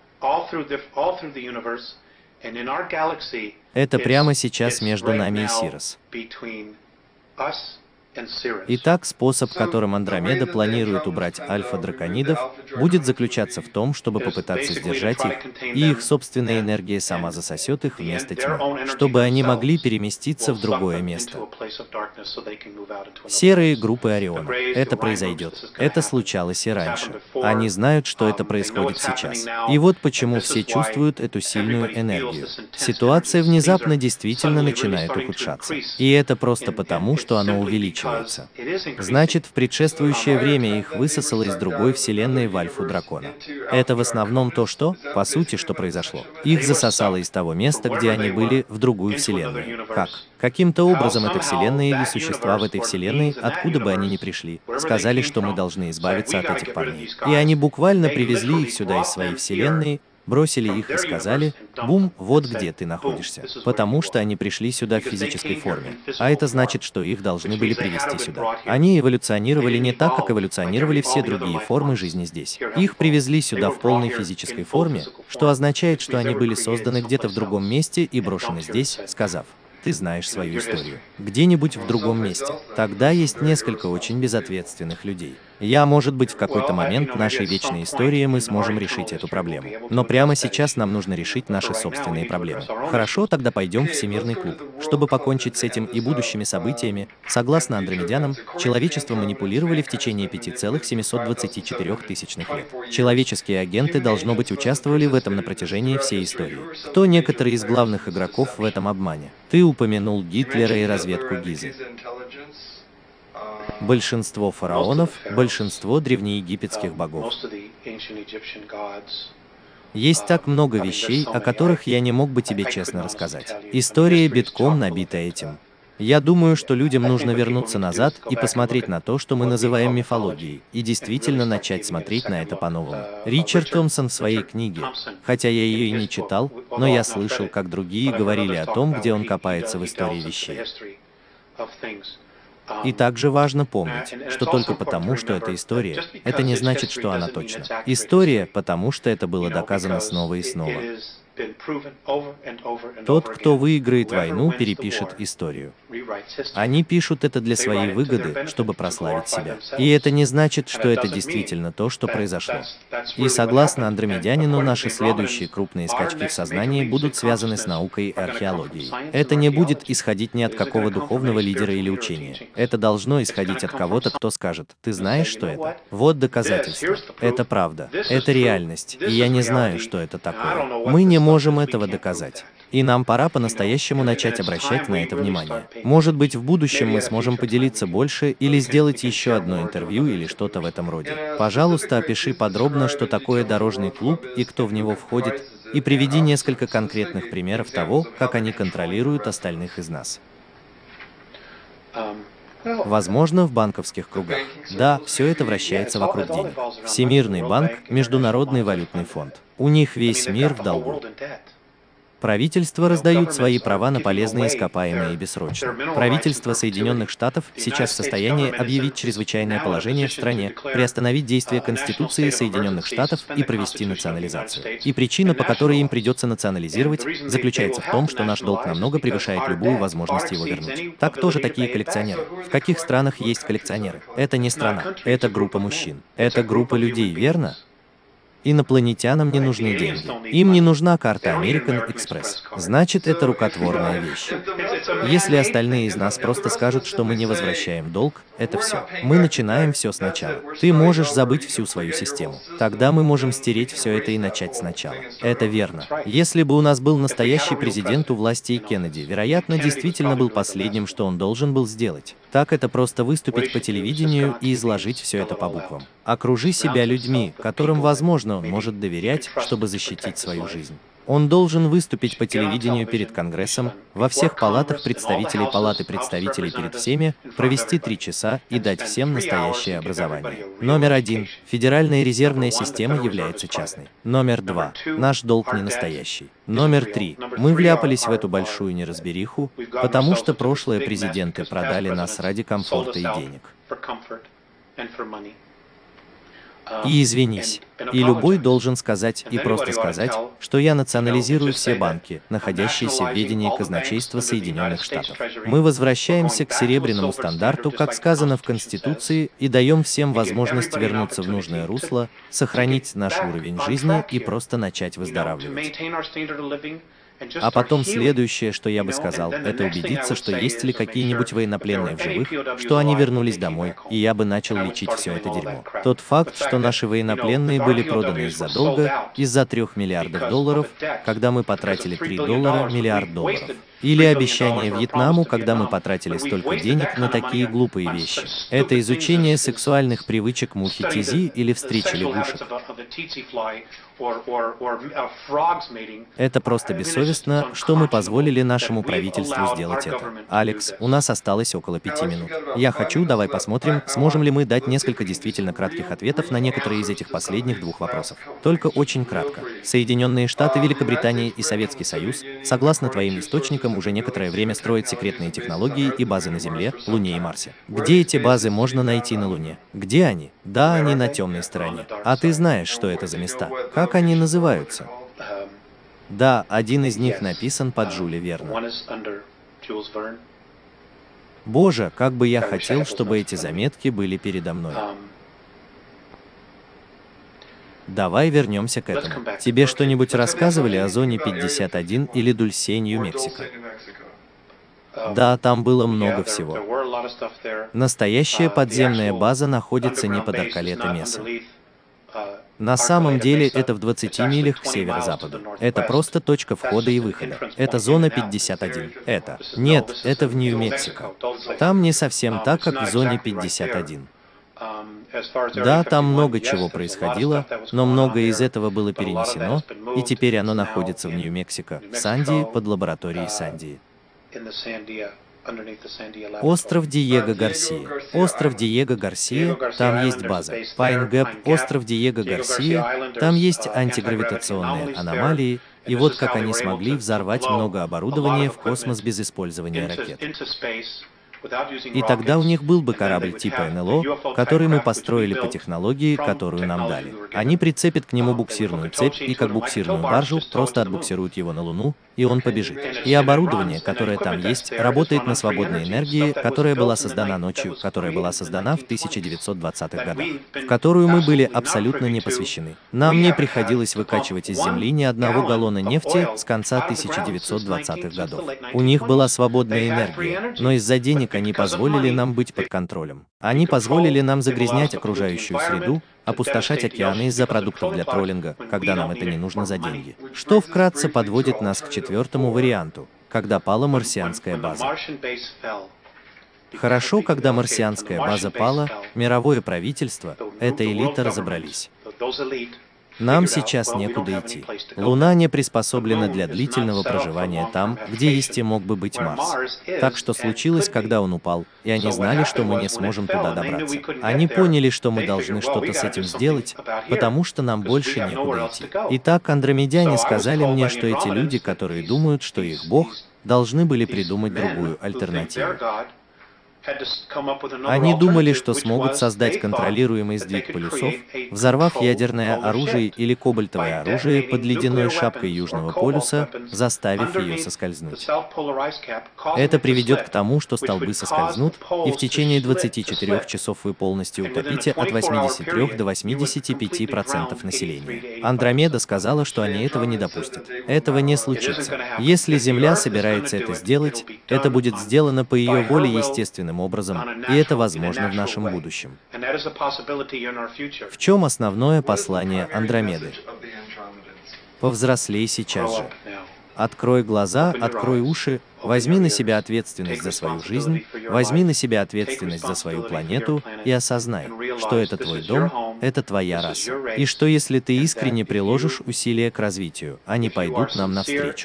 Это прямо сейчас между нами и Сирос. Итак, способ, которым Андромеда планирует убрать альфа-драконидов, будет заключаться в том, чтобы попытаться сдержать их, и их собственная энергия сама засосет их вместо тьмы, чтобы они могли переместиться в другое место. Серые группы Ориона. Это произойдет. Это случалось и раньше. Они знают, что это происходит сейчас. И вот почему все чувствуют эту сильную энергию. Ситуация внезапно действительно начинает ухудшаться. И это просто потому, что она увеличивается. Значит, в предшествующее время их высосало из другой вселенной в альфу дракона. Это в основном то, что, по сути, что произошло. Их засосало из того места, где они были, в другую вселенную. Как? Каким-то образом эта вселенная или существа в этой вселенной, откуда бы они ни пришли, сказали, что мы должны избавиться от этих парней. И они буквально привезли их сюда из своей вселенной, бросили их и сказали: «Бум, вот где ты находишься». Потому что они пришли сюда в физической форме. А это значит, что их должны были привести сюда. Они эволюционировали не так, как эволюционировали все другие формы жизни здесь. Их привезли сюда в полной физической форме, что означает, что они были созданы где-то в другом месте и брошены здесь, сказав: «Ты знаешь свою историю». Где-нибудь в другом месте. Тогда есть несколько очень безответственных людей. Может быть, в какой-то момент нашей вечной истории мы сможем решить эту проблему. Но прямо сейчас нам нужно решить наши собственные проблемы. Хорошо, тогда пойдем в Всемирный клуб. Чтобы покончить с этим и будущими событиями, согласно андромедянам, человечество манипулировали в течение 5,724 тысячных лет. Человеческие агенты, должно быть, участвовали в этом на протяжении всей истории. Кто некоторые из главных игроков в этом обмане? Ты упомянул Гитлера и разведку Гизы. Большинство фараонов, большинство древнеегипетских богов. Есть так много вещей, о которых я не мог бы тебе честно рассказать. История битком набита этим. Я думаю, что людям нужно вернуться назад и посмотреть на то, что мы называем мифологией, и действительно начать смотреть на это по-новому. Ричард Томпсон в своей книге, хотя я ее и не читал, но я слышал, как другие говорили о том, где он копается в истории вещей. И также важно помнить, что только потому, что это история, это не значит, что она точна. История, потому что это было доказано снова и снова. Тот, кто выиграет войну, перепишет историю. Они пишут это для своей выгоды, чтобы прославить себя. И это не значит, что это действительно то, что произошло. И согласно Андромедянину, наши следующие крупные скачки в сознании будут связаны с наукой и археологией. Это не будет исходить ни от какого духовного лидера или учения. Это должно исходить от кого-то, кто скажет: «Ты знаешь, что это? Вот доказательство. Это правда. Это реальность. И я не знаю, что это такое». Мы не можем этого доказать. И нам пора по-настоящему начать обращать на это внимание. Может быть, в будущем мы сможем поделиться больше или сделать еще одно интервью или что-то в этом роде. Пожалуйста, опиши подробно, что такое дорожный клуб и кто в него входит, и приведи несколько конкретных примеров того, как они контролируют остальных из нас. Возможно, в банковских кругах. Да, все это вращается вокруг денег. Всемирный банк, Международный валютный фонд. У них весь мир в долгу. Правительства раздают свои права на полезные ископаемые и бессрочно. Правительство Соединенных Штатов сейчас в состоянии объявить чрезвычайное положение в стране, приостановить действие Конституции Соединенных Штатов и провести национализацию. И причина, по которой им придется национализировать, заключается в том, что наш долг намного превышает любую возможность его вернуть. Так тоже такие коллекционеры. В каких странах есть коллекционеры? Это не страна, это группа мужчин. Это группа людей, верно? Инопланетянам не нужны деньги. Им не нужна карта American Express. Значит, это рукотворная вещь. Если остальные из нас просто скажут, что мы не возвращаем долг, это все. Мы начинаем все сначала. Ты можешь забыть всю свою систему. Тогда мы можем стереть все это и начать сначала. Это верно. Если бы у нас был настоящий президент у власти и Кеннеди, вероятно, действительно был последним, что он должен был сделать. Так это просто выступить по телевидению и изложить все это по буквам. Окружи себя людьми, которым, возможно, он может доверять, чтобы защитить свою жизнь. Он должен выступить по телевидению перед Конгрессом, во всех палатах представителей Палаты представителей перед всеми, провести 3 часа и дать всем настоящее образование. Номер 1. Федеральная резервная система является частной. Номер 2. Наш долг не настоящий. Номер 3. Мы вляпались в эту большую неразбериху, потому что прошлые президенты продали нас ради комфорта и денег. И извинись. И любой должен сказать и просто сказать, что я национализирую все банки, находящиеся в ведении казначейства Соединенных Штатов. Мы возвращаемся к серебряному стандарту, как сказано в Конституции, и даем всем возможность вернуться в нужное русло, сохранить наш уровень жизни и просто начать выздоравливать. А потом следующее, что я бы сказал, это убедиться, что есть ли какие-нибудь военнопленные в живых, что они вернулись домой, и я бы начал лечить все это дерьмо. Тот факт, что наши военнопленные были проданы из-за долга, из-за $3 миллиардов, когда мы потратили $3 миллиард долларов. Или обещание Вьетнаму, когда мы потратили столько денег на такие глупые вещи. Это изучение сексуальных привычек мухи Тизи или встречи лягушек. Это просто бессовестно, что мы позволили нашему правительству сделать это. Алекс, у нас осталось около 5 минут. Я хочу, давай посмотрим, сможем ли мы дать несколько действительно кратких ответов на некоторые из этих последних 2 вопросов. Только очень кратко. Соединенные Штаты, Великобритания и Советский Союз, согласно твоим источникам, уже некоторое время строят секретные технологии и базы на Земле, Луне и Марсе. Где эти базы можно найти на Луне? Где они? Да, они на темной стороне. А ты знаешь, что это за места? Как они называются? Да, один из них написан по Джуле Верну. Боже, как бы я хотел, чтобы эти заметки были передо мной. Давай вернемся к этому. Тебе что-нибудь рассказывали о зоне 51 или Дульсе, Нью-Мексико? Да, там было много всего. Настоящая подземная база находится не под Аркалета-Меса. На самом деле это в 20 милях к северо-западу. Это просто точка входа и выхода. Это зона 51. Это. Нет, это в Нью-Мексико. Там не совсем так, как в зоне 51. Да, там много чего происходило, но многое из этого было перенесено, и теперь оно находится в Нью-Мексико, в Сандии, под лабораторией Сандии. Остров Диего Гарсия. Остров Диего Гарсия, там есть база. Пайн Гэп, остров Диего Гарсия, там есть антигравитационные аномалии, и вот как они смогли взорвать много оборудования в космос без использования ракет. И тогда у них был бы корабль типа НЛО, который мы построили по технологии, которую нам дали. Они прицепят к нему буксирную цепь и как буксирную баржу просто отбуксируют его на Луну, и он побежит. И оборудование, которое там есть, работает на свободной энергии, которая была создана ночью, которая была создана в 1920-х годах, в которую мы были абсолютно не посвящены. Нам не приходилось выкачивать из земли ни одного галлона нефти с конца 1920-х годов. У них была свободная энергия, но из-за денег они позволили нам быть под контролем. Они позволили нам загрязнять окружающую среду, опустошать океаны из-за продуктов для троллинга, когда нам это не нужно за деньги. Что вкратце подводит нас к четвертому варианту, когда пала марсианская база. Хорошо, когда марсианская база пала, мировое правительство, эта элита разобрались. Нам сейчас некуда идти. Луна не приспособлена для длительного проживания там, где есть и мог бы быть Марс. Так что случилось, когда он упал, и они знали, что мы не сможем туда добраться. Они поняли, что мы должны что-то с этим сделать, потому что нам больше некуда идти. Итак, андромедяне сказали мне, что эти люди, которые думают, что их Бог, должны были придумать другую альтернативу. Они думали, что смогут создать контролируемый сдвиг полюсов, взорвав ядерное оружие или кобальтовое оружие под ледяной шапкой Южного полюса, заставив ее соскользнуть. Это приведет к тому, что столбы соскользнут, и в течение 24 часов вы полностью утопите от 83 до 85% населения. Андромеда сказала, что они этого не допустят. Этого не случится. Если Земля собирается это сделать, это будет сделано по ее воле естественным образом, и это возможно в нашем будущем. В чем основное послание Андромеды? Повзрослей сейчас же. Открой глаза, открой уши, возьми на себя ответственность за свою жизнь, возьми на себя ответственность за свою планету и осознай, что это твой дом, это твоя раса, и что если ты искренне приложишь усилия к развитию, они пойдут нам навстречу.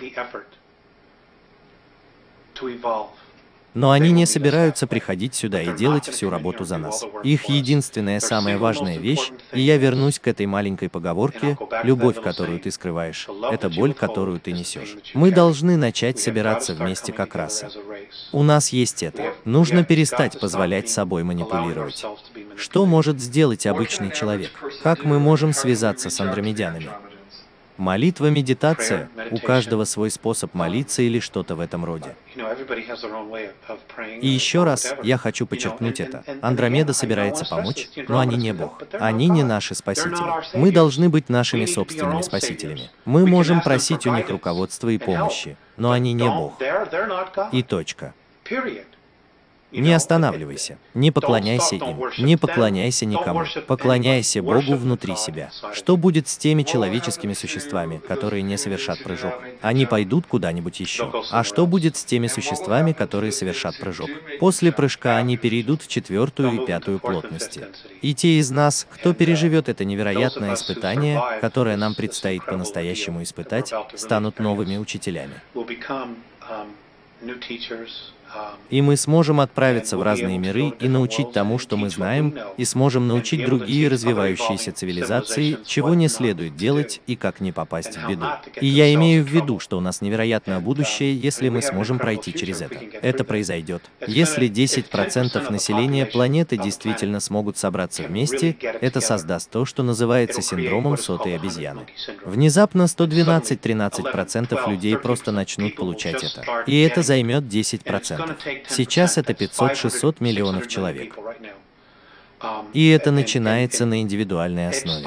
Но они не собираются приходить сюда и делать всю работу за нас. Их единственная самая важная вещь, и я вернусь к этой маленькой поговорке, любовь, которую ты скрываешь, это боль, которую ты несешь. Мы должны начать собираться вместе как раса. У нас есть это. Нужно перестать позволять собой манипулировать. Что может сделать обычный человек? Как мы можем связаться с андромедянами? Молитва, медитация, у каждого свой способ молиться или что-то в этом роде. И еще раз, я хочу подчеркнуть это. Андромеда собирается помочь, но они не Бог. Они не наши спасители. Мы должны быть нашими собственными спасителями. Мы можем просить у них руководства и помощи, но они не Бог. И точка. Не останавливайся, не поклоняйся им, не поклоняйся никому, поклоняйся Богу внутри себя. Что будет с теми человеческими существами, которые не совершат прыжок? Они пойдут куда-нибудь еще. А что будет с теми существами, которые совершат прыжок? После прыжка они перейдут в 4-ю и 5-ю плотности. И те из нас, кто переживет это невероятное испытание, которое нам предстоит по-настоящему испытать, станут новыми учителями. И мы сможем отправиться в разные миры и научить тому, что мы знаем, и сможем научить другие развивающиеся цивилизации, чего не следует делать и как не попасть в беду. И я имею в виду, что у нас невероятное будущее, если мы сможем пройти через это. Это произойдет. Если 10% населения планеты действительно смогут собраться вместе, это создаст то, что называется синдромом сотой обезьяны. Внезапно 112-13% людей просто начнут получать это. И это займет 10%. Сейчас это 500-600 миллионов человек. И это начинается на индивидуальной основе.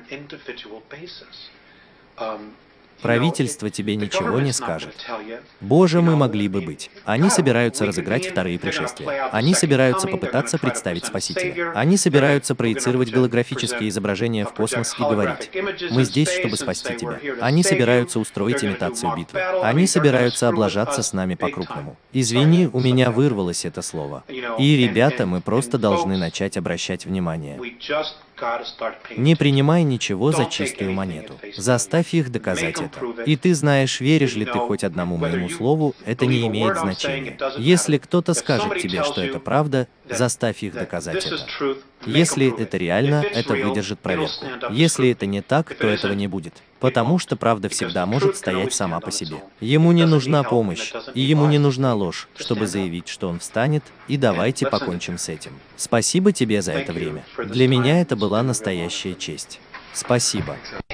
Правительство тебе ничего не скажет. Боже, мы могли бы быть. Они собираются разыграть вторые пришествия. Они собираются попытаться представить Спасителя. Они собираются проецировать голографические изображения в космос и говорить: мы здесь, чтобы спасти тебя. Они собираются устроить имитацию битвы. Они собираются облажаться с нами по-крупному. Извини, у меня вырвалось это слово. И, ребята, мы просто должны начать обращать внимание. Не принимай ничего за чистую монету. Заставь их доказать это. И ты знаешь, веришь ли ты хоть одному моему слову, это не имеет значения. Если кто-то скажет тебе, что это правда, заставь их доказать это. Если это реально, это выдержит проверку. Если это не так, то этого не будет. Потому что правда всегда может стоять сама по себе. Ему не нужна помощь, и ему не нужна ложь, чтобы заявить, что он встанет, и давайте покончим с этим. Спасибо тебе за это время. Для меня это была настоящая честь. Спасибо.